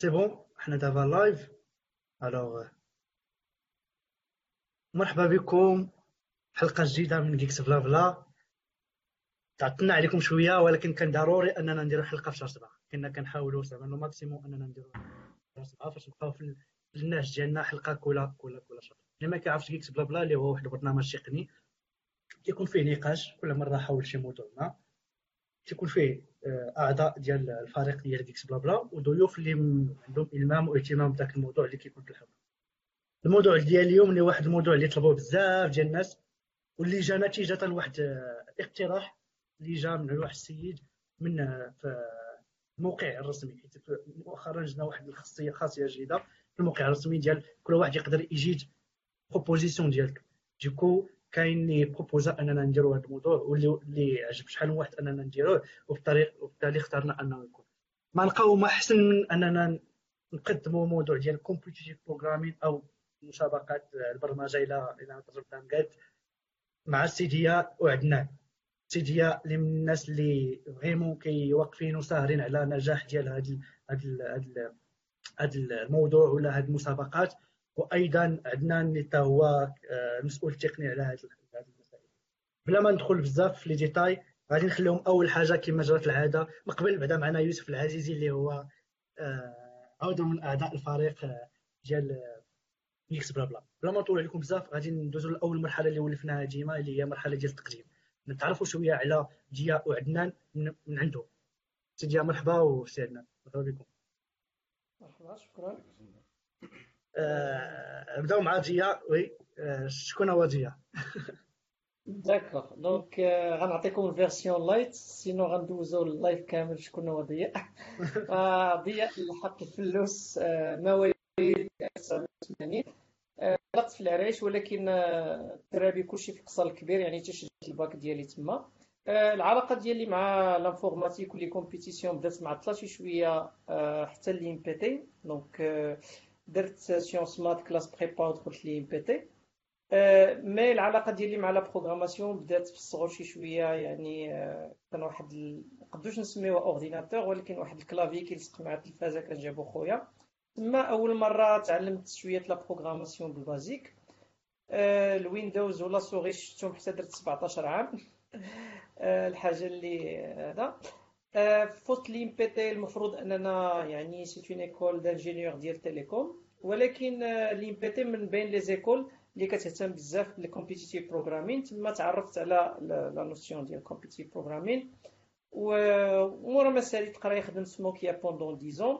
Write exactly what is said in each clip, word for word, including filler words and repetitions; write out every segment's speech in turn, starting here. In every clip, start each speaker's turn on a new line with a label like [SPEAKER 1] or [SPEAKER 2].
[SPEAKER 1] سي بون حنا دابا لايف. الوغ مرحبا بكم حلقه جديده من جيكس بلا بلا. تعطلنا عليكم شويه ولكن كان ضروري اننا نديروا حلقه في شهر سبعة. كنا كنحاولوا زعما لو ماكسيموم اننا نديروا في شهر سبعة باش نبقاو في في النهج ديالنا حلقه كل كل كل شهر. اللي ما كيعرفش جيكس بلا بلا اللي هو واحد البرنامج تقني كيكون فيه نقاش كل مره حول شي موضوع ما. تيكون فيه آه، اعضاء ديال الفريق ديال جيكس بلا بلا وضيوف اللي م- عندهم المام واهتمام بداك الموضوع اللي كيكون في الحلقه. الموضوع ديال اليوم اللي واحد الموضوع اللي طلبوه بزاف ديال الناس واللي جا نتيجه لواحد آه، اقتراح اللي جا من واحد السيد من آه، في الموقع الرسمي، حيت مؤخرا جبنا واحد الخاصيه خاصيه جديده في الموقع الرسمي ديال كل واحد يقدر يجيد بروبوزيسيون ديالك. ديكو كاين اللي بروبوزا اننا نديروا هذا الموضوع واللي اللي عجب شحال من واحد اننا نديروه، وبالطريق وبالتالي اخترنا انه يكون ما نلقاو ما احسن من اننا نقدموا موضوع ديال الكومبيتيتيف بروغرامين او مسابقات البرمجه الى الى تجربه مقاد مع السيديا وعدنان. سيديا اللي من الناس اللي فريمون كيوقفين وساهرين على نجاح ديال هذا هذا هذا الموضوع ولا هذه المسابقات، وايضا عدنان اللي حتى هو آه، المسؤول التقني على هذه المسائل. بلا ما ندخل بزاف في لي ديتاي غادي نخليهم اول حاجه كما جرت العاده. من قبل بعدا معنا يوسف العزيزي اللي هو آه، عضو من اعضاء الفريق آه، ديال ميكس بلا بلا. بلا ما نطول عليكم بزاف غادي ندوزو لاول مرحله اللي ولفناها ديما اللي هي مرحله ديال التقديم. نتعرفوا شويه على ضياء وعدنان من, من عنده. سي ضياء مرحبا، وسي عدنان مرحبا بكم.
[SPEAKER 2] مرحبا، شكرا.
[SPEAKER 1] آه، نبداو مع ضياء. وي آه، شكون هو ضياء؟
[SPEAKER 2] داكوغ دونك آه، غنعطيكم الفيرسيون لايت، سينو غندوزو اللايف كامل شكون هو ضياء. آه، ضياء الحق الفلوس، آه، مواليد ألف وتسعمائة وثمانين. آه، طلعت في العرايش، ولكن آه، الدراري كلشي في القصر الكبير، يعني تشجعت الباك ديالي تما. آه، العلاقه ديالي مع لانفورماتيك ولي كومبيتيسيون بدات معطله شي شويه آه، حتى لي ام بي تي. دونك آه، درت سيونس مات كلاس بريبا ودخلت لي ام بي تي. آه، مي العلاقه ديالي مع لا بروغراماسيون بدات في الصغر شي شويه، يعني آه، كان واحد ال... نقدروش نسميوه اورديناتور، ولكن واحد الكلافي كيلصق مع التلفازه كان جابو خويا. تما اول مره تعلمت شويه لا بروغراماسيون بالبازيك. آه، الويندوز ولا سوري شفتهم حتى درت سبعطاش عام. آه، الحاجه اللي هذا آه، فوت لي بي تي. المفروض اننا يعني سيت اون ايكول دانجينيور ديال تيليكوم، ولكن آه، لي بي تي من بين لي زيكول اللي كتهتم بزاف بالكومبيتيتيف بروغرامين. تما تعرفت على لا نوسيون ديال الكومبيتيتيف بروغرامين، ومورا ما ساليت قرايه خدمت في نوكيا بوندون ديزون.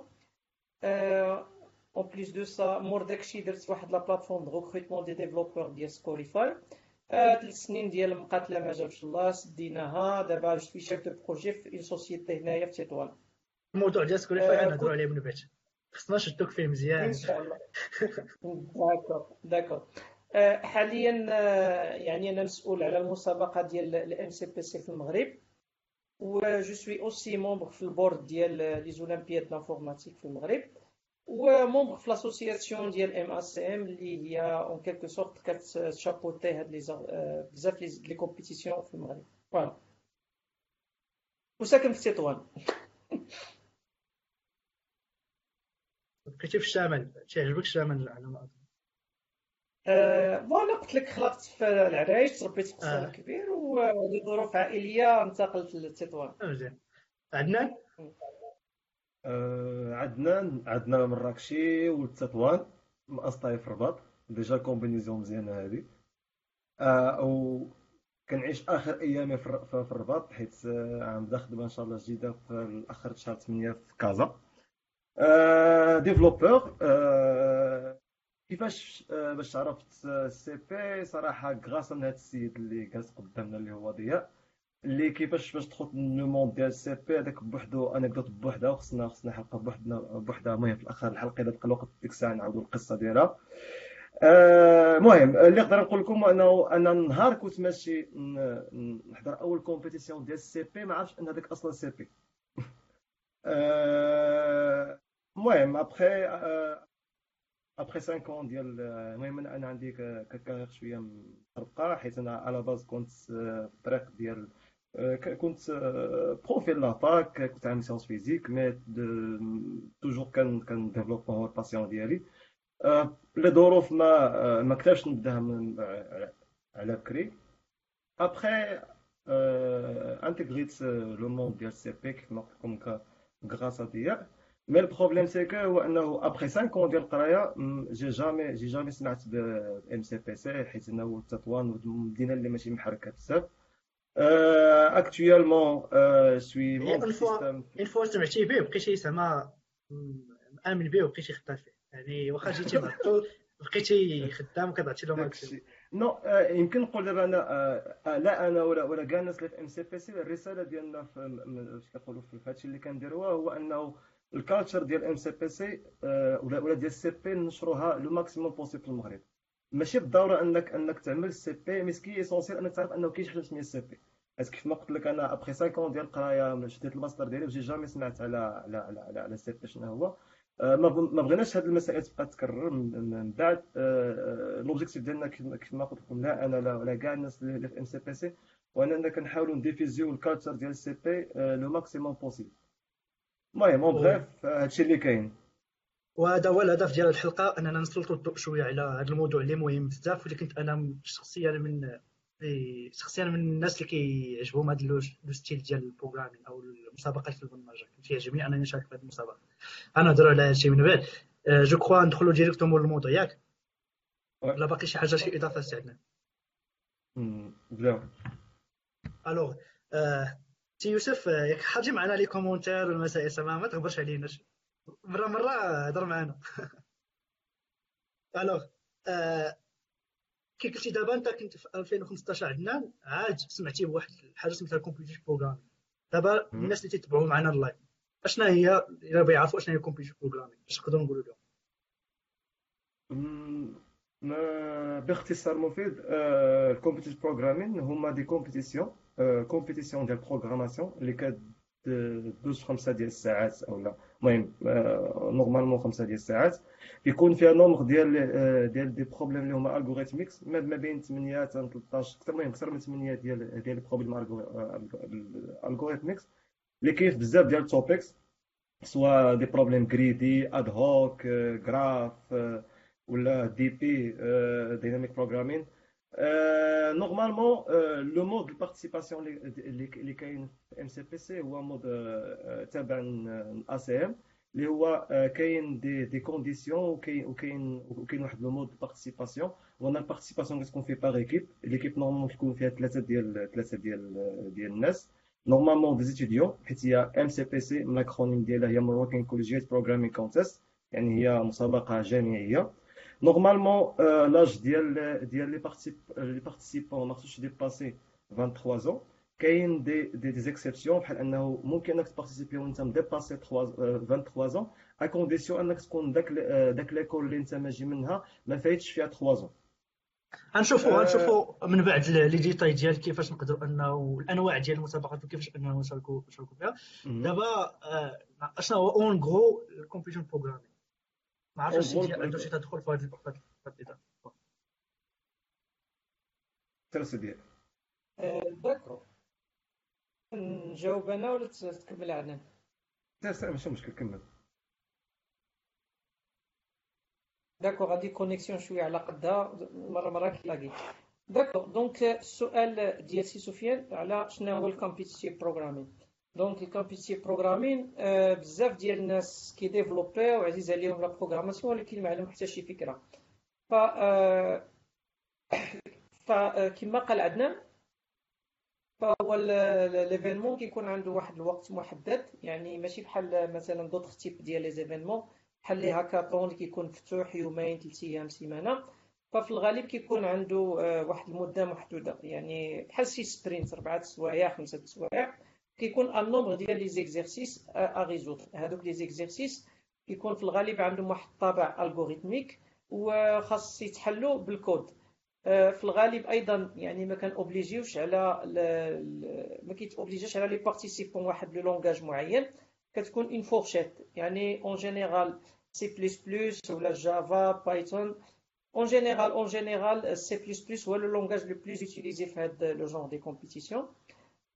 [SPEAKER 2] اون بليس دو سا مور داكشي درت واحد لا بلاتفورم دو ريكروتمون دي ديفلوبور ديال سكوليفاي. ثلاث سنين ديال المقاتله ما جابش الله، سديناها. دابا جو في شيف دو بروجي في اون سوسيتي هنايا في تطوان.
[SPEAKER 1] الموضوع ديال سكوليفاي
[SPEAKER 2] آه،
[SPEAKER 1] غنهضروا
[SPEAKER 2] كنت
[SPEAKER 1] عليه من بعد، خصنا نشدوك فيه
[SPEAKER 2] ان
[SPEAKER 1] مزيان.
[SPEAKER 2] شاء الله. داكور داكور. آه، حاليا آه، يعني انا مسؤول على المسابقه ديال الام سي بي سي في المغرب، و جو سوي اوسي مومبر في البورد ديال لي زولمبياد لانفورماتيك في المغرب، ومومبر في لاسوسياسيون ديال ام اس ام اللي هي اون كيلكو سورت كتشابوتي هاد لي زا- آه، بزاف لي لي كومبيتيسيون في المغرب. فوالا، وساكن في تطوان.
[SPEAKER 1] بقيتي في الشمال، تيعجبك الشمال على ما اظن.
[SPEAKER 2] آه، فوالا قلت لك خلقت في العرايش، تربيت في قصر
[SPEAKER 1] اه
[SPEAKER 2] الكبير، ولظروف عائليه انتقلت لتطوان.
[SPEAKER 1] مزيان. عدنان.
[SPEAKER 3] آه، عدنان عدنا مراكشي وتطوان، من أسطاي في الرباط. ديجا كومبينيزيون مزيانة هادي. آه و كنعيش آخر أيامي في الر- في في الرباط، حيت آه، عم بدا خدمة إن شاء الله جديدة في آخر شهر ثمانية في كازا. آه ديفلوبور. آه كيفاش آه باش عرفت السي بي؟ صراحة غاصة من هاد السيد اللي جالس قدامنا اللي هو ضياء، اللي كيفاش باش تدخل لو موند ديال السي بي هذاك بوحدو انكدوت بوحدها، وخصنا خصنا حلقه بوحدنا بوحدها. المهم في الاخر الحلقه اذا بقى الوقت ديك الساعه نعاودوا القصه ديالها. آه، المهم اللي نقدر نقول لكم انه انا نهار كنت ماشي ن- ن- نحضر اول كومبيتيسيون ديال السي بي ما عرفتش ان هذاك اصلا سي بي. آه، المهم ابخي ابخي خمسة اون ديال المهم انا أنا عندي ك- كارير شويه مطرقه، حيت انا على باز كنت آه، في الطريق ديال آه، ك- كنت بروفيل لاتاك، كنت عامل سيونس فيزيك مي توجور كان كان ديفلوبمون هو الباسيون ديالي. آه، لظروف ما آه، ما قدرتش نبداها من على على بكري. ابخي انتيغريت لو موند ديال سي بي كيف ما قلت لكم غراس ا ديا. مي البروبليم سي كو هو انه ابخي خمسة ans ديال القرايه م، جي جامي جي جامي سمعت ب ام سي بي سي، حيت انه هو التطوان والمدينه اللي ماشي محركه بزاف. اكtuellement سوي
[SPEAKER 1] هي
[SPEAKER 3] مونغ
[SPEAKER 1] اون فوا
[SPEAKER 3] سيستم.
[SPEAKER 1] اون فوا سمعتي به بقيتي زعما مآمن به وبقيتي خدام فيه، يعني واخا جيتي معطل بقيتي خدام وكتعطي له ماكسيموم.
[SPEAKER 3] داكشي نو آه، يمكن نقول دابا انا آه، آه، لا انا ولا ولا كاع الناس اللي في ام سي بي سي، الرساله ديالنا في م- م- اش كنقولوا في هادشي اللي كنديروه هو انه الكالتشر ديال ام سي بي سي ولا ولا ديال السي بي نشروها لو ماكسيموم بوسيبل في المغرب. ماشي بالضروره انك انك تعمل السي بي، مي سكي اسونسيال انك تعرف انه كاين شي حاجه سميتها السي بي. حيت كيف ما قلت لك انا ابخي خمسة ans ديال القرايه شديت الماستر ديالي وجي جامي سمعت على على على على, على السي بي شنو هو. آه، ما بغ- ما بغيناش هذه المسائل تبقى تكرر من من بعد. لوبجيكتيف ديالنا كيف كيف ما قلت لكم، لا انا لا ولا كاع الناس اللي في ام سي بي سي، واننا كنحاولوا نديفيزيو الكالتشر ديال السي بي لو ماكسيموم بوسيبل. المهم اون
[SPEAKER 1] و-
[SPEAKER 3] بغيف هادشي اللي كاين.
[SPEAKER 1] وهذا هو الهدف ديال الحلقه، اننا نسلطوا الضوء شويه على هذا الموضوع اللي مهم بزاف، واللي كنت انا شخصيا من إيه، شخصيا من الناس اللي كيعجبهم هذا لو لو ستيل ديال البروغرامين او المسابقات في البرمجه، كيعجبني انني نشارك في هذه المسابقه. انا نهضروا على هادشي من بعد. آه، جو كخوا ندخلوا ديريكتومون للموضوع ياك، ولا باقي شي حاجه شي اضافه عندنا؟
[SPEAKER 3] بداو.
[SPEAKER 1] الوغ آه، سي يوسف، آه، ياك حاجي معنا لي كومونتير والمسائل سما ما تهضرش علينا شي. مره مره هضر معنا. الوغ آه، كي قلتي دابا انت كنت في ألفين وخمسطاش عندنا عاد سمعتي بواحد الحاجه سميتها الكمبيوتر بروغرامين. دابا الناس اللي تيتبعوا معنا اللايف اشنا هي، الا بغا يعرفوا اشنا هي الكمبيوتر بروغرامين، باش نقدروا نقولوا لهم؟
[SPEAKER 3] مم، ما- باختصار مفيد، الكومبيتيشن بروغرامين هما دي كومبيتيسيون كومبيتيسيون ديال بروغراماسيون اللي كدوز خمسة ديال الساعات او لا. المهم نورمالمون خمسة ديال الساعات، يكون فيها نومغ ديال آه، ديال دي بروبليم اللي هما الغوريثميكس، ما ما بين ثمانية حتى ثلاثطاش، اكثر المهم اكثر من ثمانية ديال ديال البروبليم الغوريثميكس اللي كاين في بزاف ديال التوبكس، سواء دي بروبليم جريدي اد هوك جراف ولا دي بي ديناميك بروغرامين. نورمالمون لو مود دو بارتيسيباسيون اللي اللي كاين في ام سي بي سي هو مود آه، تابع الاي سي ام، اللي هو آه، كاين دي دي كونديسيون، وكاين وكاين وكاين واحد لو مود دو بارتيسيباسيون. وانا البارتيسيباسيون كتكون في باغ ايكيب، ليكيب نورمالمون كيكون فيها ثلاثه ديال ثلاثه ديال ديال الناس، نورمالمون دي ستوديون، حيت هي ام سي بي سي من الاكرونيم ديالها هي مروكين كوليجيت بروغرامين كونتيست، يعني هي مسابقه جامعيه. نورمالمون لاج ديال ديال لي بارتيسيب لي بارتيسيبون ما خصوش ديباسي ثلاثة وعشرين ans. كاين دي دي دي زيكسيبسيون، بحال انه ممكن انك تبارتيسيبي وانت مديباسي ثلاثة وعشرين ans، ا كونديسيون انك تكون داك ال- داك ليكول اللي انت ماجي منها ما فايتش فيها ثلاثة ans.
[SPEAKER 1] غنشوفوا
[SPEAKER 3] آه،
[SPEAKER 1] غنشوفوا من بعد لي ديتاي ديال كيفاش نقدروا انه الانواع ديال المسابقات وكيفاش اننا نشاركوا نشاركوا فيها.
[SPEAKER 3] مهم.
[SPEAKER 1] دابا آه، اشنا هو اون غرو الكمبيوتر بروغرامين؟ ما عرفتش
[SPEAKER 3] اون
[SPEAKER 1] السي
[SPEAKER 3] غرو
[SPEAKER 1] دي عنده شي تدخل في هذا في هذا الإطار.
[SPEAKER 3] الترس ديال
[SPEAKER 2] آه، داكور، نجاوب انا ولا تكمل عنا؟
[SPEAKER 3] الترس ماشي مشكل، كمل.
[SPEAKER 2] داكور، غادي كونيكسيون شويه على قدها، مره مره كيلاقي. داكور، دونك السؤال ديال سي سفيان على شنو هو الكومبيتيتيف بروغرامين. دونك الكومبيتيتيف بروغرامين بزاف ديال الناس كيديفلوبيو وعزيز عليهم لا بروغراماسيون، ولكن ما عندهم حتى شي فكره. ف آه، فكما قال عدنان، فهو ليفينمون كيكون عنده واحد الوقت محدد، يعني ماشي بحال مثلا دوطخ تيب ديال لي زيفينمون بحال لي هاكاطون اللي كيكون مفتوح يومين ثلاث ايام سيمانه. ففي الغالب كيكون عنده آه، واحد المده محدوده، يعني بحال شي سبرينت اربعه سوايع خمسه سوايع. كيكون ان نومبر ديال لي زيكزيرسيس ا ريزودر. هادوك لي زيكزيرسيس كيكون في الغالب عندهم واحد الطابع الغوريثميك وخاص يتحلوا بالكود. في الغالب ايضا يعني ما كان اوبليجيوش على ل... ل- ما كيتوبليجيش على لي بارتيسيبون واحد لو لونغاج معين. كتكون اون فورشيت، يعني اون جينيرال سي بلس بلس ولا جافا بايثون. اون جينيرال اون جينيرال سي بلس بلس هو لو لونغاج لو بلوس utilisé في هذا لو جونغ دي كومبيتيسيون.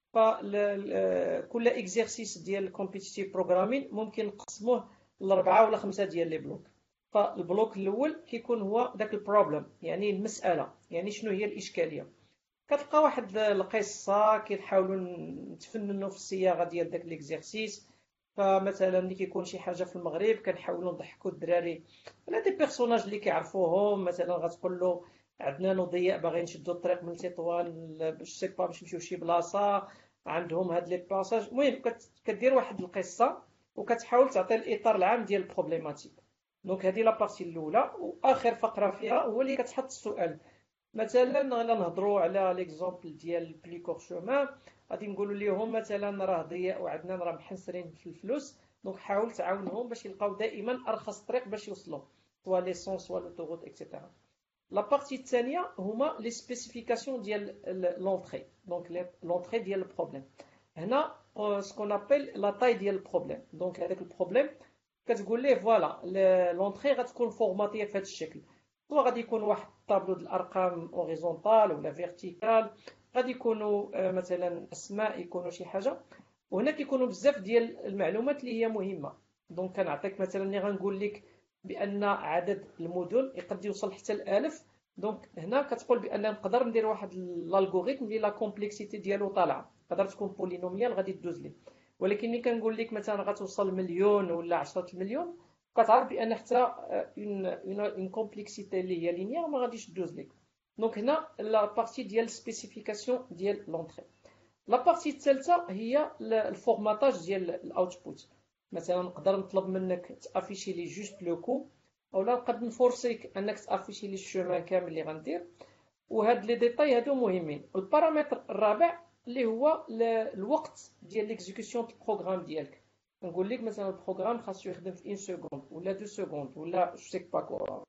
[SPEAKER 2] فكل اكزرسيس ديال الكومبيتيتيف بروغرامين ممكن نقسموه لاربعه ولا خمسه ديال لي بلوك. فالبلوك الاول كيكون هو داك البروبليم، يعني المساله، يعني شنو هي الاشكاليه. كتلقى واحد القصه كيحاولوا نتفننوا في الصياغه ديال داك ليكزيرسيس. فمثلا ملي كيكون شي حاجه في المغرب كنحاولوا نضحكوا الدراري على دي بيرسوناج اللي كيعرفوهم. مثلا غتقول له عندنا نضياء باغيين نشدوا الطريق من تطوان باش سي با باش نمشيو شي بلاصه، عندهم هاد لي باساج. المهم كدير واحد القصه وكتحاول تعطي الاطار العام ديال البروبليماتيك. دونك هذه لا بارتي الاولى، واخر فقره فيها هو اللي كتحط السؤال. مثلا الا نهضروا على ليكزومبل ديال بلي كور شومان، غادي نقولوا لهم مثلا راه ضياء وعندنا راه محنسرين في الفلوس، دونك حاول تعاونهم باش يلقاو دائما ارخص طريق باش يوصلوا، سوا ليسونس سوا لوتوغوت اكسيتيرا. لا بارتي الثانيه هما لي سبيسيفيكاسيون ديال لونطري، دونك لونطري ديال البروبليم. هنا سكون ابل لا تاي ديال البروبليم. دونك هذاك البروبليم كتقول ليه فوالا لونطري غتكون فورماتيه في هذا الشكل، سواء غادي يكون واحد الطابلو د الارقام اوريزونتال ولا فيرتيكال، غادي يكونوا مثلا اسماء، يكونوا شي حاجه. وهنا كيكونوا بزاف ديال المعلومات اللي هي مهمه. دونك كنعطيك مثلا اللي غنقول لك بان عدد المدن يقد يوصل حتى الالف. دونك هنا كتقول بان نقدر ندير واحد الالغوريثم اللي لا كومبلكسيتي ديالو طالعه، تقدر تكون بولينوميال غادي تدوز لي. ولكن ملي كنقول لك مثلا غتوصل مليون ولا عشرة المليون، كتعرف بان حتى اون اون كومبلكسيتي اللي هي لينيير ما غاديش تدوز لك. دونك هنا لا بارتي ديال سبيسيفيكاسيون ديال لونطري. لا بارتي الثالثه هي الفورماتاج ديال الاوتبوت. مثلا نقدر نطلب منك تافيشي لي جوست لو كو، اولا نقدر نفورسيك انك تافيشي لي الشومان كامل اللي غندير. وهاد لي ديتاي هادو مهمين. البارامتر الرابع اللي هو الوقت ديال ليكزيكسيون د البروغرام ديالك. نقول لك مثلا البروغرام خاصو يخدم في واحد سكوند ولا دو سكوند ولا جو سيك با كوا.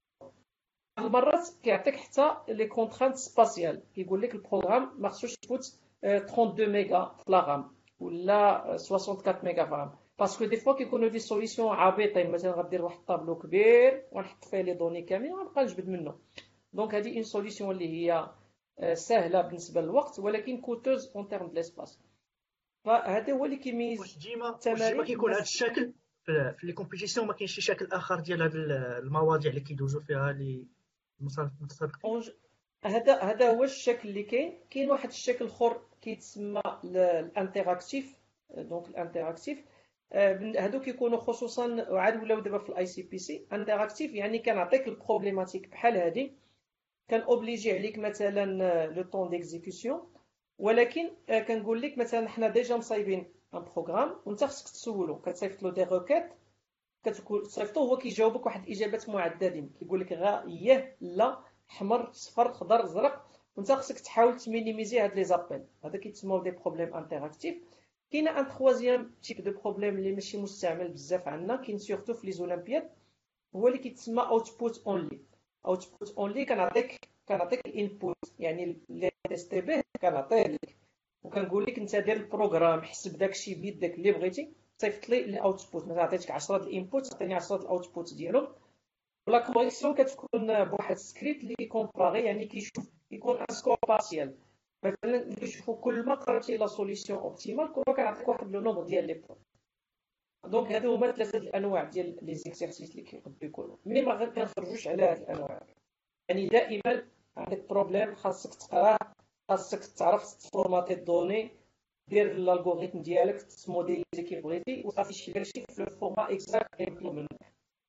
[SPEAKER 2] المرات كيعطيك حتى لي كونترانت سباسيال، كيقول لك البروغرام ما خصوش يفوت اثنين وثلاثين ميغا في لا رام ولا أربعة وستين ميغا في رام. باسكو دي فوا كيكونوا دي سوليسيون عابطين، مثلا غدير واحد الطابلو كبير ونحط فيه لي دوني كاملين ونبقى نجبد منه. دونك هذه اون سوليسيون اللي هي سهله بالنسبه للوقت ولكن كوتوز اون تيرم د ليسباس. فهذا هو اللي كيميز
[SPEAKER 1] واش ديما واش
[SPEAKER 2] التمارين.
[SPEAKER 1] ديما كيكون هذا الشكل في في لي كومبيتيسيون؟ ما كاينش شي شكل اخر ديال هاد المواضيع اللي كيدوزوا فيها لي المتسابقين؟
[SPEAKER 2] هذا هذا هو الشكل اللي كاين. كاين واحد الشكل اخر كيتسمى الانتراكتيف. دونك الانتراكتيف هادو كيكونوا خصوصا عاد ولاو دابا في الاي سي بي سي. انتراكتيف يعني كنعطيك البروبليماتيك بحال هذه، كان اوبليجي عليك مثلا لو طون ديكزيكسيون، ولكن كنقول لك مثلا حنا ديجا مصايبين ان بروغرام وانت خصك تسولو، كتصيفط له دي روكيت، كتصيفطو هو كيجاوبك واحد الاجابات معددين، كيقول لك غا ياه لا حمر صفر خضر زرق، وانت خصك تحاول تمينيميزي هاد لي زابيل. هذا كيتسموا دي بروبليم انتراكتيف. كاين ان تخوازيام تيب دو بروبليم اللي ماشي مستعمل بزاف عندنا، كاين سورتو في لي زولمبياد، هو اللي كيتسمى اوتبوت اونلي. اوتبوت اونلي كنعطيك كنعطيك الانبوت، يعني اللي تيستي به كنعطيه لك وكنقول لك انت دير البروغرام حسب داكشي بيدك اللي بغيتي، صيفط لي الاوتبوت. مثلا عطيتك عشرة د الانبوت، عطيني عشرة د الاوتبوت ديالهم. ولا كوريكسيون كتكون بواحد السكريبت اللي كيكومباري، يعني كيشوف يكون ان سكور بارسيال. مثلا كيشوفوا كل ما قربتي لا سوليسيون اوبتيمال كل ما كنعطيك واحد لو نومبر ديال لي بوين. دونك هادو هما ثلاثه الانواع ديال لي زيكسيرسيس اللي كيقدروا يكونوا، مي ما كنخرجوش على هاد الانواع. يعني دائما عندك بروبليم خاصك تقراه، خاصك تعرف تفورماتي الدوني، دير الالغوريثم ديالك تموديليزي كيف بغيتي وصافي شي داكشي في الفورما اكزاكت اللي مطلوب منك.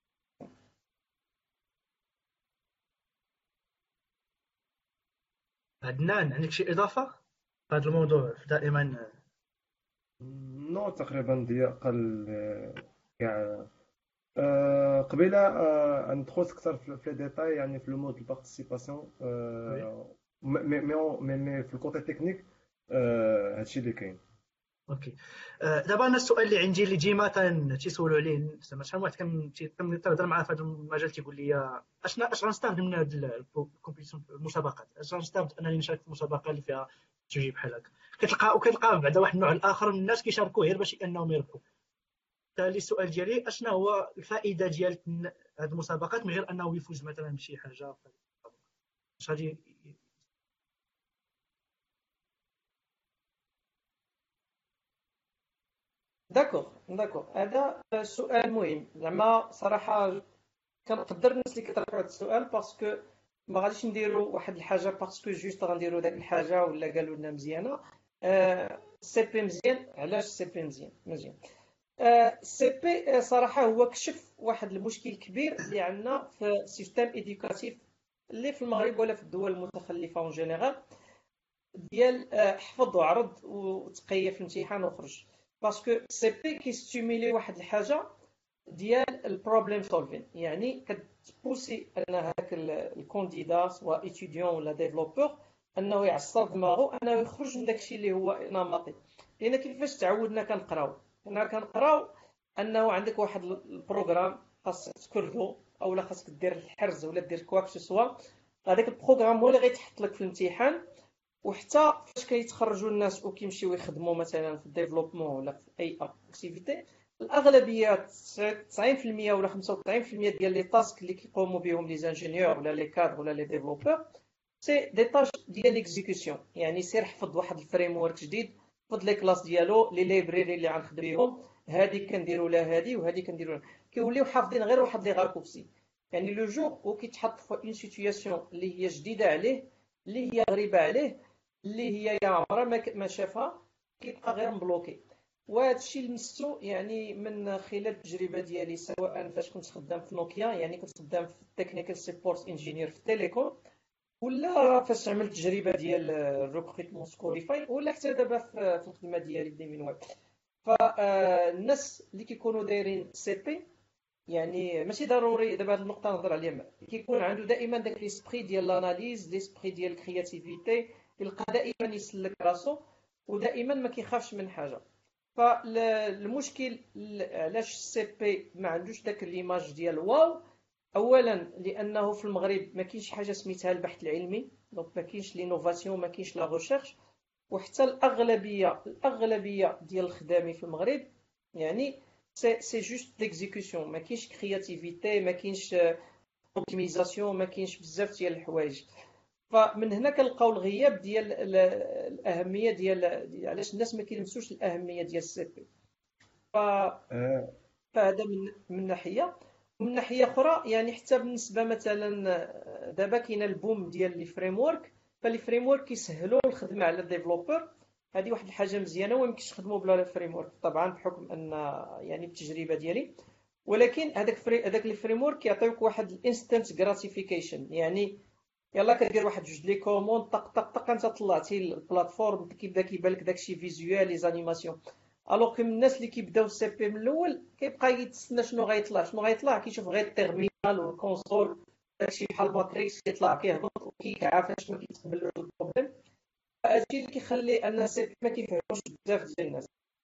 [SPEAKER 1] عدنان، عندك شي اضافه في هذا الموضوع؟ دائما
[SPEAKER 3] نو تقريبا ضياء قال كاع. آه، قبيله آه، ندخل اكثر في لي ديتاي، يعني في لو مود دو بارتيسيباسيون.
[SPEAKER 1] وي
[SPEAKER 3] مي مي مي مي في الكوتي تكنيك هادشي اللي كاين.
[SPEAKER 1] اوكي. آه، دابا انا السؤال اللي عندي اللي ديما تن- تيسولوا عليه، زعما شحال من واحد كان تي- كنهضر معاه في هذا المجال تيقول لي اشنا اش غنستافد من هذه الكومبيتيشن، المسابقات، اش غنستافد انني نشارك في مسابقه اللي فيها تجي بحال هكا؟ كتلقى وكتلقى بعدا واحد النوع الاخر من الناس كيشاركوا غير باش انهم يربحوا. بالتالي السؤال ديالي اشنا هو الفائده ديال هذه المسابقات من غير انه يفوز مثلا بشي حاجه؟ اش غادي
[SPEAKER 2] داكوغ داكوغ هذا سؤال مهم زعما صراحه. كنقدر الناس اللي كيطرحوا هذا السؤال باسكو ما غاديش نديروا واحد الحاجه باسكو جوست غنديروا داك الحاجه ولا قالوا لنا مزيانه. سي بي مزيان. علاش سي بي مزيان؟ مزيان سي بي صراحه هو كشف واحد المشكل كبير اللي عندنا في السيستم ايديوكاتيف اللي في المغرب ولا في الدول المتخلفه اون جينيرال، ديال حفظ وعرض وتقيا في الامتحان وخرج. باسكو سي بي كيستيميلي واحد الحاجه ديال البروبليم سولفين، يعني كتبوسي ان هاك الكونديدا سواء ايتيديون ولا ديفلوبور انه يعصر دماغه انه يخرج من داكشي اللي هو نمطي. لان كيفاش تعودنا كنقراو حنا كنقراو انه عندك واحد البروغرام خاصك تكردو اولا خاصك دير الحرز ولا دير كواك سوا، هذاك البروغرام هو اللي غيتحط لك في الامتحان. وحتى فاش كيتخرجوا الناس وكيمشيو يخدموا مثلا في الديفلوبمون ولا في اي اكتيفيتي، الاغلبيه تسعين في المية ولا خمسة وتسعين في المية ديال لي تاسك اللي كيقوموا بهم لي زانجينيور ولا لي كادر ولا لي ديفلوبور سي دي تاش ديال ليكزيكسيون. يعني سير حفظ واحد الفريم ورك جديد، حفظ لي كلاس ديالو، لي ليبريري اللي غنخدم بهم، هادي كنديروا لها هادي وهادي كنديروا لها، كيوليو حافظين غير واحد لي غاركوبسي. يعني لو جور و كيتحط في اون سيتوياسيون اللي هي جديده عليه، اللي هي غريبه عليه، اللي هي يا عمرها ما شافها، كيبقى غير مبلوكي. وهذا الشيء لمستو يعني من خلال التجربه ديالي، سواء فاش كنت خدام في نوكيا، يعني كنت خدام في التكنيكال سيبورت انجينير في التيليكوم، ولا فاش عملت التجربه ديال الريكروتمون سكوريفاي، ولا حتى دابا في الخدمه ديالي في من ويب. فالناس اللي كيكونوا دايرين سي بي يعني ماشي ضروري دابا هاد النقطه نهضر عليها، كيكون عنده دائما داك ليسبري ديال لاناليز، ليسبري ديال الكرياتيفيتي، يلقى دائما يسلك راسو ودائما ما كيخافش من حاجه. فالمشكل علاش السي بي ما عندوش داك ليماج ديال واو؟ اولا لانه في المغرب ما كاينش حاجه سميتها البحث العلمي، دونك ما كاينش لينوفاسيون، ما كاينش لا ريشيرش. وحتى الاغلبيه الاغلبيه ديال الخدامين في المغرب يعني سي سي جوست ديكزيكسيون، ما كاينش كرياتيفيتي، ما كاينش اوبتيميزاسيون، ما كاينش بزاف ديال الحوايج. فمن هنا كنلقاو الغياب ديال الاهميه ديال علاش الناس ما كيلمسوش الاهميه ديال السي بي. ف
[SPEAKER 3] آه،
[SPEAKER 2] فهذا من من ناحيه. ومن ناحيه اخرى يعني حتى بالنسبه مثلا دابا كاين البوم ديال لي فريم ورك، فلي فريم ورك كيسهلوا الخدمه على الديفلوبر. هذه واحد الحاجه مزيانه وما يمكنش نخدموا بلا فريم ورك طبعا بحكم ان يعني بالتجربه ديالي. ولكن هذاك فري هذاك لي فريم ورك كيعطيوك واحد الانستنت غراتيفيكيشن، يعني يلا كدير واحد جوج لي كوموند طق طق طق انت طلعتي البلاتفورم، كيبدا كيبان لك داكشي فيزيوال لي زانيماسيون. الوغ كو الناس اللي كيبداو السي بي من الاول كيبقى يتسنى شنو غيطلع شنو غيطلع، كيشوف غير التيرمينال والكونسول داكشي بحال ماتريكس كيطلع كيهبط وكيكعافى شنو كيتقبل له البروبليم. هادشي اللي كيخلي ان السي بي ما كيفهموش بزاف ديال الناس.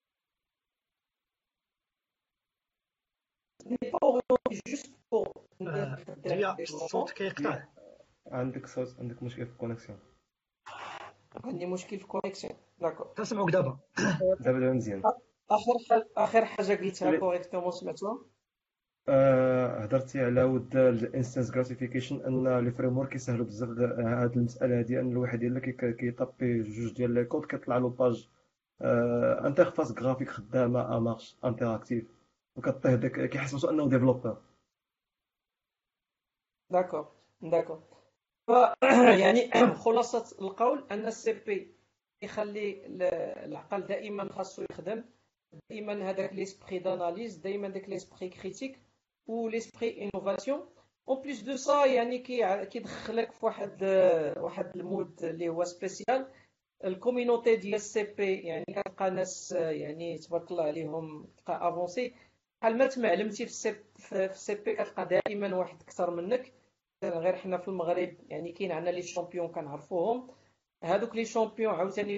[SPEAKER 2] جوست بور
[SPEAKER 1] ديا الصوت كيقطع.
[SPEAKER 3] عندك صوت، عندك مشكل في الكونيكسيون.
[SPEAKER 2] عندي مشكل في الكونيكسيون. داكور
[SPEAKER 1] كنسمعوك دابا.
[SPEAKER 3] دابا دابا مزيان.
[SPEAKER 2] اخر حاجه اخر حاجه قلتها
[SPEAKER 3] اللي-
[SPEAKER 2] كوريكتومون سمعتوها؟
[SPEAKER 3] آه، هضرتي على ود الانستنس جراتيفيكيشن، ان لي فريم ورك كيسهلوا بزاف هاد المساله هادي، ان الواحد الا كي- كيطابي جوج ديال لي كود كيطلع له باج آه انترفاس جرافيك خدامه امارش انتراكتيف، وكطيه داك كيحسسوا انه ديفلوبر.
[SPEAKER 2] داكور داكور. ف يعني خلاصه القول ان السي بي يخلي العقل دائما خاصو يخدم، دائما هذاك ليسبري داناليز، دائما داك ليسبري كريتيك و ليسبري انوفاسيون. اون بليس دو سا يعني كي كيدخلك في واحد واحد المود اللي هو سبيسيال. الكوميونيتي ديال السي بي يعني كتلقى ناس يعني تبارك الله عليهم تلقى افونسي. بحال ما تمعلمتي في السي في السي بي كتلقى دائما واحد اكثر منك. غير حنا في المغرب يعني كاين عندنا لي شامبيون كنعرفوهم، هذوك لي شامبيون عاوتاني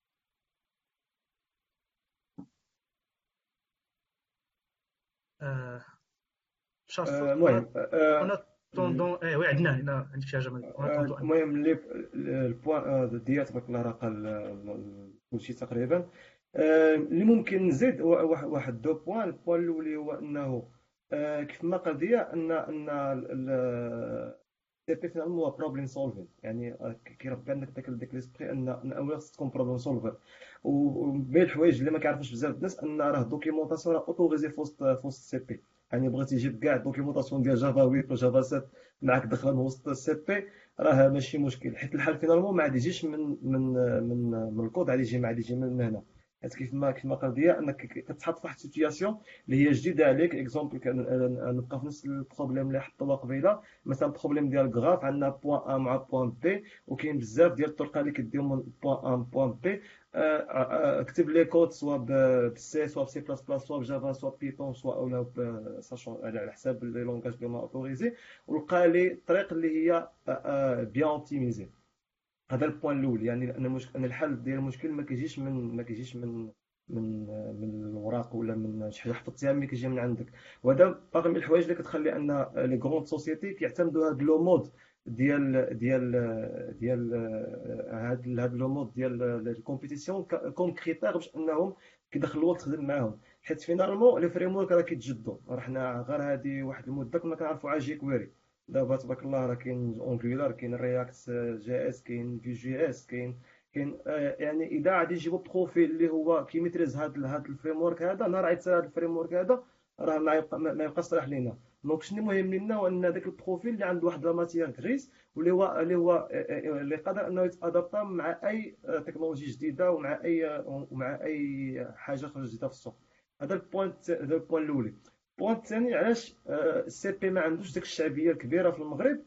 [SPEAKER 1] آه، شا الصوت.
[SPEAKER 3] آه، المهم
[SPEAKER 1] اون
[SPEAKER 3] آه،
[SPEAKER 1] اتوندون ايه وي عندنا هنا عندك شي حاجه اون
[SPEAKER 3] آه،
[SPEAKER 1] اتوندون.
[SPEAKER 3] المهم اللي البوان آه، ديال تبارك الله راه قال كلشي تقريبا. آه، اللي ممكن نزيد هو واحد واحد دو بوان. البوان الاولي هو انه آه، كيف ما قال ديا ان ان سي بي فينالمون هو بروبليم سولفين، يعني كيربي عندك داك داك ليسبري ان ان اولا خصك تكون بروبليم سولفر. وبين الحوايج اللي ما كيعرفوش بزاف الناس ان راه الدوكيومونطاسيون راه اوتوريزي فوسط فوسط السي بي. يعني بغيتي تجيب كاع الدوكيومونطاسيون ديال جافا ثمانية وجافا سبعة معاك داخله من وسط السي بي، راه ماشي مشكل، حيت الحل فينالمون ما عاد يجيش من من من من الكود، عاد يجي ما عاد يجي من هنا. حيت كيف ما كيف ما قال ديا انك كتحط في واحد السيتوياسيون اللي هي جديده عليك. اكزومبل نبقى في نفس البروبليم اللي حطوا قبيله، مثلا بروبليم ديال الكراف، عندنا بوان ا مع بوان بي، وكاين بزاف ديال الطرق اللي كديو من بوان ا بوان بي. اكتب لي كود سواء بسي سواء بسي بلاس بلاس سواء بجافا سواء بيتون سواء اولا ساشون على حساب لي لونغاج اللي هما اوتوريزي، ولقى لي الطريق اللي هي بيان اوبتيميزي. هذا البوان الاول، يعني ان المشكل ان الحل ديال المشكل ما كيجيش من ما كيجيش من من من الوراق ولا من شي حاجه حفظتيها، ملي كيجي من عندك. وهذا باغي من الحوايج اللي كتخلي ان لي غروند سوسيتي كيعتمدوا هذا لو مود ديال ديال ديال هذا هذا لو مود ديال الكومبيتيسيون كوم كريتير باش انهم كيدخلوا الوقت تخدم معاهم. حيت فينالمون لي فريم ورك راه كيتجدوا، راه حنا غير هذه واحد المده كنا كنعرفوا على جي كويري، دابا تبارك الله راه كاين اونجولار، كاين رياكت جي اس، كاين في جي اس، كاين كاين آه، يعني اذا غادي يجيبوا بروفيل اللي هو كيميتريز هذا هذا الفريم ورك هذا، نهار غيتسال هذا الفريم ورك هذا راه ما يبقى ما يبقى صالح لينا. دونك شنو مهم لينا هو ان ذاك البروفيل اللي عنده واحد لا ماتيير غريس، واللي هو اللي هو آه، آه، اللي قادر انه يتادابتا مع اي آه، تكنولوجي جديده ومع اي ومع اي حاجه خرجت جديده في السوق. هذا البوينت، هذا البوينت الاولي. البوينت الثاني، علاش السي بي ما عندوش ديك الشعبيه الكبيره في المغرب؟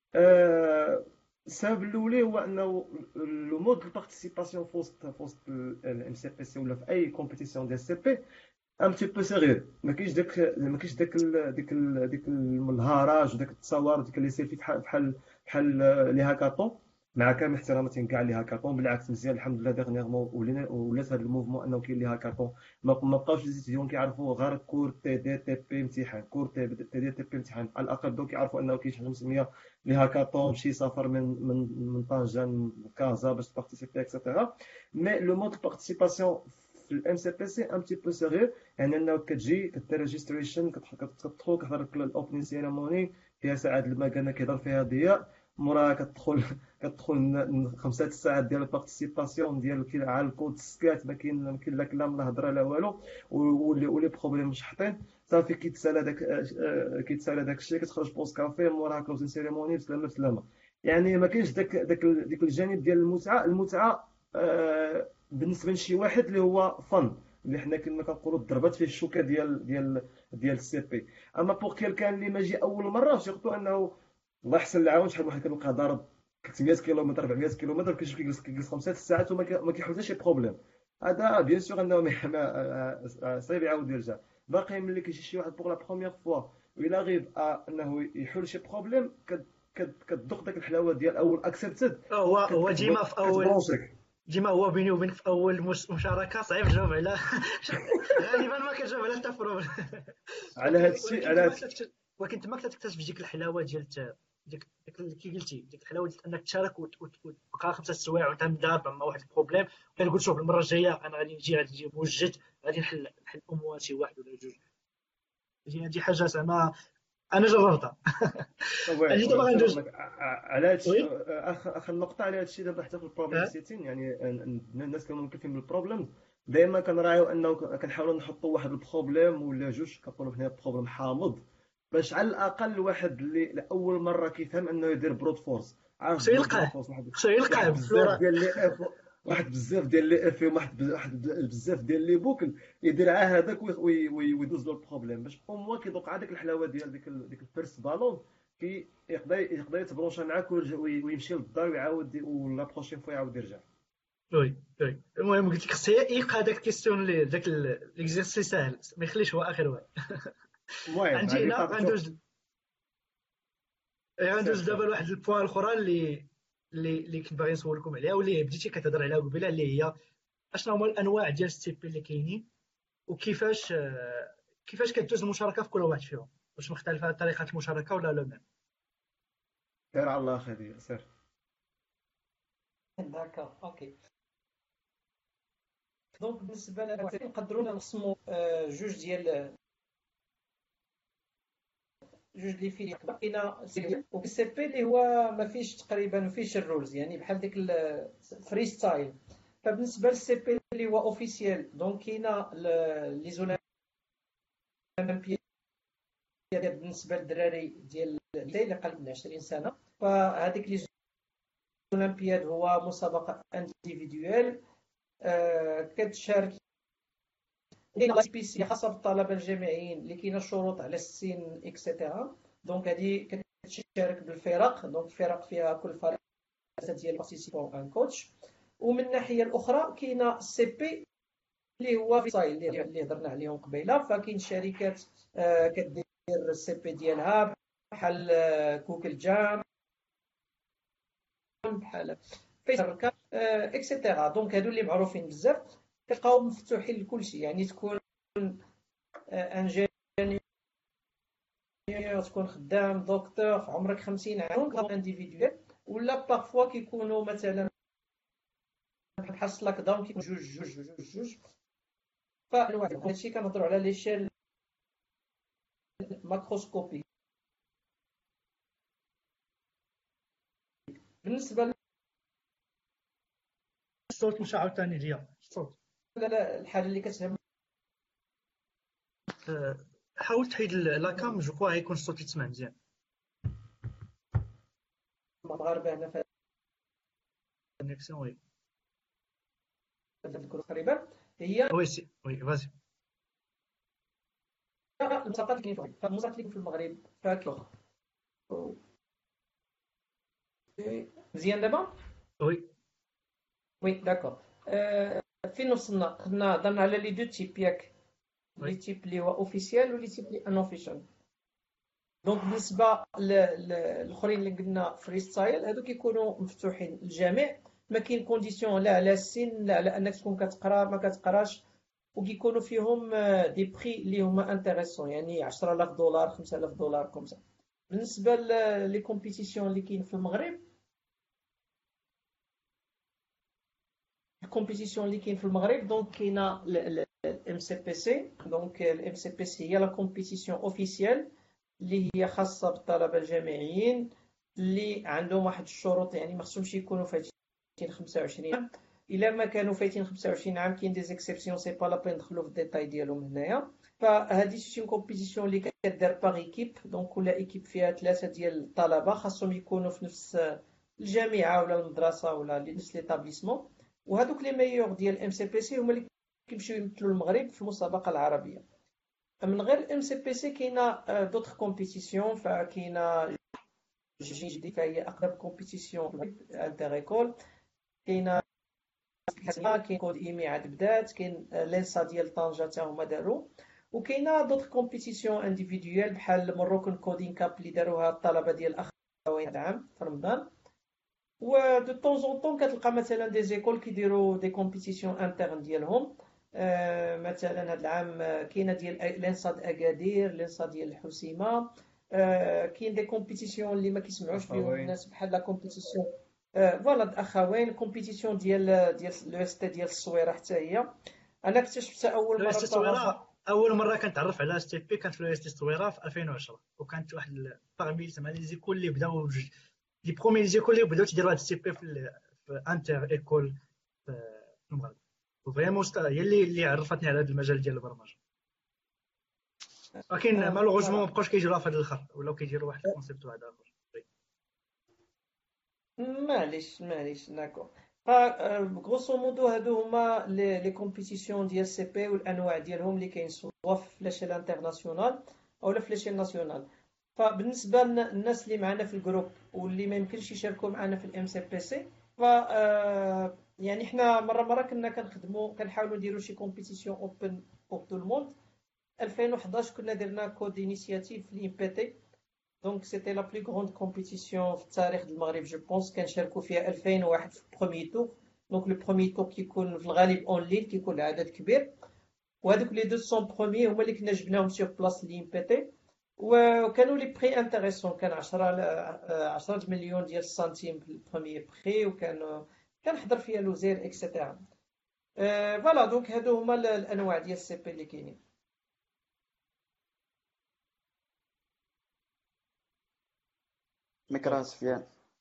[SPEAKER 3] آه، السبب الاولي هو انه لو مود دو بارتيسيباسيون في وسط في وسط الام سي بي سي ولا في اي كومبيتيسيون ديال السي بي ان بتي بو صغير. ما كاينش داك ما كاينش داك ال- ديك ال- ديك الهراج وداك التصاور وديك اللي يصير فيه بحال بحال بحال لي هاكاطون. مع كامل احتراماتي كاع لي هاكاطون، بالعكس مزيان الحمد لله ديغنيغمون ولينا ولات هذا الموفمون انه كاين لي هاكاطون. ما ما بقاوش لي ستوديون كيعرفوا غير كور تي دي تي بي امتحان، كور تي دي تي دي بي امتحان. على الاقل بداو كيعرفوا انه كاين شي حاجه مسميه لي هاكاطون، شي سفر من من من طنجة لكازا باش تبارتيسيبي اكسيتيرا. مي لو مود دو بارتيسيباسيون في الام سي بي سي ان بتي بو صغير. يعني انه كتجي كدير ريجستريشن، كتدخل كتحضر الاوبنين سيريموني فيها ساعات المكانه كيهضر فيها ضياء، موراها كتدخل كتدخل ن- خمسة ساعات ديال البارتيسيباسيون ديال كي على الكود سكات، ما كاين ما كاين لا كلام لا هضره لا والو، واللي ولي بروبليم مشحطين. صافي كيتسالى داك آه، كيتسالى داك الشيء، كتخرج بوست كافي موراها كلوزين سيريموني بسلامه بسلامه. يعني ما كاينش داك داك ديك الجانب ديال المتعه. المتعه آه، بالنسبه لشي واحد اللي هو فن، اللي حنا كما كنقولوا ضربات فيه الشوكه ديال ديال ديال السي بي. اما بوغ كيلكان اللي ما جي اول مره، سيرتو انه الله يحسن العون، شحال واحد كنلقى ضارب ثلاثمية كيلومتر أربعمية كيلومتر كيجي كيجلس كيجلس خمسة ساعات وما كي- ما كيحل حتى شي بروبليم. هذا بيان سور انه ما- ما- صعيب يعاود يرجع. باقي ملي كيجي شي واحد بوغ لا بروميير فوا وإلا غيب انه يحل شي بروبليم، كت- كت- كتذوق داك الحلاوه ديال اول اكسبتد،
[SPEAKER 1] هو هو ديما في اول
[SPEAKER 3] كتبلونشيك.
[SPEAKER 1] ديما هو بيني وبينك في اول مش- مشاركه صعيب تجاوب على غالبا ما كتجاوب على حتى بروبليم.
[SPEAKER 3] على
[SPEAKER 1] ولكن
[SPEAKER 3] هذا الشيء،
[SPEAKER 1] ولكن
[SPEAKER 3] على
[SPEAKER 1] تما
[SPEAKER 3] هذا
[SPEAKER 1] كتكتشف ولكن تما كتكتشف ديك الحلاوه ديال الت- ديك ديك اللي كي قلتي، ديك الحلاوه ديال انك تشارك وت- وت- وتبقى خمسه سوايع وانت مدابع مع واحد البروبليم، كنقول شوف المره الجايه انا غادي نجي غادي نجي موجد، غادي نحل نحل امور شي واحد ولا جوج. هذه هذه حاجه زعما انا جربتها.
[SPEAKER 3] وي
[SPEAKER 1] اجي
[SPEAKER 3] وي
[SPEAKER 1] دابا غندوز.
[SPEAKER 3] متفق معك. ع- على هذا الشيء،
[SPEAKER 1] وي.
[SPEAKER 3] اخر اخر نقطه على هذا الشيء دابا حتى في البروبليم
[SPEAKER 1] ها.
[SPEAKER 3] سيتين. يعني ن- ن- الناس كانوا مكلفين بالبروبلم، دائما كنراعيو انه ك- كنحاولوا نحطوا واحد البروبليم ولا جوج كنقولوا حنا بروبلم حامض، باش على الاقل الواحد اللي لاول مره كيفهم انه يدير بروت فورس، عارف
[SPEAKER 1] خصو
[SPEAKER 3] دير بروت
[SPEAKER 1] يلقاه
[SPEAKER 3] فورس واحد
[SPEAKER 1] خصو
[SPEAKER 3] واحد
[SPEAKER 1] يلقاه
[SPEAKER 3] بزاف
[SPEAKER 1] بفلورا.
[SPEAKER 3] ديال لي اف، واحد بزاف ديال لي اف، واحد ب- واحد بزاف ديال لي بوكل، يدير عا هذاك وي- وي- وي- ويدوز له البروبليم باش او موا كيدوق هذيك الحلاوه ديال ديك ال- ديك الفيرست بالون، كي يقدر يقدر يتبرونشا معاك ويرجع- وي- ويمشي للدار ويعاود ولا بروشين فوا يعاود يرجع.
[SPEAKER 1] وي وي المهم قلت لك خصو يلقى هذاك الكيستيون اللي داك ليكزيرسي ساهل، ما يخليش هو اخر واحد.
[SPEAKER 3] المهم
[SPEAKER 1] عندي
[SPEAKER 3] هذه
[SPEAKER 1] هنا
[SPEAKER 3] صافي شوف.
[SPEAKER 1] غندوز غندوز
[SPEAKER 3] سير
[SPEAKER 1] دابا
[SPEAKER 3] سير.
[SPEAKER 1] لواحد البوان الاخرى اللي اللي اللي كنت باغي نسولكم عليها، واللي بديتي كتهضر عليها قبيله، اللي هي اشنو هما الانواع ديال الستيبي اللي كاينين، وكيفاش آه، كيفاش كدوز المشاركه في كل واحد فيهم، واش مختلفه طريقه المشاركه ولا لا ميم؟
[SPEAKER 3] سير على الله خير سير.
[SPEAKER 2] داكا اوكي. دونك بالنسبه لنا نقدروا نقسموا آه، جوج ديال جوج لي فيلم كاينه سي بي اللي هو ما فيش تقريبا ما فيش الرولز، يعني بحال ديك الفري ستايل. فبالنسبه للسي بي اللي هو اوفيسيال، دونك كاينه لي زولمبياد بالنسبه للدراري ديال اللي اقل من عشرين سنه. فهذيك لي زولمبياد هو مسابقه انديفيدويال آه كتشارك. كاينه سي بي سي خاصه بالطلبه الجامعيين اللي كاينه شروط على السن اكسيتيرا. دونك هذه كتشارك بالفرق، دونك الفرق فيها كل فريق ديال بارتيسيبون ان كوتش. ومن الناحيه الاخرى كاينه السي بي اللي هو فيسايل اللي هضرنا عليهم قبيله. فكاين شركات آه كدير السي بي ديالها بحال آه جوجل جام، بحال فيسبوك آه اكسيتيرا. دونك هادو اللي معروفين بزاف كتلقاهم مفتوحين لكلشي، يعني تكون انجينيور، تكون خدام، دكتور، عمرك خمسين عام، انديفيدوال. ولا بارفوا كيكونوا مثلا بحال سلاك داون كيكون جوج جوج جوج جوج. فهادشي كنهضروا على ليشيل ماكروسكوبي. بالنسبه
[SPEAKER 1] الصوت مش عاوتاني ليا الصوت.
[SPEAKER 2] للحاجه اللي كتهم،
[SPEAKER 1] أه، حاول تحيد ال- لاكام، جو كوا يكون الصوت يتسمع مزيان.
[SPEAKER 2] المغاربه هنا في
[SPEAKER 1] كونيكسيون وي
[SPEAKER 2] هذا الجروب تقريبا هي
[SPEAKER 1] وي سي وي فازي.
[SPEAKER 2] المسابقات اللي كاين في المسابقات اللي كاين في المغرب فاكر. مزيان دابا.
[SPEAKER 1] وي
[SPEAKER 2] وي داكور. آه فين وصلنا؟ كنا هضرنا على لي دو تيب ياك، لي
[SPEAKER 1] وي
[SPEAKER 2] تيب اللي هو اوفيسيال ولي تيب اللي ان اوفيسيال. دونك بالنسبه للاخرين اللي قلنا فري ستايل، هادو كيكونوا مفتوحين للجميع، ما كاين كونديسيون لا على السن لا على انك تكون كتقرا ما كتقراش. وكيكونوا فيهم آه، دي بري اللي هما انتريسون، يعني عشرة آلاف دولار خمسة آلاف دولار كومسا. بالنسبه لي كومبيتيسيون اللي كاين في المغرب، الكومبيتيسيون اللي كاين في المغرب دونك كاينه الام سي بي سي. دونك الام سي بي سي هي لا كومبيتيسيون اوفيسيال اللي هي خاصه بالطلبه الجامعيين اللي عندهم واحد الشروط، يعني ما خصهمش يكونوا فايتين خمسة وعشرين عام. الا ما كانوا فايتين خمسة وعشرين عام كاين دي زيكسيبسيون، سي با لا بين ندخلوا في الديتاي ديالهم هنايا. فهذه شي كومبيتيسيون اللي كدار باغ ايكيب، دونك كل ايكيب فيها ثلاثه ديال الطلبه خاصهم يكونوا في نفس الجامعه ولا المدرسه ولا نفس ليتابليسمون. وهذوك لي ميور ديال ام سي بي سي هما اللي كيمشيو يمثلوا المغرب في المسابقه العربيه. من غير الام سي بي سي كاينه دوطخ كومبيتيسيون. فكاينه جي دي فهي اقرب كومبيتيسيون انتر ايكول. كاينه كاين كود ايمي عاد بدات، كاين لينسا ديال طنجه حتى هما داروا. وكاينه دوطخ كومبيتيسيون انديفيدويال بحال مروكن كودين كاب اللي داروها الطلبه ديال الاخوين هذا العام في رمضان. و دو طون زون طون كتلقى مثلا دي زيكول كيديروا دي كومبيتيسيون انترن ديالهم. آه مثلا هذا العام كاينه ديال لينسا د اكادير، لينسا ديال الحسيمه. آه كاين دي كومبيتيسيون اللي ما كيسمعوش بهم
[SPEAKER 3] اخوين
[SPEAKER 2] الناس بحال لا كومبيتيسيون آه فوالا د اخوين. كومبيتيسيون ديال ديال لو اس تي ديال الصويره حتى هي انا اكتشفتها اول
[SPEAKER 1] لو اس
[SPEAKER 2] مره
[SPEAKER 1] تي
[SPEAKER 2] بصراحه.
[SPEAKER 1] الصويره اول مره كنتعرف على اس تي بي كانت في لو اس تي الصويره في ألفين وعشرة، وكانت واحد باغمي زعما لي زيكول اللي بداو بج- لي برومي لي زيكول اللي بداو تيديروا هاد السي بي في, ال- في انتر ايكول في في المغرب. وفريمون ست- هي اللي اللي عرفتني على هذا المجال ديال البرمجه. ولكن
[SPEAKER 2] آه
[SPEAKER 1] مالوغوزمون ما
[SPEAKER 2] فوالا.
[SPEAKER 1] بقاوش كيجيوها في هذا الاخر، ولاو كيديروا واحد الكونسيبت واحد اخر.
[SPEAKER 2] معليش معليش داكور. غروسو مودو هادو هما لي لي كومبيتيسيون ديال سي بي والانواع ديالهم اللي كاين سوا في لاشيل انترناسيونال او لا في لاشيل ناسيونال. فبالنسبه للناس اللي معنا في الجروب واللي ما يمكنش يشاركوا معنا في الام سي بي سي، ف آه، يعني حنا مره مره كنا كنخدموا كنحاولوا نديروا شي كومبيتيسيون اوبن بور تو الموند. ألفين وحداش كنا درنا كود انيشياتيف لي بي تي. دونك سيتي لا بلو غروند كومبيتيسيون في التاريخ ديال المغرب جو بونس، كنشاركوا فيها ألفين وواحد في البروميي تور. دونك لو بروميي تور كيكون في الغالب اون لين، كيكون العدد كبير. وهذوك لي مئتين بروميي هما اللي كنا جبناهم سيغ بلاص لي ام بي تي. وكانوا لي بري انتريسون، كان عشرة عشرة مليون ديال السنتيم في البروميي بري، وكان كان حضر فيها الوزير اكسيتيرا. فوالا دونك هادو هما الانواع ديال السي بي اللي كاينين.
[SPEAKER 4] ميكرا سفيان.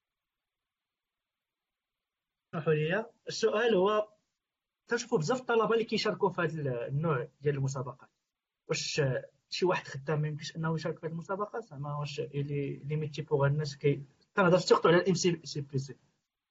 [SPEAKER 1] اسمحوا لي، السؤال هو تنشوفوا بزاف الطلبه اللي كيشاركوا في هذا النوع ديال المسابقات، واش شي واحد خدام ما يمكنش انه يشارك في هذه المسابقات؟ زعما واش اللي ليميتي بوغ الناس كي كنهضر سيرتو على الام سي سي بي سي.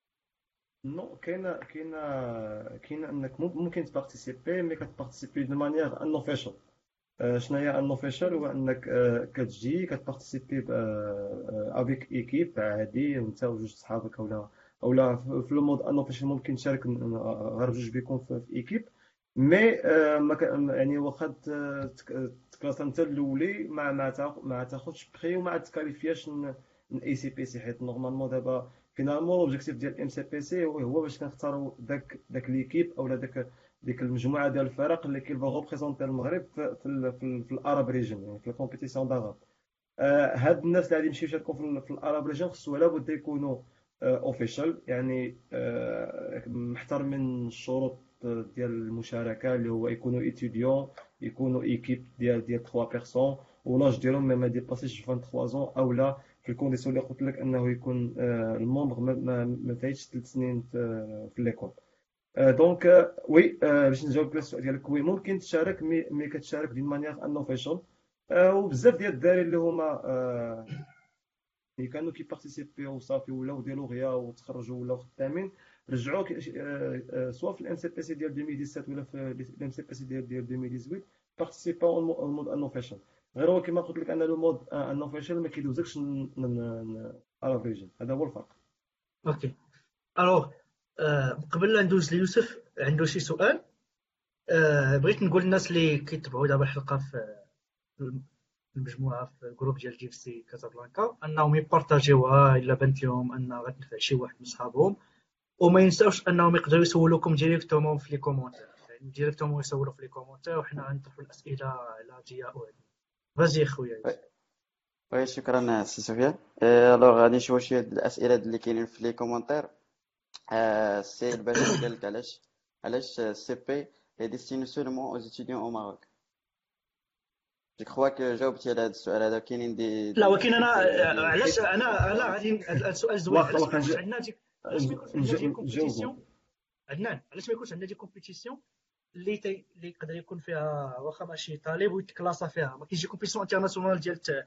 [SPEAKER 3] نو كاينه كاينه كاينه انك مم- ممكن تبارتيسيبي، مي كتبارتيسيبي دو مانيير ان اوفيشال. شنو هي ان اوفيشال؟ هو انك آه، كتجي كتبارتيسيبي افيك ايكيب عادي، انت وجوج صحابك، اولا اولا في في لو مود ان اوفيشال ممكن تشارك ن- ن- غير بجوج بيكون في في ايكيب. مي آه، ما كان يعني واخا ت- تك- تكلاس انت الاولي ما ما تاخ- ما تاخذش بري وما تكاليفياش اي سي بي سي، حيت نورمالمون دابا فينالمون لوبجيكتيف ديال ام سي بي سي هو هو باش كنختاروا داك داك ليكيب اولا داك ديك المجموعه ديال الفرق اللي كيبغيو ريبريزونتي المغرب في في ال- في, ال- في الاراب ريجن، يعني في الكومبيتيسيون داراب. آه، هاد الناس اللي غادي يمشيو يشاركوا في, ال- في الاراب ريجن خصو لابد يكونوا اوفيشال، يعني آه، محترمين الشروط ديال المشاركه، اللي هو يكونوا ايتيديون، يكونوا ايكيب ديال ديال ثلاثة بيرسون، ولاج ديالهم ما ما ديباسيش ثلاثة وعشرين زون، اولا في الكونديسيون اللي قلت لك انه يكون آه، المومبر ما ما ما فايتش ثلاث سنين في في ليكول. آه، دونك آه، وي آه، باش نجاوب على السؤال ديالك، وي ممكن تشارك، مي مي كتشارك دون مانيير ان اوفيشال. وبزاف ديال الدراري اللي هما آه، اللي كانوا كيبارتيسيبيو وصافي ولاو ديالو غيا وتخرجوا ولاو خدامين، رجعوا كي- آه، آه، سواء في الام سي بي سي ديال ألفين وسبعة ولا في الام سي بي سي ديال ديال ألفين وثمانية بارتيسيباو المود ان اوفيشال. غير هو كما قلت لك ان لو مود ان اوفيشال ما كيدوزكش على فيجن، هذا هو الفرق.
[SPEAKER 1] اوكي. الوغ آه، قبل لا ندوز ليوسف عنده شي سؤال. آه، بغيت نقول للناس اللي كيتبعوا دابا الحلقه في المجموعه في الجروب ديال جي اف سي كازابلانكا انهم يبارطاجيوها الا بانت لهم ان غتنفع شي واحد من صحابهم، وما ينساوش انهم يقدروا يسولوكم ديريكتومون في لي كومونتير، يعني ديريكتومون يسولوا في لي كومونتير وحنا غنطرحوا الاسئله على جياء هذه. فازي خويا يوسف.
[SPEAKER 4] وي شكرا سي سفيان. الوغ غادي نشوفوا شويه د الاسئله اللي كاينين في لي كومونتير. آه، السي الباشا سأل لك علاش علاش السي بي est destiné seulement aux étudiants au Maroc. جو كخوا كو جاوبتي على هذا السؤال هذا. كاينين دي
[SPEAKER 1] لا
[SPEAKER 4] دي
[SPEAKER 1] ولكن انا
[SPEAKER 4] كريتير
[SPEAKER 1] آه،
[SPEAKER 4] ديال
[SPEAKER 1] علاش
[SPEAKER 3] حيت
[SPEAKER 1] انا انا
[SPEAKER 4] فرنسا.
[SPEAKER 1] غادي هذا السؤال زوين،
[SPEAKER 3] واخا
[SPEAKER 1] علاش ما
[SPEAKER 3] واخا
[SPEAKER 1] يكونش
[SPEAKER 3] نج-
[SPEAKER 1] عندنا دي علاش ما يكونش عندنا
[SPEAKER 3] نج-
[SPEAKER 1] دي
[SPEAKER 3] نجاوبو.
[SPEAKER 1] كومبيتيسيون عدنان، علاش ما يكونش عندنا دي كومبيتيسيون اللي تي... اللي يقدر يكون فيها واخا ماشي طالب ويتكلاصا فيها، ما كاينش شي كومبيتيسيون انترناسيونال ديال ت-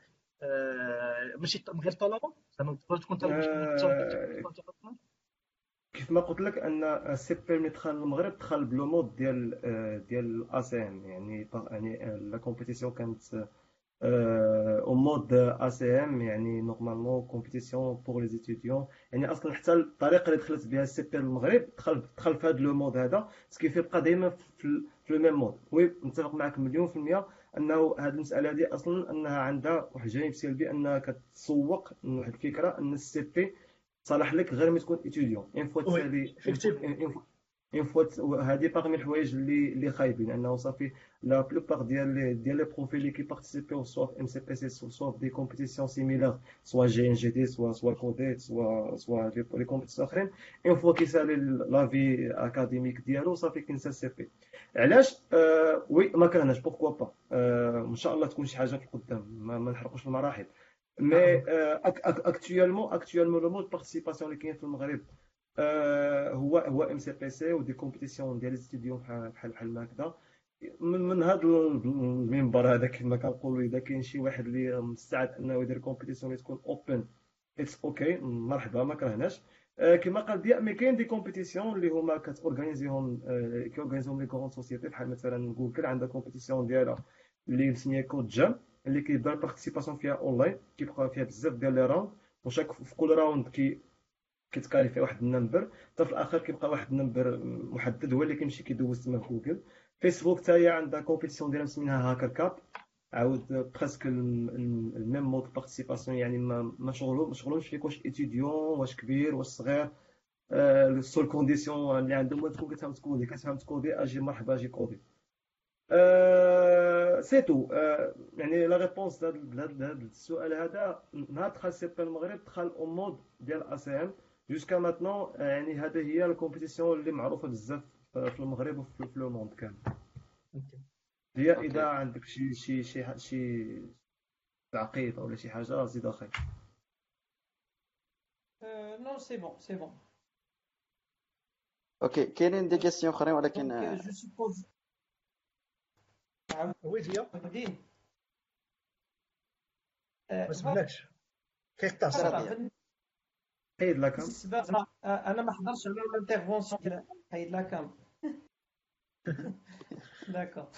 [SPEAKER 1] آه، ماشي ط- من غير طلبه، زعما تقدر تكون طالب باش تشارك في
[SPEAKER 3] آه،
[SPEAKER 1] كومبيتيسيون انترناسيونال.
[SPEAKER 3] كيف ما قلت لك ان السي بي ملي دخل المغرب دخل بلو مود ديال آه، ديال الاي سي ام، يعني ط- يعني آه، لا كومبيتيسيون كانت او مود اي سي ام، يعني نورمالمون كومبيتيسيون بور لي ستوديون. يعني اصلا حتى الطريقه اللي دخلت بها السي بي للمغرب دخل دخل في هذا لو مود هذا، سكيفي بقى دائما في ال- في لو ميم مود. وي نتفق معك مليون في المية انه هذه المساله هذه اصلا انها عندها واحد الجانب سلبي، انها كتسوق واحد الفكره ان السي بي صالح لك غير ملي تكون اتيديون. اون فوا
[SPEAKER 1] وي
[SPEAKER 3] تسالي
[SPEAKER 1] افكتيفمون.
[SPEAKER 3] اون فوا، هذه باغمي الحوايج اللي اللي خايبين، انه صافي لا بلوبار ديال لي ديال لي بروفيل اللي كيبارتيسيبيو سوا في ام سي بي سي سوا في دي كومبيتيسيون سيميلار، سوا جي ان جي دي، سوا سوا كوديت، سوا سوا لي كومبيتيسيون اخرين، اون فوا كيسالي لا في اكاديميك ديالو صافي كينسى السي بي. علاش؟ آه وي ما كرهناش، بوركوا با، آه ان شاء الله تكون شي حاجه في القدام، ما, ما نحرقوش المراحل. مي اكtuellement اكtuellement لو مود بارتيسيباسيون اللي كاين في المغرب آه، هو هو ام سي بي سي ودي كومبيتيسيون ديال ستوديو بحال بحال بحال هكذا. من من هذا المنبر هذا كما كنقولوا، اذا كاين شي واحد اللي مستعد انه يدير كومبيتيسيون اللي تكون اوبن، اتس اوكي، مرحبا ما كرهناش. آه، كما قال ديا، مي كاين دي كومبيتيسيون اللي هما كتورغانيزيهم آه، كيورغانيزيهم لي كغون سوسيتي، بحال مثلا جوجل عندها كومبيتيسيون ديالها اللي مسميه كود جام، اللي كيبدا البارتيسيباسيون فيها اونلاين، كيبقى فيها بزاف ديال لي راوند، وشاك في كل راوند كي كيتكاليفي واحد النمبر، حتى في الاخر كيبقى واحد النمبر محدد هو اللي كيمشي كيدوز تما في جوجل. فيسبوك حتى هي عندها كومبيتيسيون ديالها مسمينها هاكر كاب، عاود بريسك الميم مود بارتيسيباسيون، يعني ما ما شغلو ما شغلهمش فيك واش ايتيديون واش كبير واش صغير. السول كونديسيون اللي عندهم هو تكون كتفهم تكودي، كتفهم تكودي اجي مرحبا اجي كودي. أه سي تو. أه يعني لا ريبونس لهذا السؤال هذا، نهار دخل سي بي المغرب دخل او مود ديال اي سي ام جوسكا ماتنون، يعني هذه هي الكومبيتيسيون اللي معروفه بزاف في المغرب وفي لو موند كامل. هي اذا
[SPEAKER 4] اوكي
[SPEAKER 3] عندك شي شي شي شي تعقيب ولا شي حاجه زيد اخي.
[SPEAKER 2] نو سي بون سي بون.
[SPEAKER 4] اوكي كاينين دي كيسيون اخرين ولكن
[SPEAKER 2] دونك
[SPEAKER 4] آه،
[SPEAKER 2] جو سوبوز
[SPEAKER 1] ويديا
[SPEAKER 2] عاودين
[SPEAKER 1] ما سمعكش كيقطع
[SPEAKER 4] سير
[SPEAKER 1] الصوت.
[SPEAKER 4] ديال
[SPEAKER 3] حيد لك
[SPEAKER 2] بالنسبه زعما انا ما حضرتش على الانترفونسيون ديال حيد لا كام. داكور.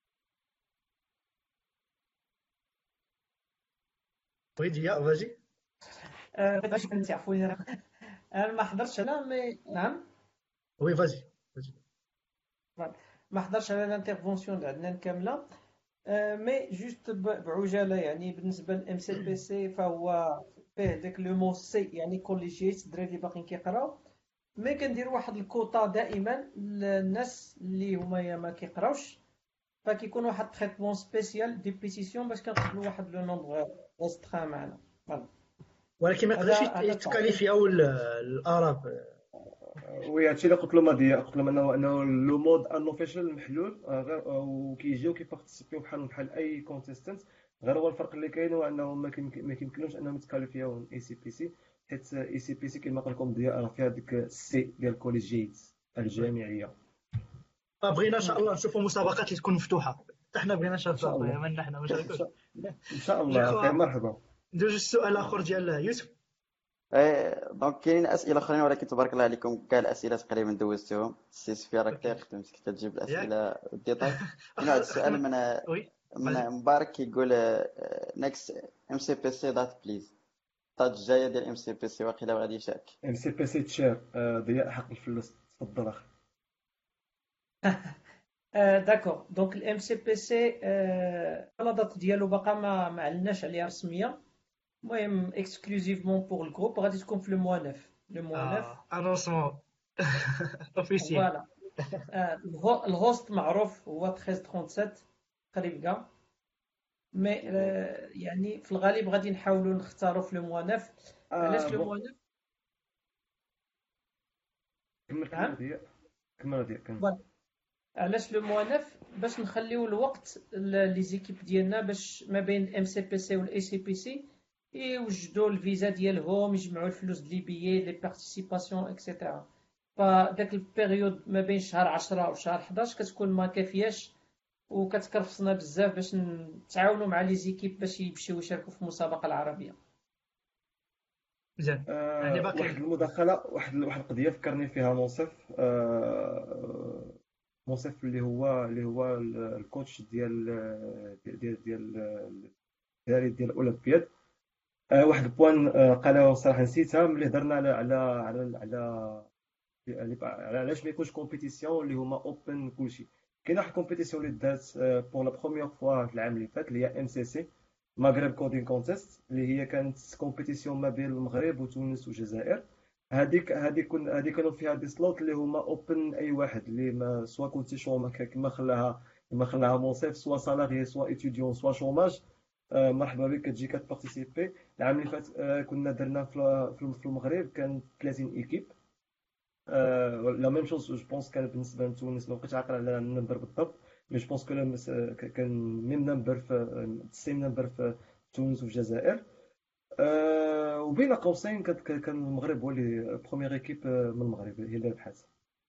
[SPEAKER 1] ويديا فاجي.
[SPEAKER 2] باش تعرفوني انا ما حضرتش على مي نعم
[SPEAKER 1] وي فاجي فاجي.
[SPEAKER 2] ما حضرش على الانترفونسيون ديال عدنان كامله. آه، مي جوست ب- بعجاله يعني بالنسبه للام سي بي سي فهو فيه داك لو مو سي يعني كوليجيت الدراري اللي باقيين كيقراو. مي كندير واحد الكوطا دائما للناس اللي هما يا ما كيقراوش فكيكون واحد تريتمون سبيسيال دي بيتيسيون باش كنقبلوا واحد لو نومبر ريسترا معنا. فوالا.
[SPEAKER 1] ولكن ما يقدرش
[SPEAKER 2] هذا هذا التعقيب.
[SPEAKER 1] يتكاليفياو ال- الاراب.
[SPEAKER 3] وي هادشي اللي قلت له ماضي، قلت لهم انه انه لو مود ان اوفيشال محلول آه، غير آه، وكيجيو كيبارتيسيبيو بحال بحال اي كونتيستنت. غير هو الفرق اللي كاين هو انه ما كيمكن- ما كيمكنلهمش انهم يتكاليفيو اي سي بي سي، حيت اي سي بي سي كما قلت لكم ديال راه فيها ديك السي ديال الكوليجيت الجامعيه.
[SPEAKER 1] فبغينا ان شاء الله نشوفوا مسابقات اللي تكون مفتوحه. حتى حنا بغينا
[SPEAKER 3] ان شاء
[SPEAKER 1] شباب
[SPEAKER 3] الله
[SPEAKER 1] من حنا ما
[SPEAKER 3] ان
[SPEAKER 1] شاركوش.
[SPEAKER 3] شاء إن شاء
[SPEAKER 1] جو
[SPEAKER 3] الله خير،
[SPEAKER 1] كخوا
[SPEAKER 3] مرحبا.
[SPEAKER 1] ندوز السؤال الاخر ديال يوسف.
[SPEAKER 4] آه، دونك كاينين اسئله اخرين ولكن تبارك الله عليكم كاع الاسئله تقريبا دوزتهم. السي سفيا راك
[SPEAKER 1] اوكي
[SPEAKER 4] خدمتك كتجيب
[SPEAKER 1] ياك
[SPEAKER 4] الاسئله بالديتاي. كاين واحد
[SPEAKER 1] اخر
[SPEAKER 4] السؤال
[SPEAKER 1] اخر
[SPEAKER 4] من
[SPEAKER 1] وي
[SPEAKER 4] من
[SPEAKER 1] فاجي.
[SPEAKER 4] مبارك كيقول نيكست ام سي بي سي دات بليز. الطاج الجايه ديال ام سي بي سي واقيلا غادي يشارك.
[SPEAKER 3] ام سي بي سي تشير آه، ضياء حق الفلوس، تفضل اخي.
[SPEAKER 2] آه، داكور. دونك الام سي بي سي لا دات ديالو باقا ما ما علناش عليها رسميه. المهم اكسكلوزيفمون بور الجروب غادي تكون في لو موا نوف لو موا نوف.
[SPEAKER 1] اه انونسمون اوفيسيال.
[SPEAKER 2] فوالا. آه، الهو- الهوست معروف هو ثلاثة عشر ثلاثة وثلاثين قريب كاع. مي آه، يعني في الغالب غادي نحاولوا نختاروا في لو موا نوف.
[SPEAKER 3] آه
[SPEAKER 2] علاش لو
[SPEAKER 3] بون
[SPEAKER 2] موا نوف؟
[SPEAKER 3] كمل كمل
[SPEAKER 2] نعم
[SPEAKER 3] ضياء، كمل ضياء كمل.
[SPEAKER 2] فوالا. علاش لو موا نوف؟ باش نخليو الوقت ل- لي زيكيب ديالنا باش ما بين الام سي بي سي والاي سي بي سي يوجدوا الفيزا ديالهم يجمعوا الفلوس ديال لي بيي لي بارتيسيباسيون اكسيتيرا. فداك البيريود ما بين شهر عشرة وشهر حداش كتكون ما كافياش وكتكرفصنا بزاف باش نتعاونوا مع لي زيكيب باش يمشيو يشاركوا في المسابقه العربيه.
[SPEAKER 1] مزيان يعني
[SPEAKER 3] آه واحد
[SPEAKER 1] باقي.
[SPEAKER 3] المداخله، واحد واحد القضيه فكرني فيها منصف. آه منصف اللي هو اللي هو ال- الكوتش ديال ديال ديال ديال الدراري ديال الاولمبياد. آه واحد البوان آه قالها صراحه نسيتها ملي هضرنا على على على على يعني على علاش ما يكونش كومبيتيسيون اللي هما اوبن كلشي. كاين واحد الكومبيتيسيون اللي دات بور لا بروميير فوا في العام اللي فات اللي هي ام سي سي مغرب كودين كونتيست، اللي هي كانت كومبيتيسيون ما بين المغرب وتونس والجزائر. هذيك هذيك كن هذيك كانوا فيها دي سلوت اللي هما اوبن اي واحد اللي ما سوا كنتي شوما كما خلاها كما خلاها مونسيف، سوا سالاري سوا ايتيديون سوا شوماج. آه، مرحبا بك كتجي كتبارتيسيبي. العام اللي فات آه، كنا درنا في في المغرب كان ثلاثين ايكيب. لا ميم شوز جو بونس كان بالنسبه لتونس، ما بقيتش عاقل على النمبر بالضبط، مي جو بونس كو كان ميم نمبر في سيم نمبر في تونس وفي الجزائر. أه وبين قوسين كان كان المغرب هو اللي بروميير ايكيب من المغرب هي اللي ربحات.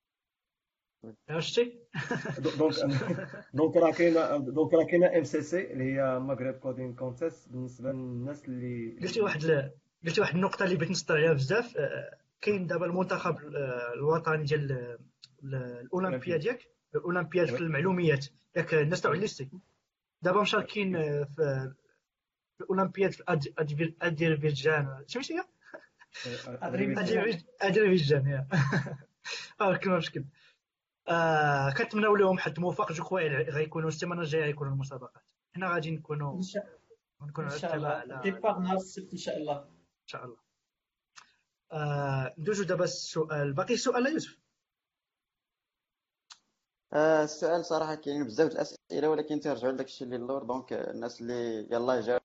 [SPEAKER 1] شتي
[SPEAKER 3] دونك دونك راه كاينه دونك راه كاينه ام سي سي اللي هي مغرب كودين كونتيست بالنسبه للناس اللي
[SPEAKER 1] قلتي واحد ال- قلتي واحد النقطه اللي بغيت نسطر عليها بزاف. آه، كاين دابا المنتخب آه، الوطني ديال ال- ال- الاولمبياد
[SPEAKER 3] الاولمبياد.
[SPEAKER 1] ياك الاولمبياد في
[SPEAKER 3] وي
[SPEAKER 1] المعلوميات ياك الناس تاع
[SPEAKER 3] وي
[SPEAKER 1] الليستي دابا مشاركين آه، في في الاولمبياد في أد- أدفي- اذربيجان سميتو هي
[SPEAKER 3] ادريبيجان.
[SPEAKER 2] ادريبيجان.
[SPEAKER 1] أذربيج- اذربيجان يا اه كلمه مشكل. آه كنتمناو لهم حد موفق. جو كوا غيكونوا السيمانه الجايه غيكونوا المسابقات. حنا غادي نكونوا
[SPEAKER 2] ان شاء
[SPEAKER 1] نكونوا
[SPEAKER 2] ان
[SPEAKER 1] على
[SPEAKER 2] شاء
[SPEAKER 1] اطلاع
[SPEAKER 2] الله
[SPEAKER 1] على
[SPEAKER 2] ديبار
[SPEAKER 1] على
[SPEAKER 2] نهار السبت ان شاء الله.
[SPEAKER 1] ان شاء الله. آه ندوزو دابا السؤال باقي السؤال يوسف.
[SPEAKER 4] آه، السؤال صراحه كاين بزاف د الاسئله ولكن ترجعوا لداك الشيء اللي اللور. دونك الناس اللي يلاه جاوا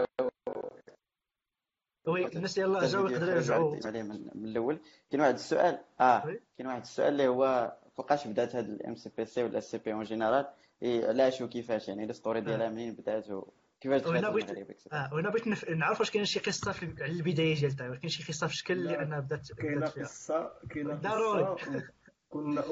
[SPEAKER 1] وي الناس يلاه
[SPEAKER 4] حتى
[SPEAKER 1] جاو
[SPEAKER 4] الفيديو
[SPEAKER 1] يقدروا
[SPEAKER 4] يخرج
[SPEAKER 1] يرجعوا.
[SPEAKER 4] ويعاود عليه من, من الاول. كاين واحد السؤال اه
[SPEAKER 1] وي
[SPEAKER 4] كاين واحد السؤال اللي هو فوقاش بدات هاد الام سي بي سي ولا السي بي اون جينيرال، علاش وكيفاش، يعني الستوري ديالها
[SPEAKER 1] آه.
[SPEAKER 4] منين بدات و- كيفاش
[SPEAKER 1] وهنا
[SPEAKER 4] دخلت
[SPEAKER 1] بغيت
[SPEAKER 4] المغرب اكسيتيرا.
[SPEAKER 1] اه وهنا بغيت نف... نعرف واش كاين شي قصه في على البدايه ديال التايوان، كاين شي قصه في شكل اللي
[SPEAKER 3] لا
[SPEAKER 1] انا بدات
[SPEAKER 3] كاينه
[SPEAKER 1] بدات فيها
[SPEAKER 3] قصه كاينه
[SPEAKER 1] ضروري.
[SPEAKER 3] قصه وكنا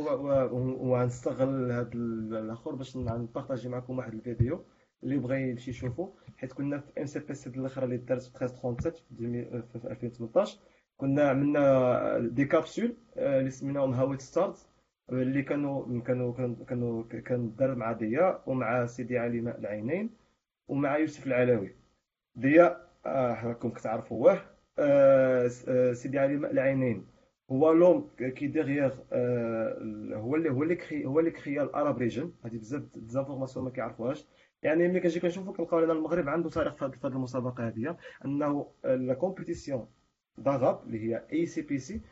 [SPEAKER 3] وغنستغل هذا الاخر باش نبارطاجي معكم واحد الفيديو اللي بغى يمشي يشوفو، حيت كنا في ام سي بي سي الاخرى اللي دارت في ثلاثة ثلاثة وثلاثين في ألفين في ألفين وثمنطاش. كنا عملنا دي كابسول آه، اللي سميناهم هاويت ستارز، اللي كانوا كانوا كانوا كانوا كان دار مع ضياء ومع سيدي علي ماء العينين ومع يوسف العلوي. ضياء آه، راكم كتعرفوا واه آه، س- آه، سيدي علي ماء العينين هو لوم كي ديغيغ آه، هو اللي هو اللي كري هو اللي كريا الاراب ريجن. هذه بزاف ديزانفورماسيون ما كيعرفوهاش. يعني ملي كنجي كنشوفو كنلقاو ان المغرب عنده تاريخ في هذه في هذه المسابقه هذه، انه لا كومبيتيسيون داغاب اللي هي اي سي بي سي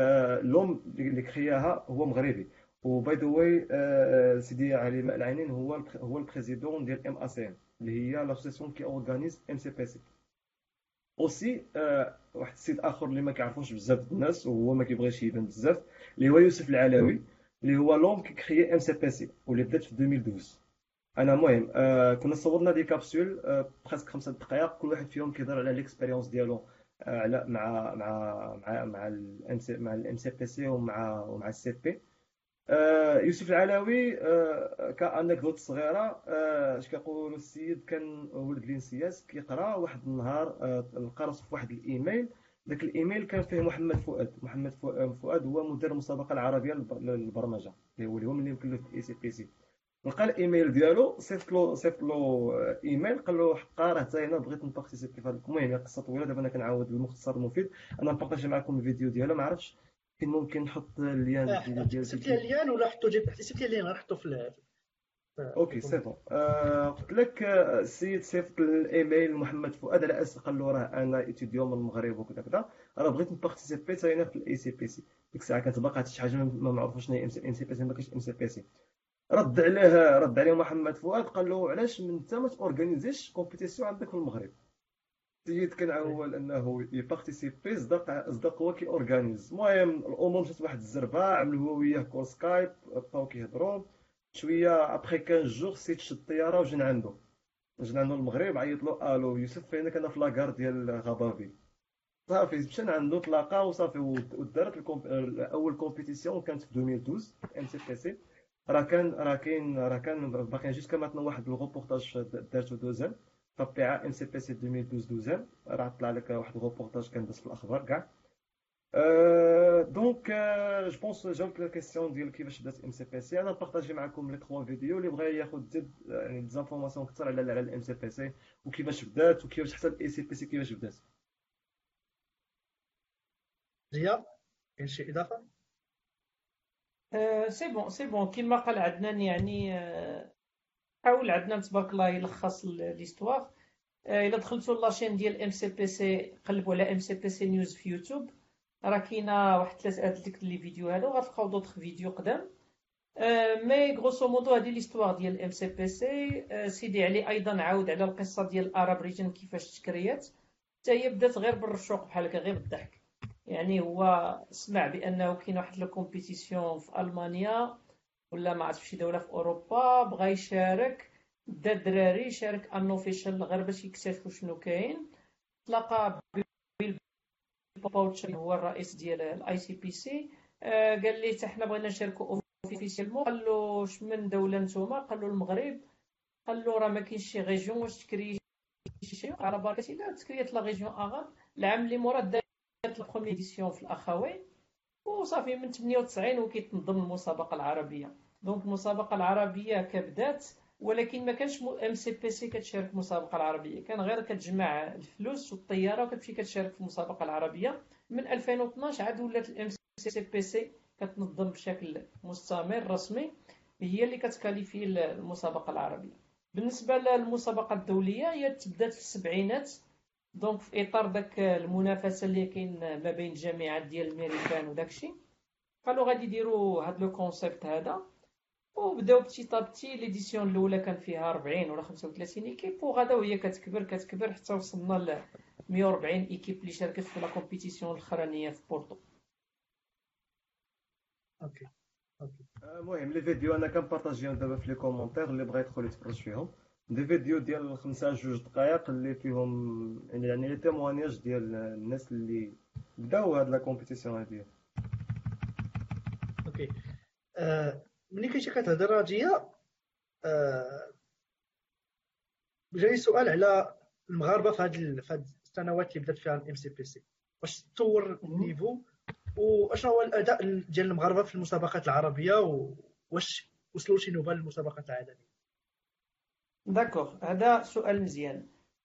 [SPEAKER 3] لوم اللي كرياها هو مغربي. وباي ذا واي سيدي علي ماء العينين هو البر- هو البريزيدون ديال ام اس ام اللي هي لاسوسيسيون كي اورغانيز ام سي بي سي. اوسي آه، واحد السيد اخر اللي ما كيعرفوش بزاف د الناس وهو ما كيبغيش يبان بزاف، اللي هو يوسف العلوي، اللي هو لوم كي كريي ام سي بي سي واللي بدات في ألفين واثناش. انا المهم آه كنا صورنا دي كابسول آه بريسك خمسة دقائق، كل واحد فيهم كيهضر على ليكسبيريونس ديالو آه على مع مع مع مع الام سي مع الام سي بي سي ومع ومع السي بي. آه، يوسف العلوي آه، كأنكدوت صغيرة آه، اش كيقولوا السيد كان ولد لينسياس كيقرا واحد النهار آه، لقى راسو في واحد الايميل. ذاك الايميل كان فيه محمد فؤاد. محمد فؤ- فؤاد هو مدير المسابقة العربية للب- للبرمجة اللي هو اليوم اللي يمكن له في اي سي بي سي. لقى الايميل ديالو صيفط له صيفط له آه، ايميل قال له حقا راه حتى انا بغيت نبارتيسيبي في هذا. المهم هي قصه طويله دابا انا كنعاود بالمختصر المفيد. انا نبارطاجي معكم الفيديو ديالها، ما عرفتش فين ممكن نحط اللين
[SPEAKER 1] اه
[SPEAKER 3] ديال ديال
[SPEAKER 1] سبت لي
[SPEAKER 3] الفيديو.
[SPEAKER 1] اللين ولا حطو جيب سبت لي اللين نحطو في ال- في في
[SPEAKER 3] اوكي سي
[SPEAKER 1] الكومنت.
[SPEAKER 3] بون. آه قلت لك آه، السيد صيفط الايميل لمحمد فؤاد على اساس قال له راه انا ايتيديون من المغرب وكذا كذا، راه بغيت نبارتيسيبي حتى انا في الاي سي بي سي. ديك الساعه كانت باقا حتى شي حاجه ما معروفه شنو هي ام سي بي سي، ما كاينش ام سي بي سي. رد عليه رد عليه محمد فؤاد قال له علاش من انت ما تورغانيزيش كومبيتيسيون عندك في المغرب. السيد كان عول انه يبارتيسيبي، صدق صدق هو كي اورغانيز. المهم الامور مشات واحد الزربه، عملوا هو وياه كول سكايب، بقاو كيهضروا شويه. ابخي خمسة جوغ سيت شد الطياره وجينا عنده. جينا عنده المغرب، عيط له الو يوسف فينك؟ انا في لاكار ديال غابافيل. صافي مشينا عنده تلاقى وصافي ودارت الكومب... اول كومبيتيسيون كانت في ألفين واثناش ام سي بي سي. راه كان راه كاين راه كان باقي جوسكا ماتنا واحد الغوبورتاج دارتو دوزان تبع ام سي بي سي ألفين واثناش دوزان. راه طلع لك واحد الغوبورتاج كان داز في الاخبار كاع. أه دونك أه جو بونس جاوبت لا كيسيون ديال كيفاش بدات ام سي بي سي. انا نبارطاجي معكم لي تخوا فيديو اللي بغى ياخذ زيد يعني ديزانفورماسيون اكثر على على الام سي بي سي وكيفاش بدات وكيفاش حتى الاي سي بي سي كيفاش بدات.
[SPEAKER 1] زيا كاين شي اضافه؟
[SPEAKER 2] آه، سي بون سي بون كيما قال عدنان يعني آه، حاول عدنان تبارك الله يلخص ال- ليستواغ. آه، الا دخلتوا لاشين ديال ام سي بي سي قلبوا على ام سي بي سي نيوز في يوتيوب، راه كاينه واحد ثلاثه هاد ديك لي فيديو هادو غتلقاو دوطخ فيديو قدام. آه، مي غروسو مودو هادي ليستواغ ديال ام سي بي سي. آه، سيدي علي ايضا عاود على القصه ديال الاراب ريجن كيفاش تكريات. حتى هي بدات غير بالرشوق بحال هكا غير بالضحك. يعني هو سمع بانه كاين واحد لو كومبيتيسيون في المانيا ولا ما عرفت شي دوله في اوروبا، بغا يشارك. دا الدراري شارك ان اوفيشال غير باش يكتشفوا شنو كاين. تلاقى بيل باوتشر هو الرئيس ديال الاي سي بي سي. قال لي حتى حنا بغينا نشاركوا اوفيسيالمون. قال له اش من دوله نتوما؟ قال له المغرب. قال له راه ما كاينش شي ريجيون واش تكري شي على بركه الله. تكريات لا ريجيون اغاب العام اللي مورا دارت لا بروميير ايديسيون في الاخوين. وصافي من ثمانية وتسعين وكيتنظم المسابقه العربيه. دونك المسابقه العربيه كبدات، ولكن ما كانش ام سي بي سي كتشارك في المسابقه العربيه، كان غير كتجمع الفلوس والطياره وكتمشي كتشارك في المسابقه العربيه. من ألفين واثناش عاد ولات الام سي بي سي كتنظم بشكل مستمر رسمي، هي اللي كتكاليفي المسابقه العربيه. بالنسبه للمسابقه الدوليه هي تبدات في السبعينات، دونك في اطار داك المنافسه اللي كاين ما بين الجامعات ديال الميريكان وداكشي. قالوا غادي يديروا هاد لو كونسيبت هذا، وبداو بتي طابتي. ليديسيون الاولى كان فيها أربعين ولا خمسة وثلاثين ايكيب، وغدا وهي كتكبر كتكبر حتى وصلنا ل مية وأربعين ايكيب اللي شاركت في لا كومبيتيسيون الاخرانيه في بورتو.
[SPEAKER 1] اوكي اوكي
[SPEAKER 3] المهم لي فيديو انا كنبارطاجيهم دابا في لي كومونتير، اللي بغى يدخل يتفرج فيهم. دي فيديو ديال خمسة جوج دقائق اللي فيهم يعني يعني لي تيموانياج ديال الناس اللي بداو هاد لا كومبيتيسيون هادي.
[SPEAKER 1] اوكي. آه ملي كنتي كتهضر راجيه، آه جاني سؤال على المغاربه في هاد في هاد السنوات اللي بدات فيها الام سي بي سي، واش تطور النيفو واشنو هو الاداء ديال المغاربه في المسابقات العربيه، واش وصلوا شي نوبه للمسابقات العالميه؟
[SPEAKER 2] داكوغ، هذا سؤال مزيان.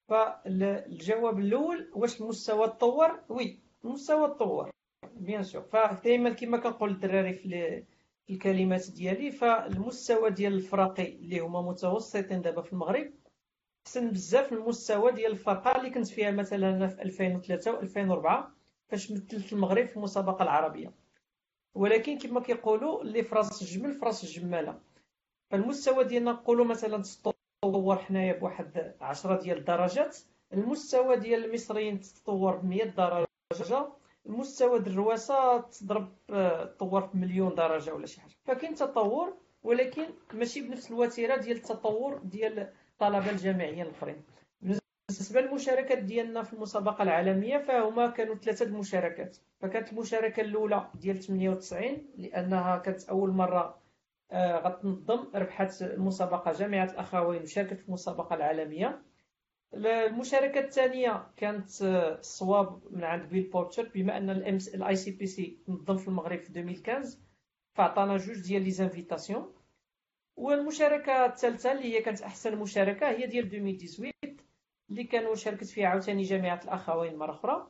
[SPEAKER 2] فالجواب الاول، واش المستوى تطور؟ وي، المستوى تطور بيان سور. فدائما كما كنقول للدراري في في الكلمات ديالي، فالمستوى ديال الفراقي اللي هما متوسطين دابا في المغرب احسن بزاف من المستوى ديال الفرقه اللي كنت فيها مثلا انا في ألفين وثلاثة و ألفين وأربعة فاش مثلت المغرب في المسابقه العربيه. ولكن كما كيقولوا اللي في راس الجمل في راس الجماله. فالمستوى ديالنا نقولوا مثلا تطور حنايا بواحد عشرة ديال الدرجات، المستوى ديال المصريين تطور ب مية درجه، المستوى ديال الرواسه تضرب تطور بمليون درجه ولا شي حاجه. فكاين تطور، ولكن ماشي بنفس الوتيره ديال التطور ديال الطلبه الجامعيين الاخرين. بالنسبه للمشاركات ديالنا في المسابقه العالميه فهما كانوا ثلاثه المشاركات. فكانت المشاركه الاولى ديال ثمانية وتسعين لانها كانت اول مره آه، غتنظم، ربحت المسابقه جامعه الاخوين وشاركت في المسابقه العالميه. المشاركه الثانيه كانت آه، الصواب من عند بيل بورتر، بما ان الاي سي بي سي نظم في المغرب في ألفين وخمسة فعطانا جوج ديال لي زانفيتاسيون. والمشاركه الثالثه اللي هي كانت احسن مشاركه هي ديال ألفين وثمانية عشر اللي كانوا شاركت فيها عاوتاني جامعه الاخوين مره اخرى،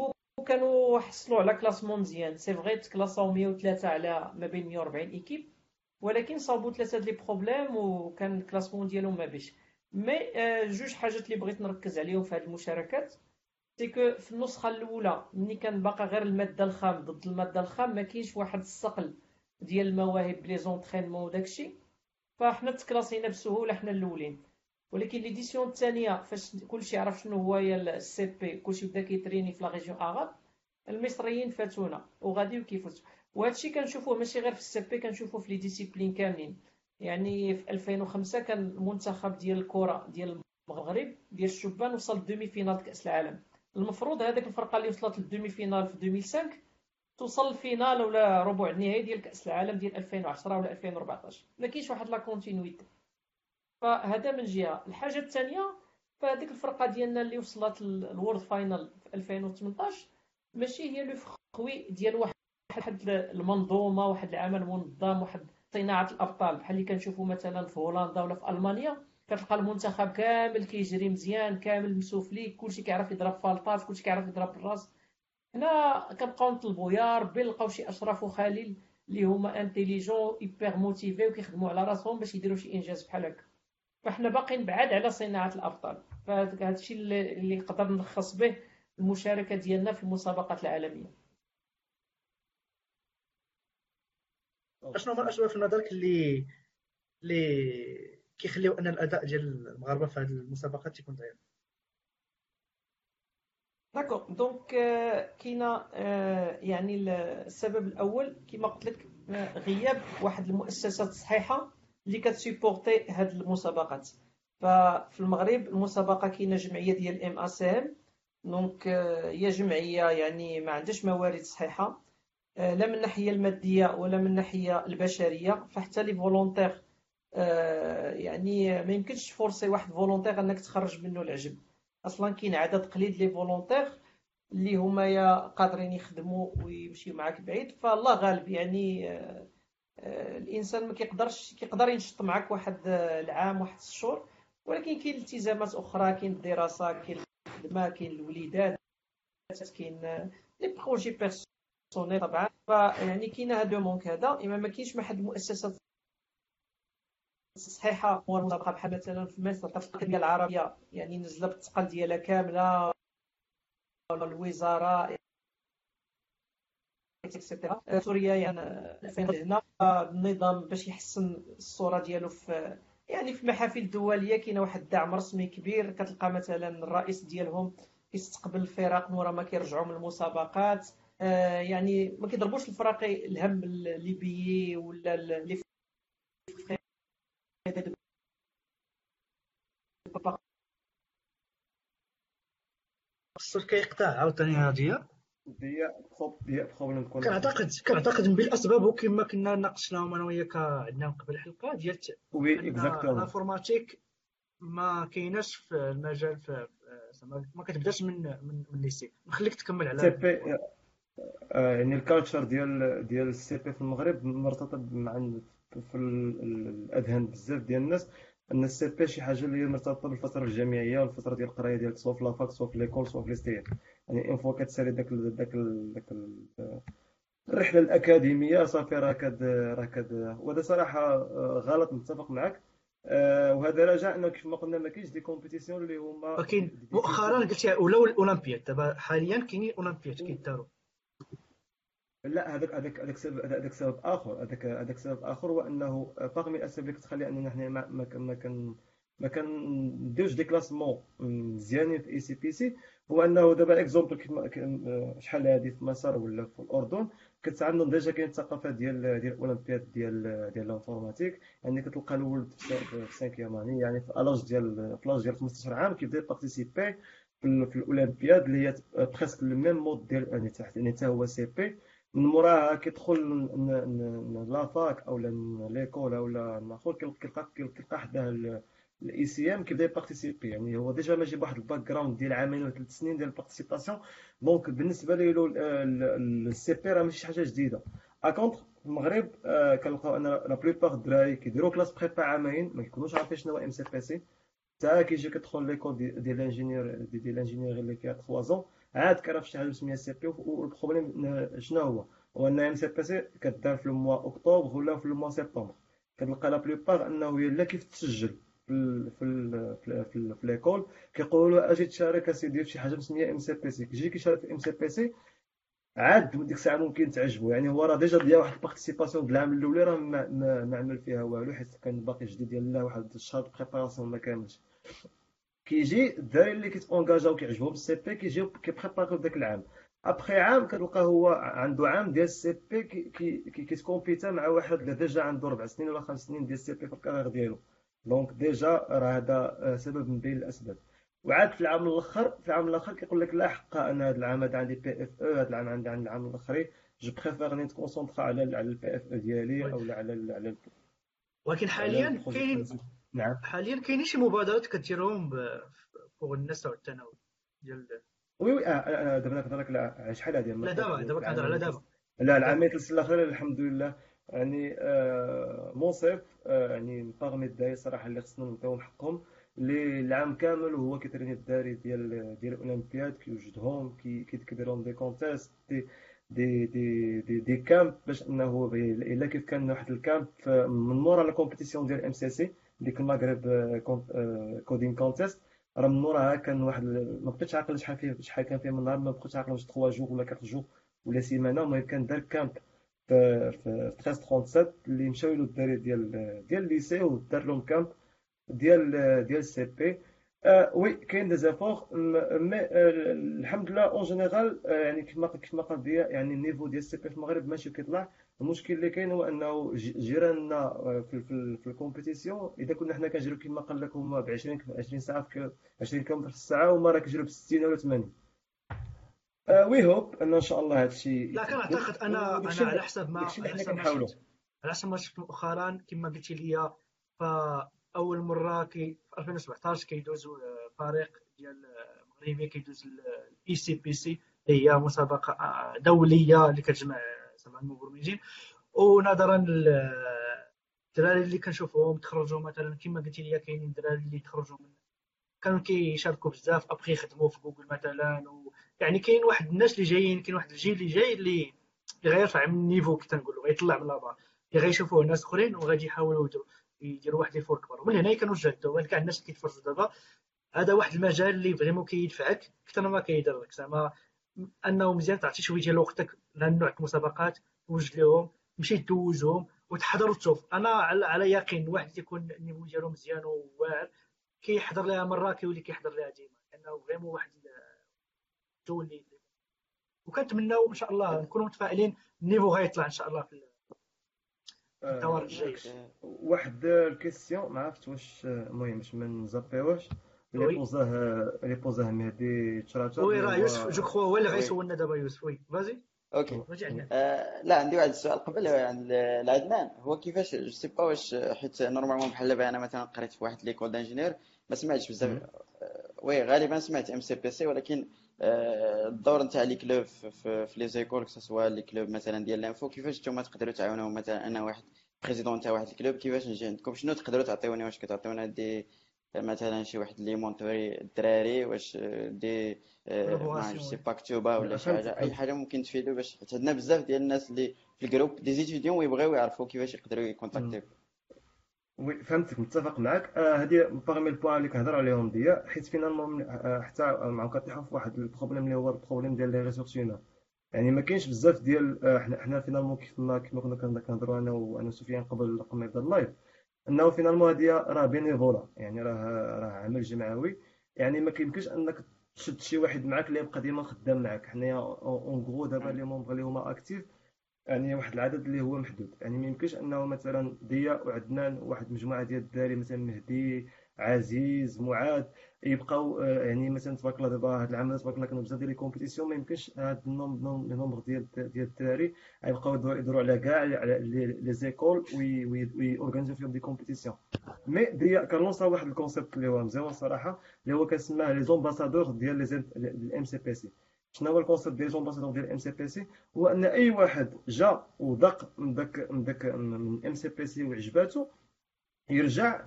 [SPEAKER 2] وكانوا حصلوا على كلاسمون مزيان. سي فغي تكلاساو مية وثلاثة على ما بين مية وأربعين ايكيب، ولكن صابوا ثلاثه لي بروبليم وكان الكلاسمون ديالهم ما بيش. مي جوج حاجات اللي بغيت نركز عليهم في هذه المشاركات، سي كو في النسخه الاولى ملي كان باقا غير الماده الخام ضد الماده الخام ما كاينش واحد الصقل ديال المواهب لي زونطرينمون وداكشي، فاحنا تكلاسينا بسهوله حنا الاولين. ولكن ليديسيون الثانيه فاش كلشي عرف شنو هو السي بي، كلشي بدا كيتريني في لا ريجيون اغاب، المصريين فاتونا وغادي وكيفوت. وهادشي كنشوفوه ماشي غير في السي بي، كنشوفوه في لي ديسيبلين كاملين. يعني في ألفين وخمسة كان المنتخب ديال الكره ديال المغرب ديال الشبان وصل دومي فينال كاس العالم. المفروض هذيك الفرقه اللي وصلت للدومي فينال في ألفين وخمسة توصل الفينال ولا ربع النهائي ديال كاس العالم ديال ألفين وعشرة ولا ألفين وأربعطاش. ما كاينش واحد لا كونتينيتي. فهذا من جهه. الحاجه الثانيه، فهذيك الفرقه ديالنا اللي وصلت للورد فاينل في ألفين وثمنطاش ماشي هي لو فخوي ديال واحد واحد المنظومه، واحد العمل منظم، واحد صناعه الابطال بحال اللي كنشوفوا مثلا في هولندا ولا في المانيا. كتلقى المنتخب كامل كيجري مزيان، كامل مسوفلي، كلشي كيعرف يضرب فالطات، كلشي كيعرف يضرب بالراس. هنا كنبقاو نطلبوا يا ربي نلقاو شي اشرف وخليل اللي هما انتيليجون ايبر موتيفي وكيخدموا على راسهم باش يديروا شي انجاز بحال هكا. فاحنا باقيين بعاد على صناعه الابطال. فهذا الشيء اللي نقدر نلخص به المشاركه ديالنا في المسابقات العالميه.
[SPEAKER 1] اشنو هما الاسباب في نظرك اللي اللي كيخليو ان الاداء ديال المغاربه في هذه المسابقات تيكون ضعيف؟
[SPEAKER 2] داكوغ، دونك كاينه يعني السبب الاول كما قلت لك غياب واحد المؤسسات صحيحه اللي كتسيبورتي هاد المسابقات. ففي المغرب المسابقه كاينه جمعيه ديال ام اس ام، دونك هي جمعيه يعني ما عندهاش موارد صحيحه، لا من الناحيه الماديه ولا من الناحيه البشريه. فحتى لي فولونتير يعني ما يمكنش تفورسي واحد فولونتير انك تخرج منه العجب. اصلا كاين عدد قليل لي فولونتير اللي هما يا قادرين يخدموا ويمشيو معاك بعيد. فالله غالب يعني آه، آه، الانسان ما كيقدرش كيقدر ينشط معاك واحد آه، العام واحد الشهور، ولكن كاين التزامات اخرى، كاين الدراسه، كاين الخدمه، كاين الوليدات، كاين آه، لي بروجي بيرسونيل طبعا. فيعني كاين هذا مونك هذا، اما ما كاينش واحد المؤسسات صحيحه. هو المسابقه بحال مثلا في مصر كتلقى العربيه يعني نزله بالثقل ديالها كامله، الوزاره اكسيتيرا. سوريا يعني هنا النظام باش يحسن الصوره ديالو في يعني في المحافل الدوليه كاين واحد الدعم رسمي كبير. كتلقى مثلا الرئيس ديالهم كيستقبل الفرق مورا ما كيرجعوا من المسابقات. آه يعني ما كيضربوش الفراقي الهم الليبيي ولا اللي
[SPEAKER 1] الصوت كيقطع عاوتاني هاديه.
[SPEAKER 3] دي بروب دي بروبليم كونيكسيون.
[SPEAKER 1] كنعتقد كنعتقد من بين الاسباب كما كنا ناقشناهم انا وياك عندنا من قبل الحلقه ديال
[SPEAKER 3] وي
[SPEAKER 1] ان
[SPEAKER 3] اكزاكتومون.
[SPEAKER 1] الانفورماتيك ما كايناش في المجال في زعما ما كتبداش من من من ليسي. نخليك تكمل على
[SPEAKER 3] سي
[SPEAKER 1] هذا
[SPEAKER 3] بي
[SPEAKER 1] البوان.
[SPEAKER 3] آه، يعني الكالتشر ديال ديال السي بي في المغرب مرتبط مع ال- في ال- ال- الاذهان بزاف ديال الناس ان السي بي شي حاجه اللي هي مرتبطه بالفتره الجامعيه والفتره ديال القرايه ديالك سواء في لافاك سواء في ليكول سواء في ليستيان. يعني اون فوا كتسالي داك ال- داك ال- داك ال- الرحله الاكاديميه صافي راه كد راه كد وهذا صراحه آه، غلط، نتفق معك. آه، وهذا راجع انه كيف ما قلنا ما كاينش دي كومبيتيسيون اللي هما
[SPEAKER 1] ولكن مؤخرا
[SPEAKER 3] ديفينيتيف.
[SPEAKER 1] قلتي ولاو الاولمبياد، دابا حاليا كاينين الاولمبياد كيداروا.
[SPEAKER 3] لا، هذاك هذاك هذاك سبب هذاك سبب اخر هذاك هذاك سبب اخر هو انه باغ من الاسباب اللي كتخلي اننا حنا ما ما كن- ما كن ما كنديروش دي كلاسمون مزيانين في اي سي بي سي. هو انه دابا اكزومبل كيف ما كان- شحال هذه في مصر ولا في الاردن كنت عندهم ديجا كاين الثقافه ديال ديال الاولمبياد ديال ديال الانفورماتيك. يعني كتلقى الولد في سا- في سانكيام اني، يعني في الاج ديال في لاج ديال خمسطاش عام كيبدا يبارتيسيبي في ال- في الاولمبياد اللي هي بريسك الميم مود ديال يعني تحت يعني حتى هو سي بي. من موراها كيدخل ن- ن- ن- لافاك او ليكول او ناخذ كيلقى كيلقى حداه الاي سي ام كيبدا يبارتيسيبي. يعني هو ديجا ماشي بواحد الباك جراوند ديال عامين ولا ثلاث سنين ديال البارتيسيباسيون. دونك بالنسبه له السي بي راه ماشي شي حاجه جديده. اكونتر في المغرب آه، كنلقاو ان لا بلوبار الدراري كيديروا كلاس بريبا عامين ما كيكونوش عارفين شنو هو ام سي بي سي. حتى كيجي كتدخل ليكول دي- ديال الانجينيور دي- ديال الانجينيور اللي فيها ثلاثة زون عاد كيعرف شي حاجه سميها سي بي. والبروبليم شنو هو؟ هو ان ام سي بي سي كدار في الموا اكتوبر ولا في الموا سبتمبر. كتلقى لا بلوبار انه هي لا كيف تسجل في ال في ال في, ال في, ال في ليكول كيقولوا له اجي تشارك اسيدي في شي حاجه مسميه ام سي بي سي. كيجي كيشارك في ام سي بي سي عاد ديك الساعه ممكن تعجبو. يعني هو راه ديجا ديال واحد البارتيسيباسيون د العام الاولى راه ما, ما, ما عمل فيها والو حيت كان باقي جديد ديال لا واحد الشهر بريباراسيون ما كاملش. كيجي الدراري اللي كيتونجاجاو كيعجبهم السي بي كيجيو كيبريباريو داك العام. ابخي عام كتلقى هو عنده عام ديال السي بي كي كي كيتكومبيتا مع واحد اللي ديجا عنده ربع سنين ولا خمس سنين ديال السي بي في الكارير ديالو. دونك ديجا راه هذا سبب من بين الاسباب. وعاد في العام الاخر في العام الاخر كيقول لك لا حق انا هذا العام هذا عندي بي اف او هذا العام عندي عندي العام الاخر جو بريفير نتكونسونطرا على على البي اف او ديالي او على ال على ال
[SPEAKER 1] ولكن
[SPEAKER 3] على
[SPEAKER 1] حاليا
[SPEAKER 3] البروجي.
[SPEAKER 1] كاينين
[SPEAKER 3] نعم.
[SPEAKER 1] حاليا كاينين شي مبادرات كديرهم فوق النساء والتناول ديال.
[SPEAKER 3] وي وي آه، آه، آه، دابا كنهضر لك على شحال هذه ما
[SPEAKER 1] لا
[SPEAKER 3] فات
[SPEAKER 1] دابا دابا كنهضر على
[SPEAKER 3] العامين
[SPEAKER 1] دابا.
[SPEAKER 3] لا
[SPEAKER 1] دابا
[SPEAKER 3] العامين ثلاث الاخرين الحمد لله. يعني آه، منصف آه، يعني باغمي الدراري صراحه اللي خصنا نعطيهم حقهم اللي العام كامل وهو كيتريني الدراري ديال ديال الاولمبياد كيوجدهم كي كي- كيدير لهم دي كونتيست دي دي دي دي, دي كامب باش انه بي- الا كيف كان واحد الكامب آه، من مورا لا كومبيتيسيون ديال ام سي سي ديك المغرب كودين كونتيست. راه من موراها كان واحد ال- ما بقيتش عاقل شحال فيه شحال كان فيه من نهار ما بقيتش عاقل واش ثلاثة جوغ ولا أربعة جوغ ولا سيمانه. المهم كان دار كامب في في ألف وثلاثمية وسبعة وثلاثين اللي مشاو له الدراري ديال ديال الليسي ودار لهم كامب ديال ديال السي بي. آه وي كاين دي زيفور مي آه الحمد لله اون جينيرال آه يعني كما كما قال ديا يعني النيفو ديال السي بي في المغرب ماشي كيطلع. المشكل اللي كاين هو انه ج- جيراننا آه، في في, في الكومبيتيسيون اذا كنا حنا كنجريو كما قال لك هما ب عشرين عشرين ساعه في عشرين كيلومتر في الساعه وما راه كيجريو ب ستين ولا ثمانين. وي هوب ان ان شاء الله هذا الشيء
[SPEAKER 1] لا
[SPEAKER 3] يتبدل
[SPEAKER 1] كنعتقد انا
[SPEAKER 3] وداك
[SPEAKER 1] انا
[SPEAKER 3] الشيء
[SPEAKER 1] على حسب ما
[SPEAKER 3] داك الشيء
[SPEAKER 1] على
[SPEAKER 3] اللي حنا
[SPEAKER 1] حسب ما
[SPEAKER 3] كنحاولوا.
[SPEAKER 1] شفت على حسب ما شفت مؤخرا كما قلتي لي. فاول مره كي في ألفين وسبعطاش كيدوز آه، فريق ديال آه، مغربي كيدوز الاي سي بي سي اللي هي مسابقه آه، دوليه اللي كتجمع آه، زعما المبرمجين. ونظرا للدراري اللي كنشوفهم تخرجوا مثلا كما قلتي لي كاينين دراري اللي تخرجوا من كانوا كيشاركوا بزاف ابخي يخدموا في جوجل مثلا و... يعني كاين واحد الناس اللي جايين كاين واحد الجيل اللي جاي اللي اللي غيرفع من النيفو كي تنقولوا غيطلع من لابار اللي غيشوفوه ناس اخرين وغادي يحاولوا يديروا يديروا واحد الفور كبر. ومن هنا كنوجهوا كاع الناس اللي كيتفرجوا دابا هذا واحد المجال اللي فريمون كيدفعك اكثر ما كيضرك. زعما انه مزيان تعطي شويه ديال وقتك لهاد النوع د المسابقات توجد لهم تمشي دوزهم وتحضر وتشوف. انا على, على يقين واحد تيكون النيفو ديالو مزيان وواعر كيحضر لها مره كيولي كيحضر لها ديما لانه فريمون واحد الجو اللي. وكنتمناو ان شاء الله نكونوا متفائلين النيفو غيطلع ان شاء الله في الدوار
[SPEAKER 3] آه،
[SPEAKER 1] الجايه.
[SPEAKER 4] اوكي.
[SPEAKER 3] واحد الكيستيون ما عرفت واش آه، المهم باش ما نزابيوش اللي
[SPEAKER 1] وي
[SPEAKER 3] بوزاه اللي بوزاه مهدي تشراتر
[SPEAKER 1] وي
[SPEAKER 3] اللي
[SPEAKER 1] راه يوسف جو
[SPEAKER 3] هو
[SPEAKER 1] كخوا هو اللي
[SPEAKER 4] وي
[SPEAKER 1] غيسولنا دابا يوسف. وي فازي
[SPEAKER 4] اوكي.
[SPEAKER 1] واجي عندنا.
[SPEAKER 4] آه لا، عندي واحد السؤال قبل عن العدنان. هو كيفاش جو سي با واش حيت نورمالمون بحال دابا انا مثلا قريت في واحد ليكول دانجينير ما سمعتش بزاف. آه وي غالبا سمعت ام سي بي سي، ولكن آه الدور نتاع لي كلوب في, في, في لي زيكول كسوا لي كلوب مثلا ديال لانفو، كيفاش نتوما تقدروا تعاونوا؟ مثلا انا واحد بريزيدون تاع واحد الكلوب، كيفاش نجي عندكم؟ شنو تقدروا تعطيوني؟ واش كتعطيونا دي مثلا شي واحد اللي مونتوري الدراري؟ واش دي آه، ما عرفتش
[SPEAKER 1] كولابوراسيون.
[SPEAKER 4] سي
[SPEAKER 1] وي
[SPEAKER 4] مكتوبه ولا شي حاجه،
[SPEAKER 3] فهمتك
[SPEAKER 4] اي
[SPEAKER 3] فهمتك
[SPEAKER 4] حاجه ممكن تفيدوا؟ باش حيت عندنا بزاف ديال الناس اللي في الجروب دي زيتيديون ويبغيو يعرفوا كيفاش يقدروا يكونتاكتيو.
[SPEAKER 3] وي فهمتك، متفق معك. آه هذه باغمي البوان اللي كنهضر عليهم ديا، حيت فينالمون آه حتى معاهم كنطيحوا في واحد البروبليم اللي هو البروبليم ديال لي ريسورس هيومان. يعني ما كاينش بزاف ديال آه، حنا حنا فينالمون كيف ما كيف ما كنا كنا كنهضروا انا وانا وسفيان قبل قبل ما يبدا اللايف، انه فينالمون هذه راه بينيفولا، يعني راه راه عمل جمعوي. يعني ما كيمكنش انك تشد شي واحد معاك اللي يبقى ديما خدام معاك. حنايا اون غرو دابا لي مونبغ اللي هما اكتيف، يعني واحد العدد اللي هو محدود. يعني ما يمكنش انه مثلا ضياء وعدنان وواحد مجموعه ديال الدراري مثلا مهدي عزيز معاذ يبقاو آه، يعني مثلا تبارك الله دابا هاد العام تبارك الله كانوا بزاف ديال لي كومبيتيسيون. ما يمكنش هاد النومبر ديال ديال الدراري يبقاو يدوروا يدوروا على كاع على لي زيكول ويورغانيزيو فيهم دي كومبيتيسيون. مي ضياء كان لونسا واحد الكونسيبت اللي هو مزيان الصراحه، اللي هو كنسماه لي زومباسادور ديال لي الام سي بي سي. شنو هو الكونسيبت ديال لي زومباسادور ديال الام سي بي سي؟ هو ان اي واحد جا وذاق من داك من داك من ام سي بي سي وعجباتو يرجع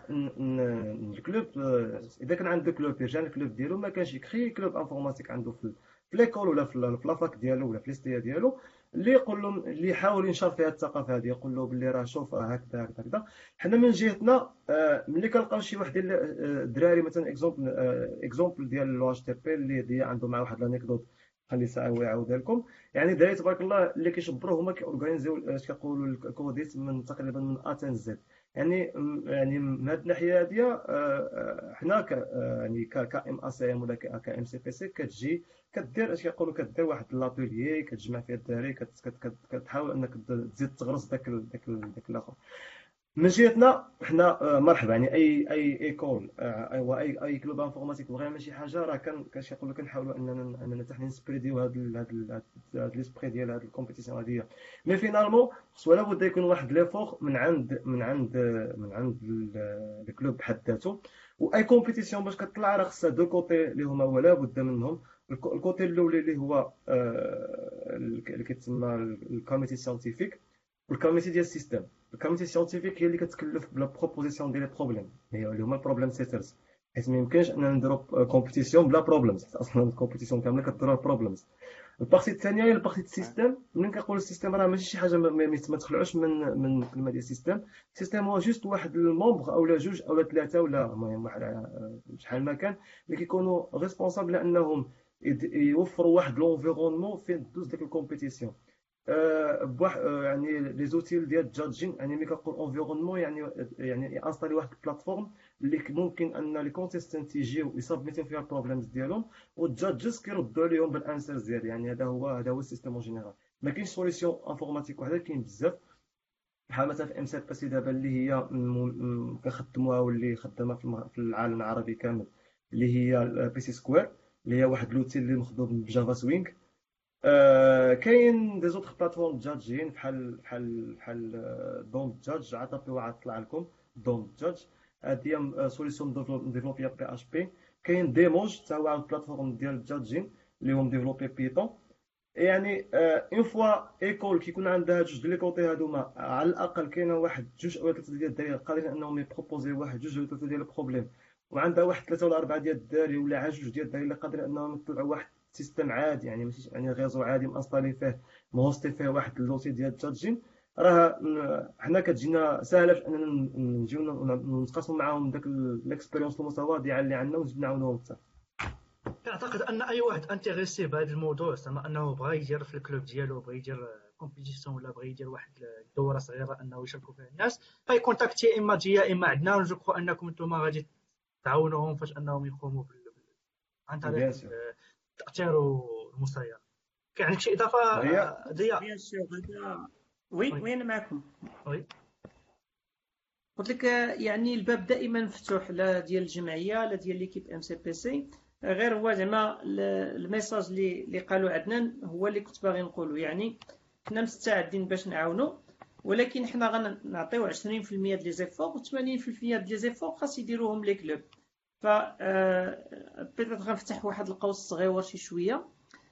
[SPEAKER 3] للكلوب. اذا كان عنده كلوب يرجع للكلوب ديالو. ما كانش يكري كلوب انفورماتيك عنده في في ليكول ولا في لافاك ديالو ولا في ليستيا ديالو، اللي يقول لهم اللي يحاول ينشر فيها الثقافه هذه، يقول له باللي راه شوف راه هكذا هكذا هكذا. حنا من جهتنا آه، ملي كنلقاو شي واحد ديال آه، الدراري مثلا اكزومبل اكزومبل ديال لو اتش تي بي اللي دي عنده مع واحد الانيكدوت خلي ساعه هو يعاودها لكم. يعني دراري تبارك الله اللي كيشبروا هما كيورغانيزيو اش كيقولوا الكوديت من تقريبا من اتن زد. يعني يعني من هذه الناحيه هذه حنا ك يعني ك ام اس ام ولا ك ام سي بي سي كتجي كدير اش كيقولوا كدير واحد لابيليي كتجمع فيه الدراري كتحاول انك تزيد تغرس داك داك داك الاخر. من جهتنا حنا آه، مرحبا. يعني اي اي ايكول آه، واي اي كلوب انفورماتيك بغى يعمل شي حاجه راه كان كاش يقول لك كنحاولوا اننا اننا حتى حنا نسبريديو هذا هذا هذا ليسبري ديال هذه الكومبيتيسيون هذه. مي فينالمون خصو لابد يكون واحد ليفور من عند من عند من عند الكلوب بحد ذاته. واي كومبيتيسيون باش كطلع راه خصها دو كوتي اللي هما ولا بد منهم. الكو- الكوتي الاولي اللي هو آه، اللي كيتسمى الكوميتي ساينتيفيك والكوميتي ديال السيستم. الكوميتي ساينتيفيك هي اللي كتكلف بلا بروبوزيسيون ديال لي بروبليم، هي اللي هما البروبليم سيترز. حيت ما يمكنش اننا نديرو كومبيتيسيون بلا بروبليمز، حيت اصلا الكومبيتيسيون كامله كديرها بروبليمز. البارتي الثانيه هي البارتي السيستم. ملي كنقول السيستم راه ماشي شي حاجه ما ما- ما تخلعوش من من الكلمه ديال السيستم. السيستم هو جوست واحد المومبر اولا جوج اولا ثلاثه ولا المهم واحد آه، شحال ما كان اللي كيكونوا ريسبونسابل انهم يد- يوفروا واحد لونفيرونمون فين دوز ديك الكومبيتيسيون. آه، بواحد آه، يعني لي زوتيل ديال الجادجين. يعني ملي كنقول انفيرونمون يعني يعني انستالي واحد البلاتفورم اللي ك- ممكن ان لي كونتيستانت يجيو يسابميتيو فيها البروبليمز ديالهم والجادجز كيردوا عليهم بالانسرز ديال. يعني هذا هو هذا هو السيستم اون جينيرال. ما كاينش سوليسيون انفورماتيك وحده، كاين بزاف. بحال مثلا في ام سي بي سي دابا اللي هي م- م- كنخدموها واللي خدامه في الم- في العالم العربي كامل، اللي هي بي سي سكوير، اللي هي واحد لوتيل اللي مخدوم بجافا سوينغ. آه، كاين دي زوتر بلاتفورم جاجين بحال بحال بحال آه، دوم جاج. عاد طلع طلع لكم دوم جاج. هادي هي سوليسيون ديفلوبيا بي اش بي. كاين ديموج حتى هو عاود بلاتفورم ديال الجاجين اللي هم ديفلوبي بيتون. يعني اون فوا ايكول كيكون عندها جوج ديال لي كوتي هادوما على الاقل كاينه واحد جوج او ثلاثه ديال الدراري قادرين انهم يبروبوزي واحد جوج ولا ثلاثه ديال البروبليم، وعندها واحد ثلاثه ولا اربعه ديال الدراري ولا عاد جوج ديال الدراري اللي قادرين انهم يطلعوا واحد سيستم عادي. يعني ماشي يعني غيزو عادي مانستالي فيه مهوستي فيه واحد اللوتي ديال التشاتجين. راه م- حنا كتجينا ساهله في اننا ن- نجيو ن- نتقاسموا معاهم داك الاكسبيريونس المتواضعه اللي عندنا ونزيد نعاونوهم حتى.
[SPEAKER 1] كنعتقد ان اي واحد انتريسي بهذا الموضوع، زعما انه بغى يدير في الكلوب ديالو، بغى يدير كومبيتيسيون ولا بغى يدير واحد الدوره صغيره انه يشاركوا فيها الناس، فيكونتاكتي اما جي اما عندنا. جو كخوا انكم انتم غادي تعاونوهم فاش انهم يقوموا بال- عن طريق
[SPEAKER 3] بيان سور.
[SPEAKER 1] التاثير والمسير. كاين عندك شي اضافه
[SPEAKER 3] ضياء.
[SPEAKER 1] ضياء؟
[SPEAKER 5] بيان سور هذا. وي
[SPEAKER 1] وي
[SPEAKER 5] وين معكم؟
[SPEAKER 1] وي
[SPEAKER 2] قلت لك آه، يعني الباب دائما مفتوح، لا ديال الجمعيه لا ديال ليكيب ام سي بي سي. غير هو زعما ال- الميساج اللي اللي قالوا عدنان هو اللي كنت باغي نقوله. يعني حنا مستعدين باش نعاونوا، ولكن حنا غنعطيو عشرين في المية د لي زيفور و ثمانين في المية د لي زيفور خاص يديروهم لي كلوب. ف بيتيت غنفتح واحد القوس صغيور شي شويه.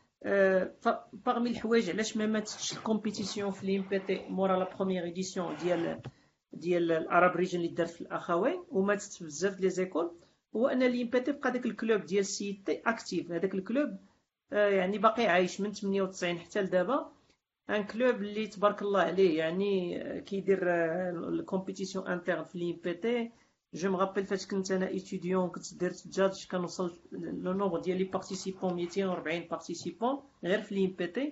[SPEAKER 2] ف باغمي الحوايج علاش ما ماتتش الكومبيتيسيون في لي ام بي تي مورا لا بروميير ايديسيون ديال ديال العرب ريجن اللي دارت في الاخوين وماتت بزاف ديال لي زيكول، هو ان لي ام بي تي بقى داك الكلوب ديال السي تي اكتيف. هذاك الكلوب آه، يعني باقي عايش من ثمانية وتسعين حتى لدابا. ان كلوب اللي تبارك الله عليه، يعني آه، كيدير الكومبيتيسيون انترن في لي ام بي تي. جو مغابيل فاش كنت انا ايتيديون كنت درت جادج كنوصل لو نومبر ديال لي بارتيسيبون مئتين وأربعين بارتيسيبون غير في لي ام بي تي.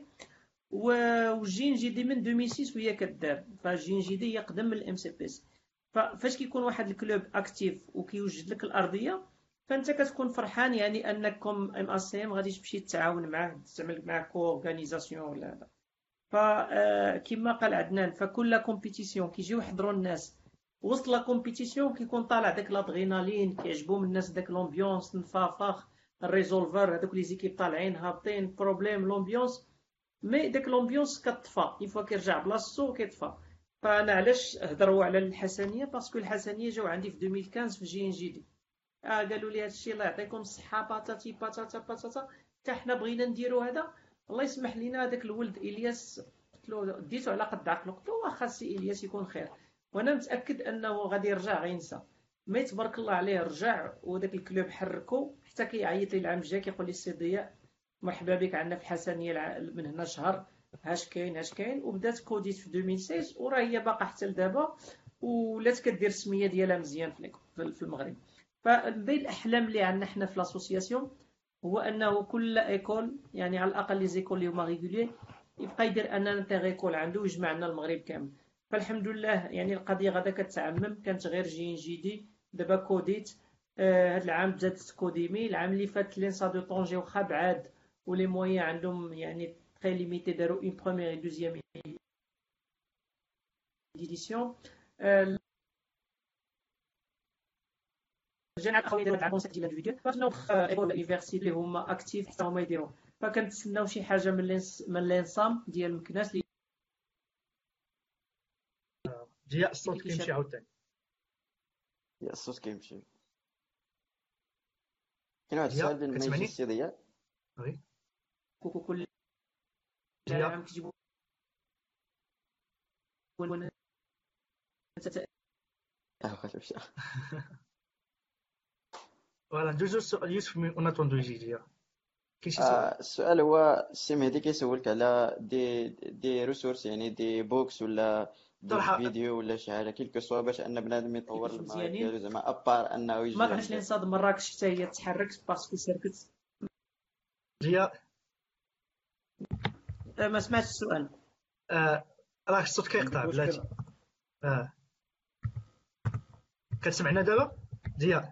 [SPEAKER 2] وجين جي دي من ألفين وستة وهي كدار، فجين جي دي هي قدم من الام سي بي سي. فاش كيكون واحد الكلوب اكتيف وكيوجد لك الارضيه، فانت كتكون فرحان يعني انكم ام اس سي ام غادي تمشي تتعاون معاه، تعمل معاه كو اورغانيزاسيون ولا هذا. فكما قال عدنان، فكل كومبيتيسيون كيجيو يحضروا الناس وسط لا كومبيتيسيون كيكون طالع داك لادرينالين، كيعجبهم الناس داك لومبيونس نفافخ الريزولفر، هذوك لي زيكيب طالعين هابطين بروبليم لومبيونس. مي داك لومبيونس كتطفى اون فوا كيرجع بلاصتو كيطفى. فانا علاش هضروا على الحسنيه؟ باسكو الحسنيه جاو عندي في ألفين وخمسطاش في جي ان جي دي. اه قالوا لي هادشي الله يعطيكم الصحه باتاتي باتاتا باتاتا، حتى حنا بغينا نديروا هذا. الله يسمح لينا هذاك الولد الياس قلت له ديتو على قد عقله، قلت له واخا سي الياس يكون خير، وانا متاكد انه غادي يرجع غينسى. مي تبارك الله عليه رجع، وداك الكلوب حركو حتى كيعيط لي العام الجاي كيقول لي السي ضياء مرحبا بك عندنا في الحسنيه من هنا شهر، هاش كاين هاش كاين. وبدات كوديت في ألفين وستة عشر وراه هي باقا حتى لدابا، ولات كدير السميه ديالها مزيان في المغرب. فمن بين الاحلام اللي عندنا حنا في لاسوسياسيون هو انه كل ايكول، يعني على الاقل لي زيكول اللي هما ريغولي، يبقى يدير ان انتر ايكول عنده ويجمع لنا المغرب كامل. فالحمد لله يعني القضيه غادا كتعمم، كانت غير جي ان جي دي، دابا كوديت. هاد العام بدات كوديمي، العام اللي فات لينسا دو طونجي واخا بعاد ولي مويان عندهم يعني تري ليميتي، داروا اون بروميير اي دوزيام ايديسيون. رجعنا الخوي دابا تاع الكونسيبت ديال الانديفيدوال، فاش ايكول يونيفرسيتي اللي هما اكتيف حتى هما يديروا. فكنتسناو شي حاجه من لينس من لينسام ديال مكناس اللي
[SPEAKER 1] ضياء الصوت كيمشي عاوتاني.
[SPEAKER 4] يا الصوت كيمشي. كاين واحد
[SPEAKER 1] ضياء
[SPEAKER 4] السؤال بين ما يجي
[SPEAKER 1] كتسمعني؟
[SPEAKER 4] السي ضياء.
[SPEAKER 1] وي
[SPEAKER 2] كوكو كل
[SPEAKER 1] ضياء
[SPEAKER 2] عام كتجيبوا
[SPEAKER 4] اه واش مشى.
[SPEAKER 1] فوالا ندوزو السؤال يوسف من اون اتوندو يجي ضياء. كاين شي سؤال؟
[SPEAKER 4] آه السؤال هو السي مهدي كيسولك على دي دي ريسورس، يعني دي بوكس ولا دي
[SPEAKER 1] صراحه
[SPEAKER 4] فيديو ولا شي حاجه كيلكو سوا باش ان بنادم يطور
[SPEAKER 2] كيفاش
[SPEAKER 4] المهارات
[SPEAKER 2] مزيانين.
[SPEAKER 4] ديالو، زعما ابار انه يجي
[SPEAKER 2] ما عرفتش
[SPEAKER 4] عند
[SPEAKER 2] لينصاد مراكش حتى هي تحركت باسكو سركت.
[SPEAKER 1] ضياء
[SPEAKER 2] آه، ما سمعتش السؤال.
[SPEAKER 1] آه راه الصوت كيقطع
[SPEAKER 3] عندك
[SPEAKER 1] بلاتي.
[SPEAKER 3] مشكل؟
[SPEAKER 1] اه كتسمعنا دابا ضياء؟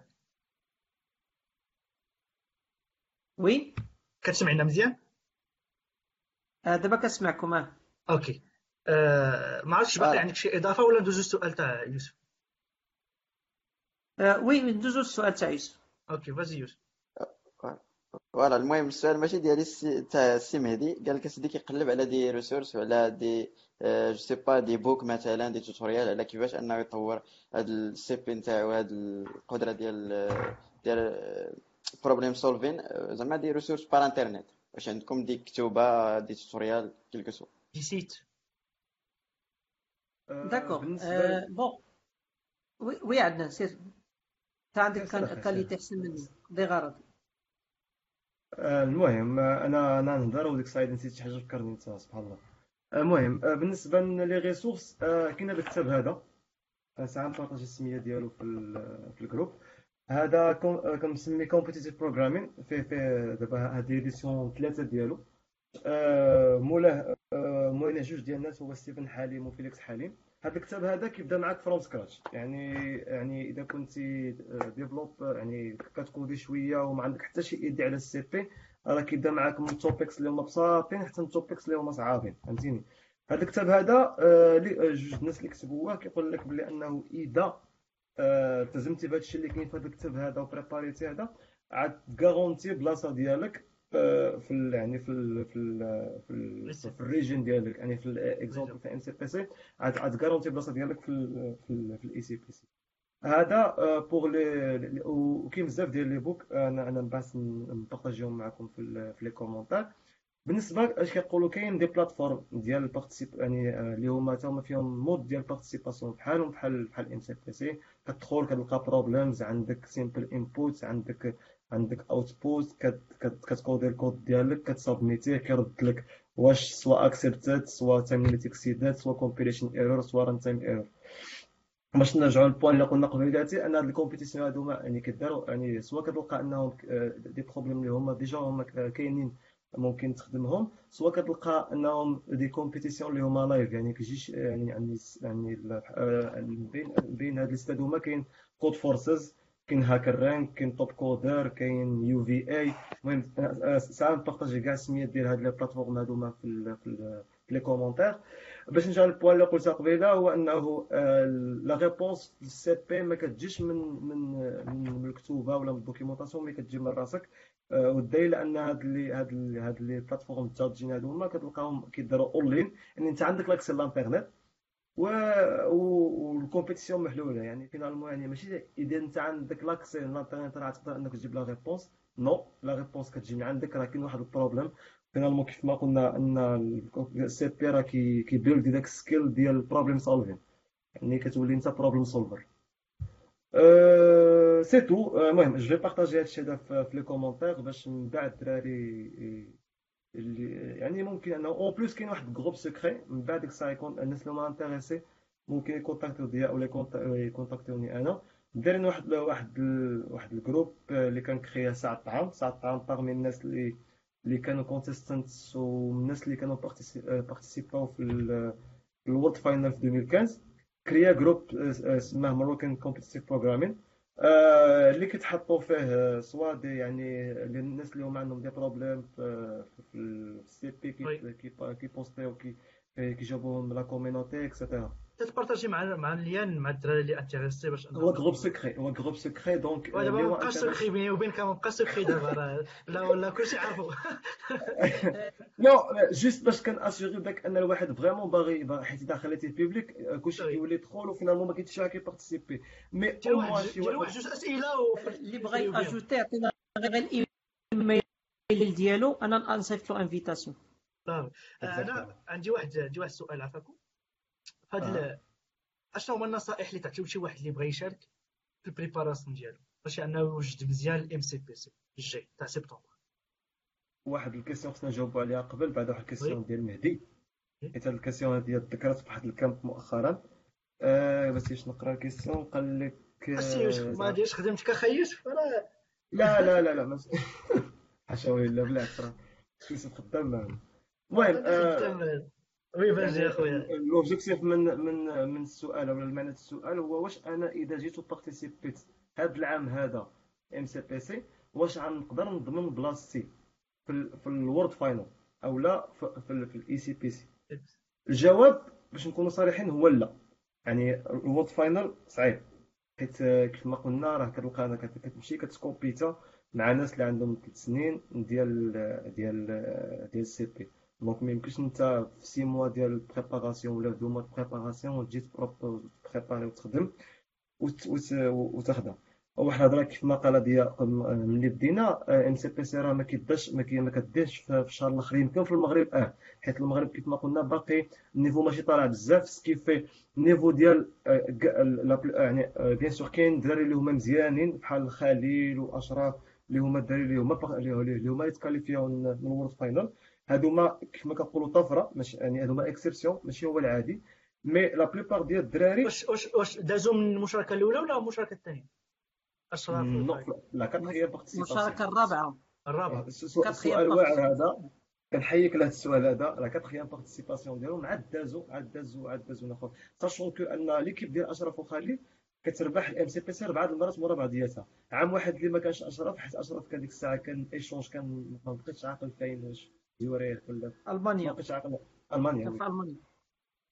[SPEAKER 2] وي
[SPEAKER 1] كتسمعنا مزيان؟
[SPEAKER 2] آه، دابا كنسمعكم. اه
[SPEAKER 1] اوكي. آه ما عرفتش باقي
[SPEAKER 4] فوالا
[SPEAKER 1] عندك شي اضافه ولا ندوزو السؤال تاع يوسف؟
[SPEAKER 2] آه، وي ندوزو السؤال تاع يوسف.
[SPEAKER 1] اوكي فازي يوسف.
[SPEAKER 4] فوالا. المهم السؤال ماشي ديالي السي- تاع السي مهدي، قال لك اسيدي كيقلب على دي ريسورس وعلى دي جو سي با دي بوك مثلا، دي توتوريال على كيفاش انه يطور هاد السي بي نتاعو، هاد القدره ديال ديال بروبليم سولفين، زعما دي ريسورس بار انترنت. واش عندكم دي كتوبه دي توتوريال كيلكو سوا؟
[SPEAKER 1] دي سيت.
[SPEAKER 3] آه،
[SPEAKER 2] داكوغ.
[SPEAKER 3] بالنسبه ل-
[SPEAKER 2] بون وي وي عندنا سير. انت عندك
[SPEAKER 3] يا سير أخي،
[SPEAKER 2] كاليتي احسن مني دي غرض.
[SPEAKER 3] آه، المهم آه، انا انا نهضر وديك السايد نسيت شي حاجه فكرني انت سبحان الله. آه، المهم آه، بالنسبه لي ريسورس، آه، كاين هذا الكتاب هذا، آه، ساعه نبارطاجي السميه ديالو في ال- في الجروب. هذا كون- آه، كنسمي كومبيتيتيف بروغرامين، فيه فيه دابا هاد ليديسيون ثلاثه ديالو. آه، مولاه آه، مواليه جوج ديال الناس، هو ستيفن حليم وفيليكس حليم. هذا الكتاب هذا كيبدا معاك فروم سكراتش، يعني يعني اذا كنتي ديفلوب يعني كتكودي شويه وما عندك حتى شي ايدي على السي بي، راه كيبدا معاك من التوبكس اللي هما بساطين حتى التوبكس اللي هما صعابين، فهمتيني. هذا الكتاب هذا آه، لي- آه، جوج الناس اللي كتبوه كيقول لك بلي انه اذا آه، التزمتي بهذا الشيء اللي كاين في هذا الكتاب هذا وبريباريتي هذا، عاد تغارونتي بلاصه ديالك آه، في ال يعني في ال في ال في ال
[SPEAKER 1] لسه
[SPEAKER 3] في الريجن ديالك، يعني في
[SPEAKER 1] ريجن.
[SPEAKER 3] الاكزومبل في ام سي بي سي عاد عاد تغارونتي بلاصه ديالك في ال في ال في الاي سي بي سي. هذا بوغ لي، وكاين بزاف ديال لي بوك انا انا باس نبارطاجيهم معكم في ال- في لي كومونتير. بالنسبه اش كيقولوا كاين دي بلاتفورم ديال البارتيسيب يعني آه، اللي هما تا هما فيهم مود ديال البارتيسيباسيون بحالهم بحال بحال ام سي بي سي. كتدخل كتلقى بروبليمز، عندك سيمبل انبوت، عندك عندك اوتبوت، كتكودي الكود ديالك كتسابميتيه كيرد لك واش سوا اكسبتد سوا تايم ليميت اكسيدد سوا كومبيليشن ايرور سوا ران تايم ايرور. باش نرجعوا للبوان اللي قلنا قبيلاتي، ان هاد الكومبيتيسيون هادو يعني كيداروا يعني سواء كتلقى انهم آه، دي بروبليم اللي هما ديجا هما كاينين ممكن تخدمهم، سواء كتلقى انهم دي كومبيتيسيون اللي هما لايف يعني كيجيش يعني يعني يعني ال- آه، بين بين هاد الاستاد هما كاين كود فورسز، كاين هاكر رانك، كاين توب كودر، كاين يو في اي. المهم آه، آه، ساعه نبارطاجي كاع السميات ديال هاد لي بلاتفورم هادوما في ال- في ال- في لي كومونتير. باش نرجع للبوان اللي قلتها قبيله، هو انه لا ريبونس في السي بي ما كتجيش من من من الكتوبه ولا من الدوكيومونطاسيون، مي كتجي من راسك. آه، والدليل ان هاد اللي هاد اللي هاد لي بلاتفورم الجادجين هادو هما كتلقاهم كيديروا اونلاين، ان انت عندك لاكسي للانترنت و والكومبيتيسيون محلوله. يعني فينالمون يعني ماشي اذا انت عندك لاكسي للانترنت راه تقدر انك تجيب لا ريبونس. نو، لا ريبونس كتجي من عندك، راه كاين واحد البروبليم. فينالمون كيف ما قلنا ان السي بي راه كي كيبيلد داك السكيل ديال البروبليم سولفين، يعني كتولي انت بروبليم سولفر. أه سي تو. المهم جو في بارطاجي هادشي هذا في في لي كومونتير باش من بعد الدراري اللي يعني ممكن انه اون بليس كاين واحد جروب سكري من بعد ديك الساعه يكون الناس اللي هما انتريسي ممكن يكونتاكتيو ضياء ولا يكونت- يكونتاكتيوني انا. دايرين واحد واحد ال- واحد الجروب اللي كان كريا ساعه الطعام ساعه الطعام باغمي الناس اللي اللي كانوا كونتيستانتس والناس اللي كانوا بارتيسيباو في الورد فاينل في ألفين وخمسة. كريا جروب آه، سماه مروكان كومبيتيتيف بروغرامين، اللي كيتحطوا فيه آه، سوا دي يعني اللي- الناس اللي هما عندهم دي بروبليم في في السي بي كي
[SPEAKER 1] وي
[SPEAKER 3] كي كي بوستيو كي كيجاوبوهم لا كوميونيتي اكسيتيرا.
[SPEAKER 1] تتبارطاجي مع مع الليان مع الدراري اللي انتريسي باش
[SPEAKER 3] هو
[SPEAKER 1] انهم
[SPEAKER 3] جروب
[SPEAKER 1] يدخلوا.
[SPEAKER 3] سكري، هو جروب سكري دونك آه،
[SPEAKER 1] ودابا
[SPEAKER 3] اللي
[SPEAKER 1] ما
[SPEAKER 3] هو
[SPEAKER 1] بقاش سكري
[SPEAKER 3] انتريس.
[SPEAKER 1] بيني وبينك، ما بقاش سكري دابا راه لا ولا كلشي عارفو.
[SPEAKER 3] نو، جوست باش كان اسيغي داك ان الواحد فريمون باغي باغي- حيت اذا خليتيه بيبليك آه، كلشي
[SPEAKER 1] وي
[SPEAKER 3] كيولي يدخل وفينالمون ما كاينش شي كيبارتيسيبي. مي
[SPEAKER 1] دير
[SPEAKER 3] او
[SPEAKER 1] واحد
[SPEAKER 3] موان شي
[SPEAKER 1] دير واحد
[SPEAKER 3] واحد.
[SPEAKER 1] جوج اسئله وفرجي
[SPEAKER 2] اللي بغى
[SPEAKER 1] يدخل بهم.
[SPEAKER 2] ياجوتي يعطينا غير الايميل ديالو، انا نصيفط له انفيتاسيون.
[SPEAKER 1] صافي. آه، انا
[SPEAKER 3] اكزاكتومون.
[SPEAKER 1] عندي واحد عندي واحد السؤال عافاكم. فهاد
[SPEAKER 3] اه
[SPEAKER 1] ال- اشنو هما النصائح اللي تعطيو لشي واحد اللي بغى يشارك في البريباراسيون ديالو باش انه يوجد مزيان الام سي بي سي الجاي تاع سبتمبر؟
[SPEAKER 3] واحد الكيسيون خصنا نجاوبوا عليها قبل، بعد واحد
[SPEAKER 1] وي
[SPEAKER 3] الكيسيون ديال مهدي،
[SPEAKER 1] وي.
[SPEAKER 3] حيت هاد الكيسيون هادي ذكرت في واحد الكامب مؤخرا. آه بس باش نقرا الكيسيون قال لك
[SPEAKER 1] السي يوسف
[SPEAKER 3] آه
[SPEAKER 1] ما
[SPEAKER 3] زعما.
[SPEAKER 1] ديرش خدمتك اخي يوسف راه.
[SPEAKER 3] لا لا لا لا ماشي. حاشا ويلا، بالعكس راه يوسف خدام معنا. المهم
[SPEAKER 1] انا
[SPEAKER 3] آه
[SPEAKER 1] خدام. وي فاش يا
[SPEAKER 3] يعني
[SPEAKER 1] خويا.
[SPEAKER 3] لوبجيكتيف من من من السؤال ولا المعنى السؤال هو واش انا اذا جيت وبارتيسيبيت هذا العام هذا ام سي بي سي واش غنقدر نضمن بلاصتي في ال في الورد فاينل او لا في في, في الاي سي بي سي. الجواب باش نكونوا صريحين هو لا. يعني الورد فاينل صعيب، حيت آه، كيف ما قلنا راه كتلقى انا كت- كتمشي كتسكومبيتا مع ناس اللي عندهم ثلاث سنين ديال ديال ديال السي بي. دونك ما يمكنش انت في سي موا ديال البريباراسيون ولا دو موا د بريباراسيون وتجي تبريباري وتخدم وت- وت- وتخدم. واحد الهضره كيف ما قال ضياء ملي بدينا ام سي بي سي راه ما كيبداش ما كي- ما كديرش في في الشهر الاخر. يمكن في المغرب اه، حيت المغرب كيف ما قلنا باقي النيفو ماشي طالع بزاف سكيفي النيفو ديال آه، ك- لا بل- يعني آه، بيان سور كاين الدراري اللي هما مزيانين بحال خليل واشراف اللي هما الدراري اللي هما باق- اللي اللي هما يتكاليفيو من من الورد فاينل. هادوما كيف ما كنقولوا طفره، ماشي يعني هادوما اكسبسيون ماشي هو العادي. مي لا بليبار ديال الدراري
[SPEAKER 1] واش واش واش دازو من المشاركه الاولى ولا المشاركه الثانيه؟ اشراف
[SPEAKER 3] نو
[SPEAKER 1] وخالد.
[SPEAKER 3] لا كاتخيام بارتيسيباسيون.
[SPEAKER 2] المشاركه الرابعه.
[SPEAKER 1] الرابعه.
[SPEAKER 2] كاتخيام
[SPEAKER 3] السؤال واعر
[SPEAKER 2] بارتي.
[SPEAKER 3] هذا، كنحييك لهذا السؤال هذا. راه كاتخيام بارتيسيباسيون ديالهم عاد دازو عاد دازو عاد دازو ناخذ ساشون كو ان ليكيب ديال اشرف وخالد كتربح الام سي بي سي اربعه المرات مورا بعضياتها. عام واحد اللي ما كانش اشرف، حيت اشرف كان ديك الساعه كان ايشونج، كان ما بقيتش عاقل فين زوريخ ولا ما
[SPEAKER 2] المانيا.
[SPEAKER 3] بقيتش عاقل. المانيا
[SPEAKER 2] كان
[SPEAKER 3] وي.
[SPEAKER 2] في المانيا.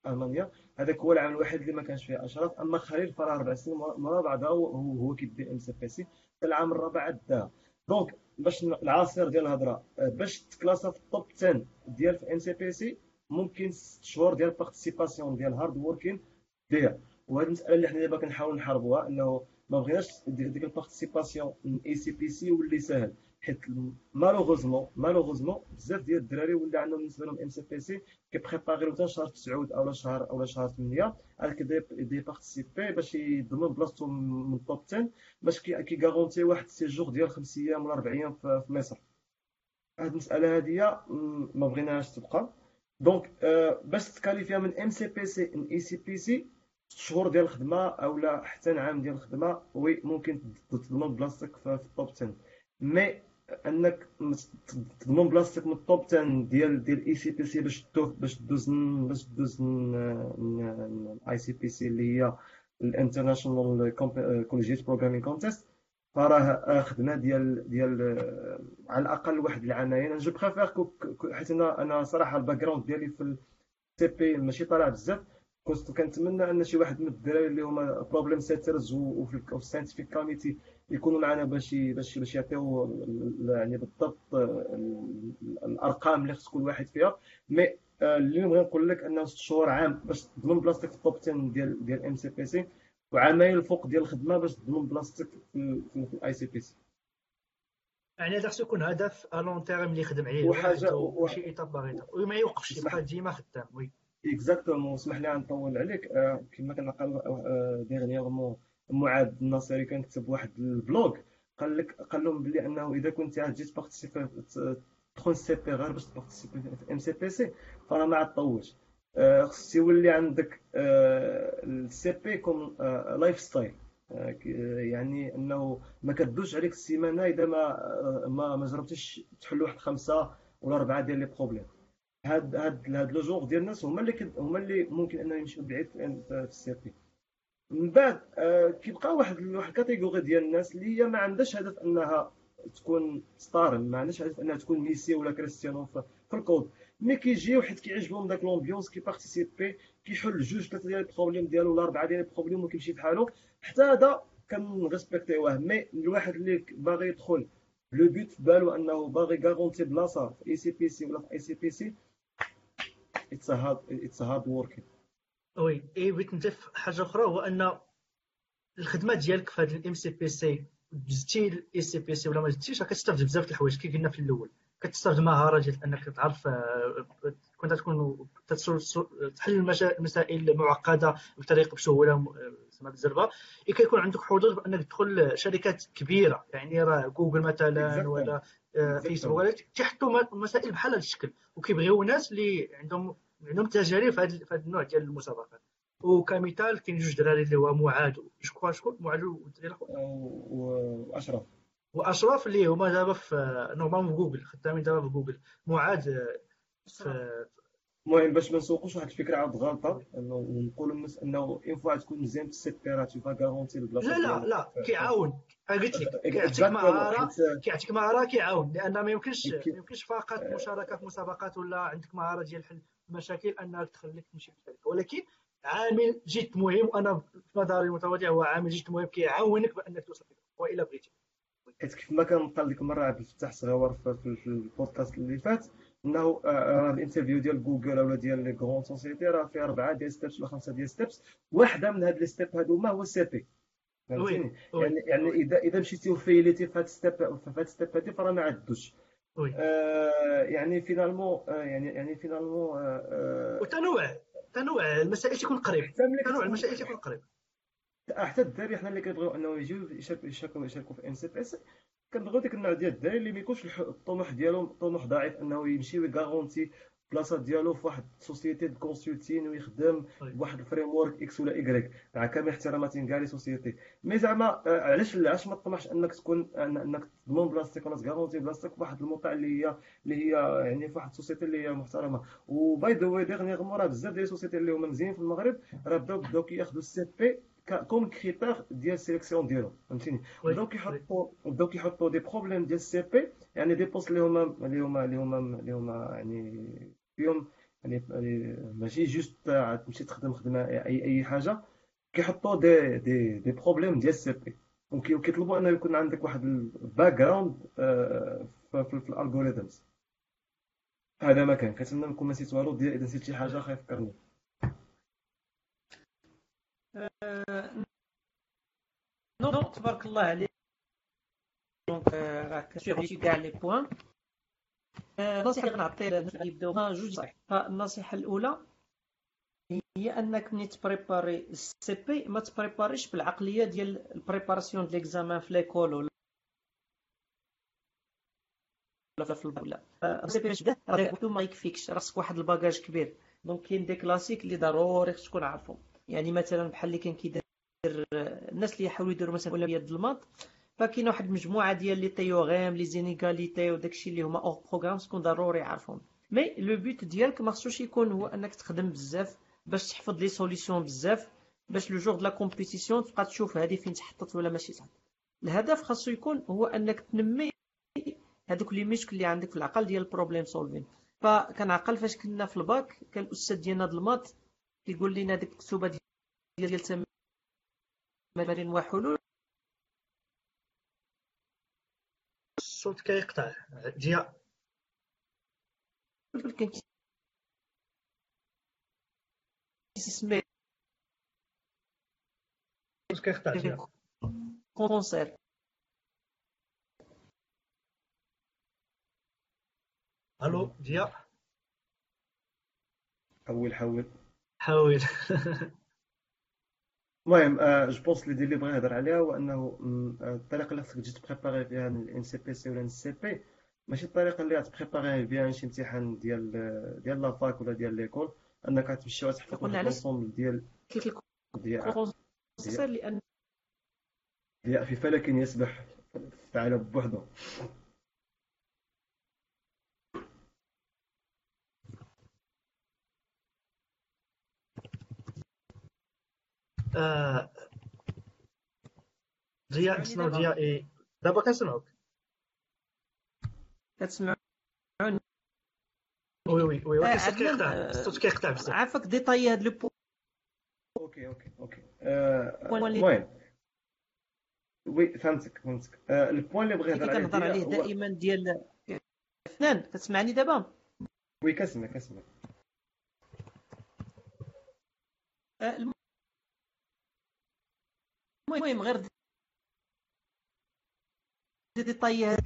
[SPEAKER 3] المانيا. هذاك هو العام الوحيد اللي ما كانش فيه اشراف. اما خليل فراه اربع سنين مرة بعدها هو هو هو كيدي ام سي بي سي العام الرابع عاد داها. دونك باش ن- العاصير ديال الهضره، آه، باش تكلاسا في التوب عشرة ديال في ام سي بي سي ممكن ست شهور ديال بارتيسيباسيون ديال هارد ووركين ديال. وهذه المساله اللي حنا دابا كنحاولوا نحاربوها، انه ما بغيناش دي- ديك البارتيسيباسيون من اي سي بي سي واللي ساهل. حيت مالوغوزمون مالوغوزمون بزاف ديال الدراري ولا عندهم بالنسبه لهم ام سي بي سي كيبريباريو حتى شهر تسعة او شهر او شهر ثمانية على كي دي بارتيسيبي باش يضمن بلاصتو من التوب عشرة، باش كي كيغارونتي واحد السيجور ديال خمس ايام ولا اربع ايام في في مصر. هاد المساله هاديه م، ما بغيناهاش تبقى. دونك آه، باش تكاليفيا من ام سي بي سي ان اي سي بي سي ست شهور ديال الخدمه او لا حتى عام ديال الخدمه، وي ممكن تضمن بلاصتك في في التوب عشرة. مي انك تضمن بلاصتك من التوب عشرة ديال ديال اي سي بي سي باش تدوز باش تدوز باش تدوز الاي سي بي سي اللي هي الانترناشونال كوليجيت بروغرامين كونتيست، فراه خدمه ديال ديال آه، على الاقل واحد العامين. انا جو بريفير حيت انا انا صراحه الباك جراوند ديالي في السي بي ماشي طالع بزاف. كنت كنتمنى ان شي واحد من الدراري اللي هما بروبليم سيترز وفي الساينتيفيك كوميتي يكونوا معنا باش باش باش يعطيو ال- يعني بالضبط آه، ال- الارقام اللي خص كل واحد فيها. مي آه، اللي نبغي نقول لك انه ست شهور عام باش تضمن بلاصتك في التوب عشرة ديال ديال ام سي بي سي، وعامين الفوق ديال الخدمه باش تضمن بلاصتك في الاي سي بي سي.
[SPEAKER 1] يعني هذا خصو يكون هدف الون تيرم اللي يخدم عليه الواحد،
[SPEAKER 3] وحاجه
[SPEAKER 1] وماشي ايطاب باغ ايطاب، وما يوقفش
[SPEAKER 3] اسمح
[SPEAKER 1] يبقى ديما خدام. وي
[SPEAKER 3] اكزاكتومون، اسمح لي نطول عليك. آه، كما كنعقل ديغنيغمون معاذ الناصري كان كتب واحد البلوغ، قال لك قال لهم بلي انه اذا كنت عاد جيت بارتيسيبي تدخل سي بي غير باش تبارتيسيبي في ام سي بي سي فراه ما عاد طولش. آه، خص يولي عندك السي بي كوم لايف ستايل. يعني انه ما كدوش عليك السيمانه اذا ما آه، ما ما جربتيش تحل واحد خمسه ولا اربعه ديال لي بروبليم. هاد هاد هاد لو جونغ ديال الناس هما اللي كد... هما اللي ممكن انهم يمشيو بعيد في في السي بي. من بعد آه كيبقى واحد واحد كاتيجوري ديال الناس اللي هي ما عندهاش هدف انها تكون ستار، ما عندهاش هدف انها تكون ميسي ولا كريستيانو في, في الكود. مي كيجيو حيت كيعجبهم داك لومبيونس كي بارتيسيبي، كيحل جوج ثلاثه ديال البروبليم ديالو ولا اربعه ديال البروبليم وكيمشي بحالو. حتى هذا كنريسبكتيوه. مي الواحد اللي باغي يدخل لو بوت في بالو انه باغي غارونتي بلاصه في اي سي بي سي ولا في اي سي بي سي، اتس هارد اتس هارد ورك.
[SPEAKER 1] وي اي بغيت نضيف حاجه اخرى، هو ان الخدمه ديالك في هذا الام سي بي سي، دزتي الاي سي بي سي ولا ما دزتيش، راه كتستافد بزاف د الحوايج كي قلنا في الاول. كتستافد مهاره ديال انك تعرف آه، كنت تكون تتصل- تحل المشا- المسائل معقده بطريقه بسهوله آه، زعما بالزربه. إي كيكون عندك حظوظ بانك تدخل شركات كبيره، يعني راه جوجل مثلا
[SPEAKER 3] اكزاكتومون
[SPEAKER 1] ولا آه، فيسبوك،
[SPEAKER 3] اكزاكتومون
[SPEAKER 1] ولا تيحطوا م- مسائل بحال هذا الشكل، وكيبغيو ناس اللي عندهم عندهم تجارب في هذا في هذا النوع ديال المسابقات. وكمثال كاين جوج دراري اللي هو معاذ شكون شكون معاذ والدري الاخر
[SPEAKER 3] واشرف.
[SPEAKER 1] واشرف، اللي هما دابا في نورمالمون في جوجل، خدامين دابا في جوجل. معاذ آه،
[SPEAKER 2] أشرف.
[SPEAKER 1] في
[SPEAKER 3] المهم باش ما نسوقوش واحد الفكره عاد غلطه، انه نقولوا للناس انه اون فوا تكون مزيان في السي بي راه تي فا غارونتي البلاصه
[SPEAKER 1] لا لا
[SPEAKER 3] ديالك.
[SPEAKER 1] لا كيعاون. قلت لك كيعطيك
[SPEAKER 3] اكزاكتومون
[SPEAKER 1] مهاره،
[SPEAKER 3] حيت
[SPEAKER 1] كيعطيك مهاره كيعاون، لان ما يمكنش ما
[SPEAKER 3] كي-
[SPEAKER 1] يمكنش فقط مشاركه في مسابقات ولا عندك مهاره ديال حل المشاكل انك تخليك تمشي في الشركه، ولكن عامل جد مهم، وانا في نظري المتواضع هو عامل جد مهم كيعاونك بانك توصل لك والا بغيتي.
[SPEAKER 3] حيت كيف ما كان قال ديك المره عبد الفتاح صغيور في, في, في البودكاست اللي فات، انه آه، آه، الانترفيو ديال جوجل ولا ديال لي كغون سوسيتي راه فيه اربعه ديال ستيبس ولا خمسه ديال ستيبس. واحده من هاد لي ستيب هادوما هو السي بي.
[SPEAKER 1] وي
[SPEAKER 3] فهمتيني؟
[SPEAKER 1] وي
[SPEAKER 3] يعني يعني
[SPEAKER 1] وي
[SPEAKER 3] اذا اذا مشيتي وفيليتي في هاد ستيب في هاد ستيب هادي فراه ما عدوش.
[SPEAKER 1] وي
[SPEAKER 3] آه يعني فينالمون آه يعني يعني فينالمون آه آه
[SPEAKER 1] وتنوع تنوع المسائل تيكون قريب،
[SPEAKER 3] حتى ملي
[SPEAKER 1] تنوع
[SPEAKER 3] كتكون
[SPEAKER 1] المسائل تيكون قريب.
[SPEAKER 3] حتى الدراري حنا اللي كنبغيو انه يجيو يشاركوا يشاركوا يشاركوا في ام سي بي اس، كنبغيو ديك النوع ديال الدراري اللي ما يكونش الح- الطموح ديالهم طموح ضعيف انه يمشي ويغارونتي بلاصه ديالو في واحد السوسيتي دو كونسلتين ويخدم
[SPEAKER 1] وي
[SPEAKER 3] بواحد الفريم ورك اكس ولا ايكغيك، مع كامل احتراماتي كاع لي سوسيتي. مي زعما آه، علاش علاش ما تطمحش انك تكون أن- انك تضمن بلاصتك ولا تغارونتي بلاصتك في واحد الموقع اللي هي اللي هي يعني في واحد السوسيتي اللي هي محترمه. وباي ذا واي ديغنيغمون راه بزاف ديال السوسيتي اللي هما مزيانين في المغرب راه بداو بداو كياخذوا السي بي كوم كريتير ديال السيليكسيون ديالهم. فهمتيني؟
[SPEAKER 1] وي
[SPEAKER 3] بداو
[SPEAKER 1] وي
[SPEAKER 3] كيحطوا بداو كيحطوا دي بروبليم ديال السي بي، يعني دي بوست اللي هما اللي هما اللي هما اللي هما يعني فيهم يعني يعني ماشي جوست عاد تمشي تخدم خدمه اي اي حاجه، كيحطوا دي دي دي بروبليم ديال السي بي، وكيطلبوا انه يكون عندك واحد الباك جراوند في, في, في الالغوريثمز. هذا ما كان كنتمنى نكون ما نسيت والو. ديال اذا نسيت شي حاجه خايف فكرني.
[SPEAKER 2] آه، نو تبارك الله عليك. دونك آه، راك سيغتي كاع لي بوان. آه، النصيحه اللي غنعطي للناس اللي يبداوها جوج صحيح. النصيحه الاولى هي انك ملي تبريباري السي بي ما تبريباريش بالعقليه ديال البريباراسيون ديال ليكزامان في ليكول ولا في البولا. السي بي باش تبدا راه وحده ما يكفيكش، راسك واحد الباجاج كبير. دونك كاين دي كلاسيك اللي ضروري خصك تكون عارفهم. يعني مثلا بحال اللي كان كيدير الناس اللي يحاولوا يديروا مثلا اولويات د الماط، فكاينه واحد المجموعه ديال لي تيوغيم لي زينيغاليتي وداكشي اللي هما اور بروغرام تكون ضروري عارفهم. مي لو بوت ديالك ما خصوش يكون هو انك تخدم بزاف باش تحفظ لي سوليسيون بزاف باش لو جور د لا كومبيتيسيون تبقى تشوف هذه فين تحطت ولا ماشي صح. الهدف خاصو يكون هو انك تنمي هذوك لي ميشك اللي عندك في العقل ديال البروبليم سولفين. فكنعقل فاش كنا في الباك كان الاستاذ ديالنا د الماط كيقول لنا ديك الكتوبه ديال ديال تمارين وحلول.
[SPEAKER 1] الصوت كيقطع ضياء.
[SPEAKER 2] كان كيسمي
[SPEAKER 1] الصوت كيقطع ضياء.
[SPEAKER 2] كونسير.
[SPEAKER 1] الو ضياء
[SPEAKER 3] حول حول.
[SPEAKER 1] حاول.
[SPEAKER 3] المهم آه جو بونس لي اللي بغا يهضر عليها هو انه م، آه، الطريقه اللي خصك تجي تبريباري فيها الان سي بي سي ولا السي بي ماشي الطريقه اللي غتبريباري بها شي امتحان ديال ديال لافاك ولا ديال ليكول، انك غتمشي وتحفظ
[SPEAKER 2] قلنا
[SPEAKER 3] واحد
[SPEAKER 2] علاش
[SPEAKER 3] لونسومبل ديال
[SPEAKER 2] كيف
[SPEAKER 3] ديال
[SPEAKER 2] الكونسير لان
[SPEAKER 3] ديال في فلك يسبح في عالم بوحدو.
[SPEAKER 1] آه، ضياء
[SPEAKER 2] تسمعوني
[SPEAKER 1] نسمعوا
[SPEAKER 2] دابا
[SPEAKER 1] ضياء إيه. دابا كنسمعوك.
[SPEAKER 2] كتسمعوني.
[SPEAKER 1] وي وي وي، ولكن
[SPEAKER 2] آه،
[SPEAKER 1] الصوت
[SPEAKER 2] عدنان
[SPEAKER 1] كيقطع، الصوت كيقطع
[SPEAKER 2] آه،
[SPEAKER 1] بزاف.
[SPEAKER 2] عافاك ديطاي هاد لو
[SPEAKER 3] اوكي اوكي اوكي آه،
[SPEAKER 2] بوين اللي
[SPEAKER 3] المهم وي فهمتك فهمتك آه، البوان اللي بغا
[SPEAKER 2] اللي
[SPEAKER 3] يهضر عليه
[SPEAKER 2] كنهضر
[SPEAKER 3] ديال
[SPEAKER 2] عليه
[SPEAKER 3] هو.
[SPEAKER 2] دائما ديال فنان. كتسمعني دابا؟
[SPEAKER 3] وي كنسمع كنسمع.
[SPEAKER 2] آه، المهم غير ديطاي هاد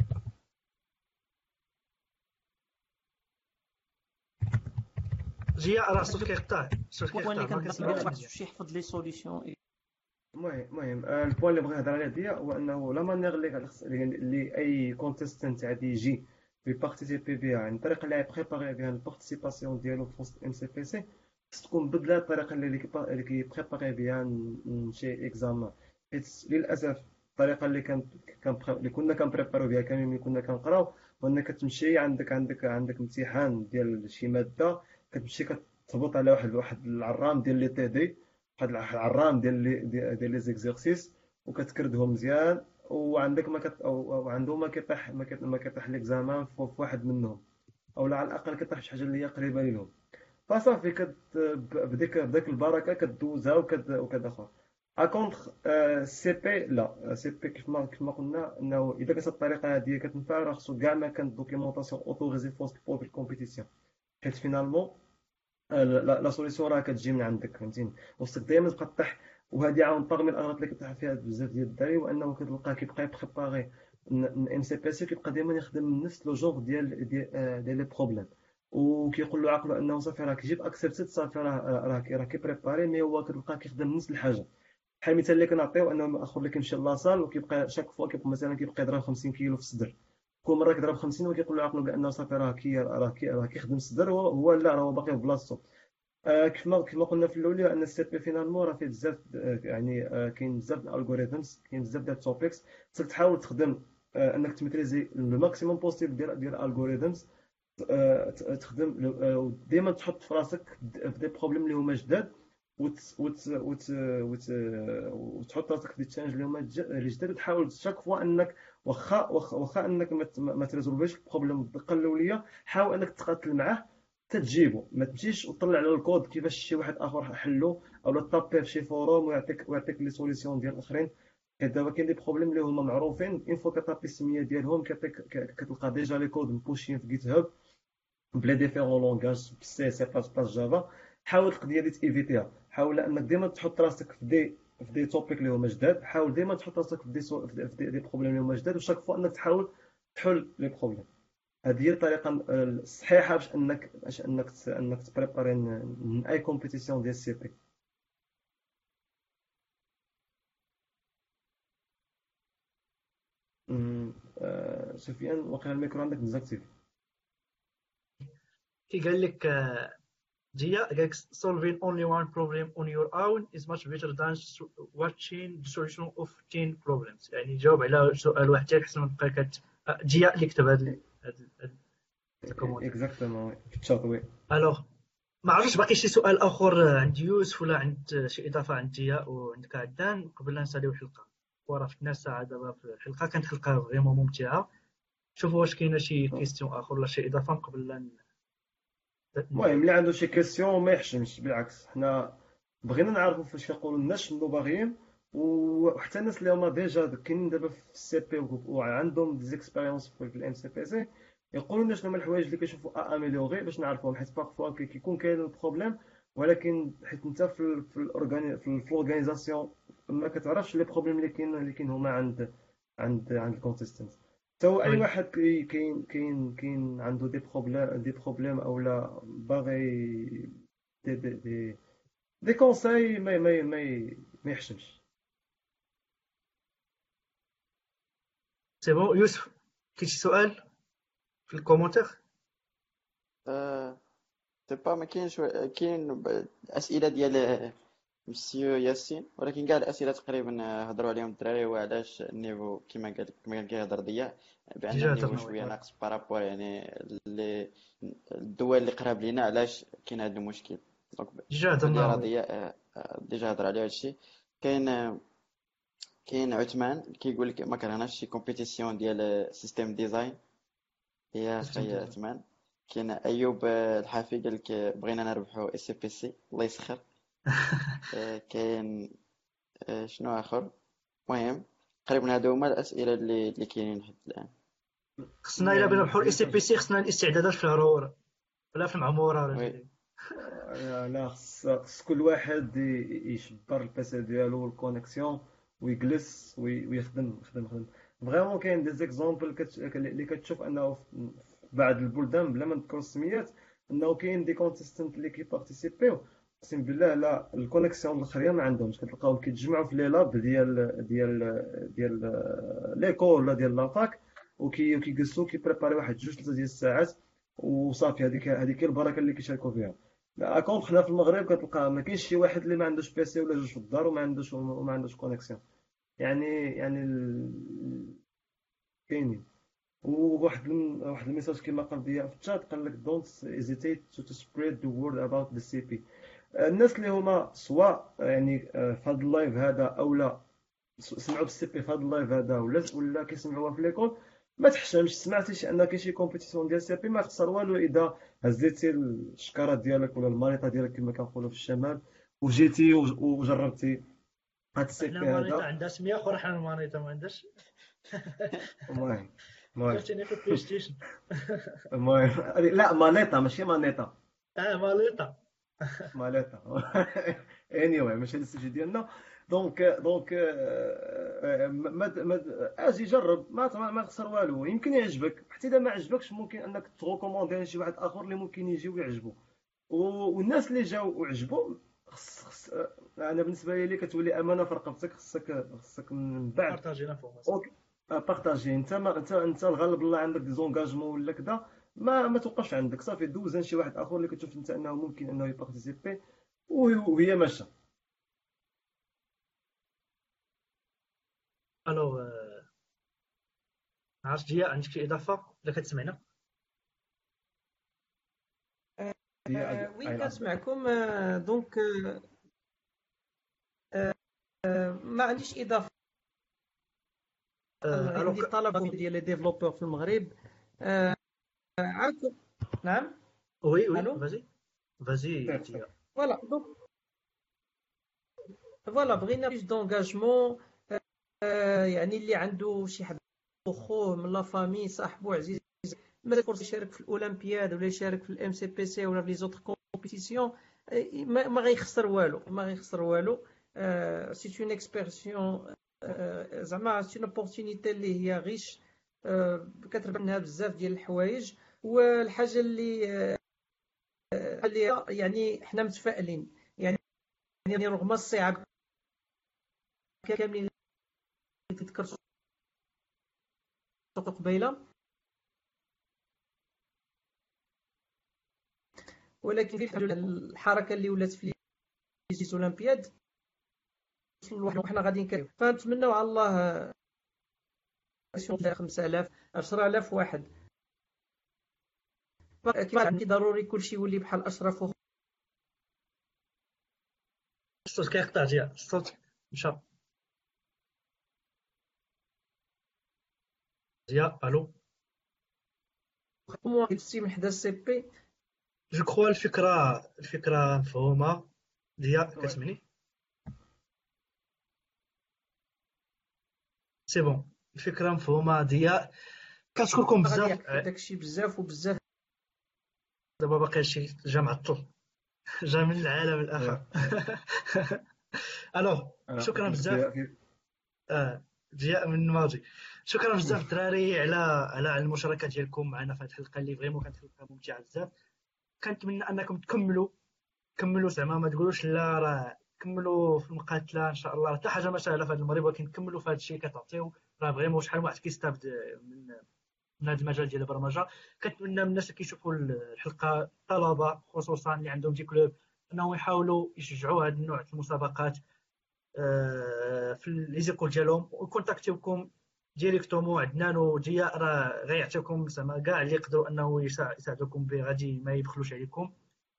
[SPEAKER 1] ضياء راه الصوت كيقطع، الصوت
[SPEAKER 2] البوين
[SPEAKER 1] كيقطع
[SPEAKER 2] اللي
[SPEAKER 1] ما
[SPEAKER 2] كنهضر
[SPEAKER 1] كنسمعوش
[SPEAKER 2] عليه ما
[SPEAKER 1] مزيان.
[SPEAKER 2] خصوش يحفظ لي سوليسيون.
[SPEAKER 3] المهم المهم آه، البوان اللي بغا يهضر عليه ديال هو انه لا مانيير اللي خص- اللي اي كونتيستنت غادي يجي بيبارتيسيبي بها، يعني الطريقه اللي غيبريباري بها البارتيسيباسيون ديالو في وسط ام سي بي سي خص تكون بدله الطريقه اللي اللي كيبريباري بها ن- شي اكزامان. حيت للاسف الطريقه اللي كان كان اللي كنا كنبريباريو بها كاملين ملي كنا كنقراو هو انك كتمشي عندك عندك عندك امتحان ديال شي ماده، كتمشي كتهبط على واحد واحد العرام ديال لي تي دي، واحد العرام ديال لي ديال لي زيكزيرسيس، وكتكردهم مزيان، وعندك ما كت او أو عنده ما كيطيح ما كت- ما كيطيح ليكزامان في في واحد منهم، او على الاقل كطيح شي حاجه اللي هي قريبه لهم. فصافي كت ب- بديك بديك البركه كدوزها وكد وكدخل. اكونتخ سي بي لا سي بي كيف ما كيف ما قلنا انه اذا كانت الطريقه هذه كتنفع راه خصو كاع ما كانت دوكيومونطاسيون اوتوريزي في الكومبيتيسيون. حيت فينالمون لا لا سوليسيون راه كتجي من عندك فهمتيني، وخصك دائما تبقى طيح. وهذه عاون باغمي الاغلاط اللي كطيح فيها بزاف ديال الدراري، وانه كتلقاه كيبقى يبريباري ام سي بي سي كيبقى دائما يخدم نفس لو جونغ ديال ديال آه، ديال لي بروبليم، وكيقول له عقله انه صافي راه كيجيب اكسبتد صافي راه راه راه كيبريباري، مي هو كتلقاه كيخدم نفس الحاجه. بحال المثال اللي كنعطيو انه الاخر اللي كيمشي لاصال وكيبقى شاك فوا كيبقى مثلا كيبقى يضرب خمسين كيلو في الصدر، كل مره كيضرب خمسين وكيقول له عقله بانه صافي راه كي راه كي راه كيخدم الصدر، هو هو لا راه هو باقي في بلاصتو. آه، كيف ما كيف ما قلنا في الاولى ان السي بي فينالمون راه فيه بزاف آه، يعني آه، كاين بزاف د الالغوريثمز، كاين بزاف ديال التوبكس، خصك تحاول تخدم آه، انك تميتريزي لو ماكسيموم بوسيبل ديال ديال الالغوريثمز، تخدم آه، ديما تحط في راسك د- في دي بروبليم اللي هما جداد، وت وت وت وت وتحط راسك في دي تشالنج اللي هما ج- اللي جداد، وتحاول شاك فوا انك واخا واخا واخا انك ما ت- ما تريزولفيش البروبليم بالدقه الاوليه، حاول انك تقاتل معاه تتجيبو، ما تمشيش وتطلع على الكود كيفاش شي واحد اخر حلو، او تابي في شي فوروم ويعطيك ويعطيك لي سوليسيون ديال الاخرين. حيت دابا كاين دي بروبليم اللي هما معروفين، اون فوا كتابي السميه ديالهم كيعطيك كتلقى ديجا لي كود مبوشين في جيت هاب بلا ديفيرون لونغاج بالسي سي بلاس بلاس جافا. حاول القضيه دي تيفيتيها، حاول انك ديما تحط راسك في دي في دي توبيك اللي هما جداد، حاول ديما تحط راسك في دي سو... في دي, دي بروبليم اللي هما جداد، وشاك فوا انك تحاول تحل لي بروبليم. هذه هي الطريقه الصحيحه باش انك باش انك انك تبريباري من اي كومبيتيسيون ديال السي بي. أمم، آه، سفيان واقيلا الميكرو عندك ديزاكتيفي.
[SPEAKER 1] كي قال لك آه، جيا قال لك solving only one problem on your own is much better than so- watching the solution of ten problems. يعني جاوب على سؤال واحد حتى احسن من تبقى كت آه، جيا اللي كتب هذا هذا الكومونتير.
[SPEAKER 3] اكزاكتومون في الشات وي.
[SPEAKER 1] الوغ ما عرفتش باقي شي سؤال اخر عند يوسف ولا عند شي اضافه عند جيا وعندك عدان قبل لا نساليو الحلقه. وراه فتنا الساعه دابا في الحلقه، كانت حلقه فريمون ممتعه. شوفوا واش كاينه شي كيستيون اخر ولا شي اضافه قبل لا ن-
[SPEAKER 3] المهم اللي عنده شي كيسيون ما يحشمش، بالعكس حنا بغينا نعرفوا فاش كيقولوا الناس شنو باغيين، وحتى الناس اللي هما ديجا كاينين دابا في السي بي وعندهم ديزيكسبيريونس في الام سي بي سي يقولوا لنا شنو هما الحوايج اللي كيشوفوا اميليوري باش نعرفوهم. حيت باغفوا كيكون كاين البروبليم، ولكن حيت انت في ال في الاورغاني في الاورغانيزاسيون ما كتعرفش لي بروبليم اللي كاين اللي كاين هما عند عند عند الكونسيستنت. تو اي
[SPEAKER 1] وي
[SPEAKER 3] واحد كي- كاين كاين كاين عنده دي بروبليم دي بروبليم او لا باغي دي دي دي, دي كونساي ما ما ما ما يحشمش.
[SPEAKER 1] سي بون. يوسف كاين شي سؤال في الكومونتير؟
[SPEAKER 4] آه، تبا ما كاينش و- كاين ب- الاسئله ديال مسيو ياسين، ولكن كاع الاسئله تقريبا هضروا عليهم الدراري، وعلاش النيفو كما قال كما كان كيهضر ضياء بان
[SPEAKER 1] ديجا
[SPEAKER 4] النيفو
[SPEAKER 1] هضرنا
[SPEAKER 4] شويه
[SPEAKER 1] وي.
[SPEAKER 4] ناقص بارابور يعني اللي الدول اللي قراب لينا، علاش كاين هذا المشكل. دونك
[SPEAKER 1] ديجا
[SPEAKER 4] قلت لي
[SPEAKER 1] هضرنا
[SPEAKER 4] راه
[SPEAKER 1] وي.
[SPEAKER 4] ضياء آه، آه، ديجا هضر على هذا الشيء. كاين آه، كاين عثمان كيقول لك ما كرهناش شي كومبيتيسيون ديال سيستيم ديزاين، هي
[SPEAKER 1] سيستم
[SPEAKER 4] خي
[SPEAKER 1] ديزاين.
[SPEAKER 4] عثمان. كاين ايوب آه، الحافي قال لك آه، بغينا نربحوا اس بي سي، الله يسخر. آه، كاين آه، شنو اخر؟ المهم تقريبا هادو هما الاسئله اللي اللي كاينين حتى الان.
[SPEAKER 1] خصنا الا بغينا
[SPEAKER 3] المهم
[SPEAKER 1] نربحوا الاي سي بي
[SPEAKER 3] بالنسبه
[SPEAKER 1] سي خصنا الاستعدادات في الهرور ولا في المعموره ولا
[SPEAKER 4] وي
[SPEAKER 1] شي.
[SPEAKER 3] لا لا، خص خص كل واحد ي- يشبر البيسي ديالو والكونيكسيون ويجلس وي- ويخدم يخدم يخدم. فريمون كاين دي زيكزامبل اللي كتشوف انه في بعض البلدان بلا ما نذكروا السميات انه كاين دي كونتيستنت اللي كيبارتيسيبيو، اقسم بالله لا الكونيكسيون الاخرين ما عندهمش. كتلقاهم كيتجمعوا في لي لاب ديال ديال ديال ليكول ولا ديال لافاك، وكي وكيجلسوا كيبريباري واحد جوج ثلاثه ديال الساعات وصافي. هذيك هذيك هي البركه اللي كيشاركوا فيها. لا كونت حنا في المغرب كتلقى ما كاينش شي واحد اللي ما عندوش بيسي ولا جوج في الدار وما عندوش وما عندوش كونيكسيون. يعني يعني ال- كاينين. وواحد الم- واحد الميساج كما قال ضياء في الشات قال لك don't hesitate to spread the word about the سي بي. الناس اللي هما سواء يعني آه، في هذا اللايف هذا او لا سمعوا بالسي بي في هذا اللايف هذا ولا ولا كيسمعوها في ليكول، ما تحشمش. سمعتي شي ان كاين شي كومبيتيسيون ديال سي بي ما تخسر والو اذا هزيتي الشكاره ديالك ولا المانيطه ديالك كما كنقولوا في الشمال وجيتي وج- وجربتي هاد السي
[SPEAKER 1] حنا
[SPEAKER 3] بي
[SPEAKER 1] المانيطه
[SPEAKER 3] هذا.
[SPEAKER 1] عندها سميه اخرى، حنا المانيطه ما عندهاش.
[SPEAKER 3] المهم المهم
[SPEAKER 1] جاتني في البلاي ستيشن.
[SPEAKER 3] المهم لا مانيطه ماشي مانيطه،
[SPEAKER 1] اه ماليطه.
[SPEAKER 3] ماليتا. anyway ماشي هاد السجل ديالنا. دونك دونك آه، ما ما اجي جرب ما ما ما خسر والو، يمكن يعجبك. حتى اذا ما عجبكش ممكن انك تغوكوموندي شي واحد اخر اللي ممكن يجي ويعجبو. و- والناس اللي جاو وعجبوا خص خص آه، انا بالنسبه لي كتولي امانه في رقبتك. خصك خصك من بعد
[SPEAKER 1] بارطاجي لافورماسيون.
[SPEAKER 3] اوكي بارطاجي. انت ما انت انت الغالب الله عندك دي زونغاجمون ولا كذا، ما ما توقفش عندك صافي دوز شي واحد اخر اللي كتشوف انت انه ممكن انه يبارتيسيبي وهي ماشيه.
[SPEAKER 1] الوغ عرفت جيا عندك شي اضافه ولا كتسمعنا؟
[SPEAKER 3] هي
[SPEAKER 5] آه، وي
[SPEAKER 3] اي
[SPEAKER 5] كنسمعكم. آه، دونك آه، آه، ما عنديش اضافه.
[SPEAKER 1] الوغ
[SPEAKER 5] عندي طلب ديال لي ديفلوبور في المغرب. آه، عاودكم. نعم.
[SPEAKER 1] وي وي
[SPEAKER 5] الو.
[SPEAKER 1] فازي فازي
[SPEAKER 3] سير سير.
[SPEAKER 1] ديا.
[SPEAKER 5] فوالا دونك فوالا بغينا بليس دونجاجمون، يعني اللي عنده شي حد خوه من لا فامي صاحبو عزيز ما فرصه يشارك في الاولمبياد ولا يشارك في الام سي بي سي ولا في لي زوتر كومبيتيسيون، ما ما غيخسر والو، ما غيخسر والو. سي اون اكسبيرسيون، زعما سي اون اوبورتونيتي اللي هي غيش، آه، كتربح منها بزاف ديال الحوايج. والحاجه اللي آه، اللي يعني حنا متفائلين، يعني يعني رغم الصعاب كاملين اللي تذكرت قبيله، ولكن الحمد لله الحركه اللي ولات في لي اولمبياد وصلوا لواحد وحنا غاديين كريو، فنتمنوا على الله خمسة آلاف عشرة آلاف واحد. كما عندي ضروري كلشي يولي بحال اشرف وخ-
[SPEAKER 1] الصوت كيقطع ديال الصوت مشى ديال. الو.
[SPEAKER 5] ومواطن السي من حدا السي بي.
[SPEAKER 1] جو كخوا الفكره الفكره مفهومه ديال.
[SPEAKER 3] وي
[SPEAKER 1] كتسمعني؟ سي بون. الفكره مفهومه ديال. كنشكركم
[SPEAKER 5] غادي
[SPEAKER 1] بزاف.
[SPEAKER 5] يحكي داكشي بزاف وبزاف.
[SPEAKER 1] دابا باقي شي جا معطل جا من العالم
[SPEAKER 3] وي.
[SPEAKER 1] الاخر. الوغ
[SPEAKER 3] انا
[SPEAKER 1] شكرا
[SPEAKER 3] قلت لك
[SPEAKER 1] بزاف.
[SPEAKER 3] ديال كيف.
[SPEAKER 1] آه ديال من الماضي. شكرا بزاف الدراري على على على المشاركه ديالكم معنا في هذه الحلقه اللي فريمون كانت حلقه ممتعه بزاف. كنتمنى انكم تكملوا كملوا زعما ما تقولوش لا راه كملوا في المقاتله ان شاء الله، حتى حاجه ما سهله في هذا المغرب، ولكن كملوا في هذا الشيء كتعطيو. راه فريمون شحال واحد كيستافد من من هذا المجال ديال البرمجه. كنتمنى من الناس اللي كيشوفوا الحلقه، الطلبه خصوصا اللي عندهم دي كلوب، انهم يحاولوا يشجعوا هذا النوع من المسابقات آه، في لي زيكول ديالهم، ويكونتاكتيوكم ديريكتومون عندنا وديا راه غيعطيكم زعما كاع اللي يقدروا انه يساع- يساعدوكم به، غادي ما يبخلوش عليكم.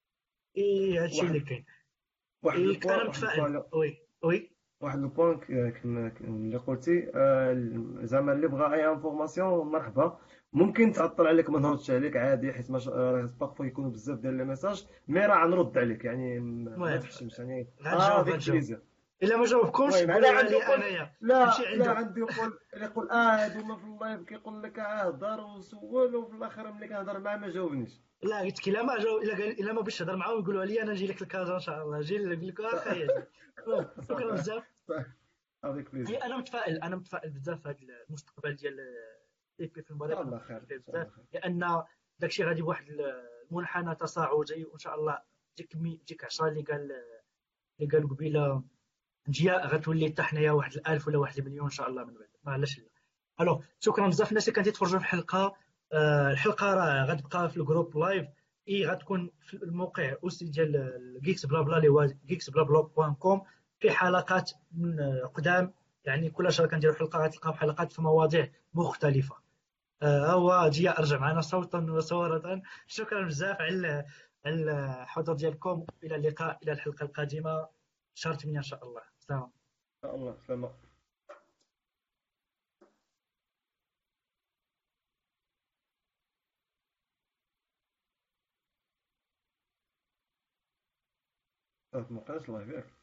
[SPEAKER 1] اي هادشي اللي
[SPEAKER 3] واحد
[SPEAKER 1] كاين.
[SPEAKER 3] واحد لو
[SPEAKER 1] اي
[SPEAKER 3] بوان
[SPEAKER 1] انا
[SPEAKER 3] واحد لو
[SPEAKER 1] متفائل.
[SPEAKER 3] بوان
[SPEAKER 1] وي وي.
[SPEAKER 3] واحد لو بوان اللي قلتي، آه، زعما اللي بغى اي انفورماسيون مرحبا. ممكن تعطل عليك ما نردش عليك عادي، حيت ماش راه بارفو يكونوا بزاف ديال لي ميساج، مي راه غنرد عليك يعني، م- ما
[SPEAKER 1] المهم
[SPEAKER 3] تحشمش يعني. اه
[SPEAKER 1] غنجاوب
[SPEAKER 3] افيك
[SPEAKER 1] غنجاوب.
[SPEAKER 3] بليزير.
[SPEAKER 1] الا ما جاوبكمش
[SPEAKER 3] المهم هذا
[SPEAKER 1] قولوا
[SPEAKER 3] عنده
[SPEAKER 1] لي
[SPEAKER 3] يقول،
[SPEAKER 1] انايا نمشي
[SPEAKER 3] لا لا
[SPEAKER 1] عنده.
[SPEAKER 3] عنده يقول يقول اه هادوما في اللايف كيقول لك اه هضر وسول، وفي الاخر ملي كنهضر معاه ما جاوبنيش.
[SPEAKER 1] لا قلت لك الا ما جاوب، الا قال الا ما بغيتش تهضر معاهم يقولوا لي انا نجي لك الكازا ان شاء الله، نجي نقول لك واخا يجي. المهم شكرا
[SPEAKER 3] صافي
[SPEAKER 1] بزاف.
[SPEAKER 3] صافي. افيك
[SPEAKER 1] هي
[SPEAKER 3] بليزير.
[SPEAKER 1] انا متفائل انا متفائل بزاف في هذا المستقبل ديال اي بي في
[SPEAKER 3] ان
[SPEAKER 1] المغرب.
[SPEAKER 3] شاء
[SPEAKER 1] انا
[SPEAKER 3] الله
[SPEAKER 1] متفائل
[SPEAKER 3] خير
[SPEAKER 1] فيه
[SPEAKER 3] ان شاء الله
[SPEAKER 1] بزاف،
[SPEAKER 3] خير.
[SPEAKER 1] لان داكشي غادي بواحد المنحنى تصاعدي، وان شاء الله ديك مي ديك عشرة اللي قال اللي قال قبيله جياء غتولي حتى حنايا واحد الالف ولا واحد المليون ان شاء الله من بعد، ما علاش لا. الو شكرا بزاف الناس اللي كانت يتفرجوا في الحلقه. آه الحلقه راه غتبقى في الجروب لايف، اي غتكون في الموقع اوسي ديال جيكس بلا بلا اللي هو جيكس بلا بلا بوان كوم. في حلقات من آه، قدام، يعني كل شهر كنديروا حلقه غتلقاو حلقات في مواضيع مختلفه. آه هو جي ارجع معنا صوتا وصوره. شكرا بزاف على على الحضور ديالكم. الى اللقاء، الى الحلقه القادمه شهر ثمانية ان شاء الله. سلام.
[SPEAKER 3] ان شاء الله سلام. ما بقاش لايف ياك.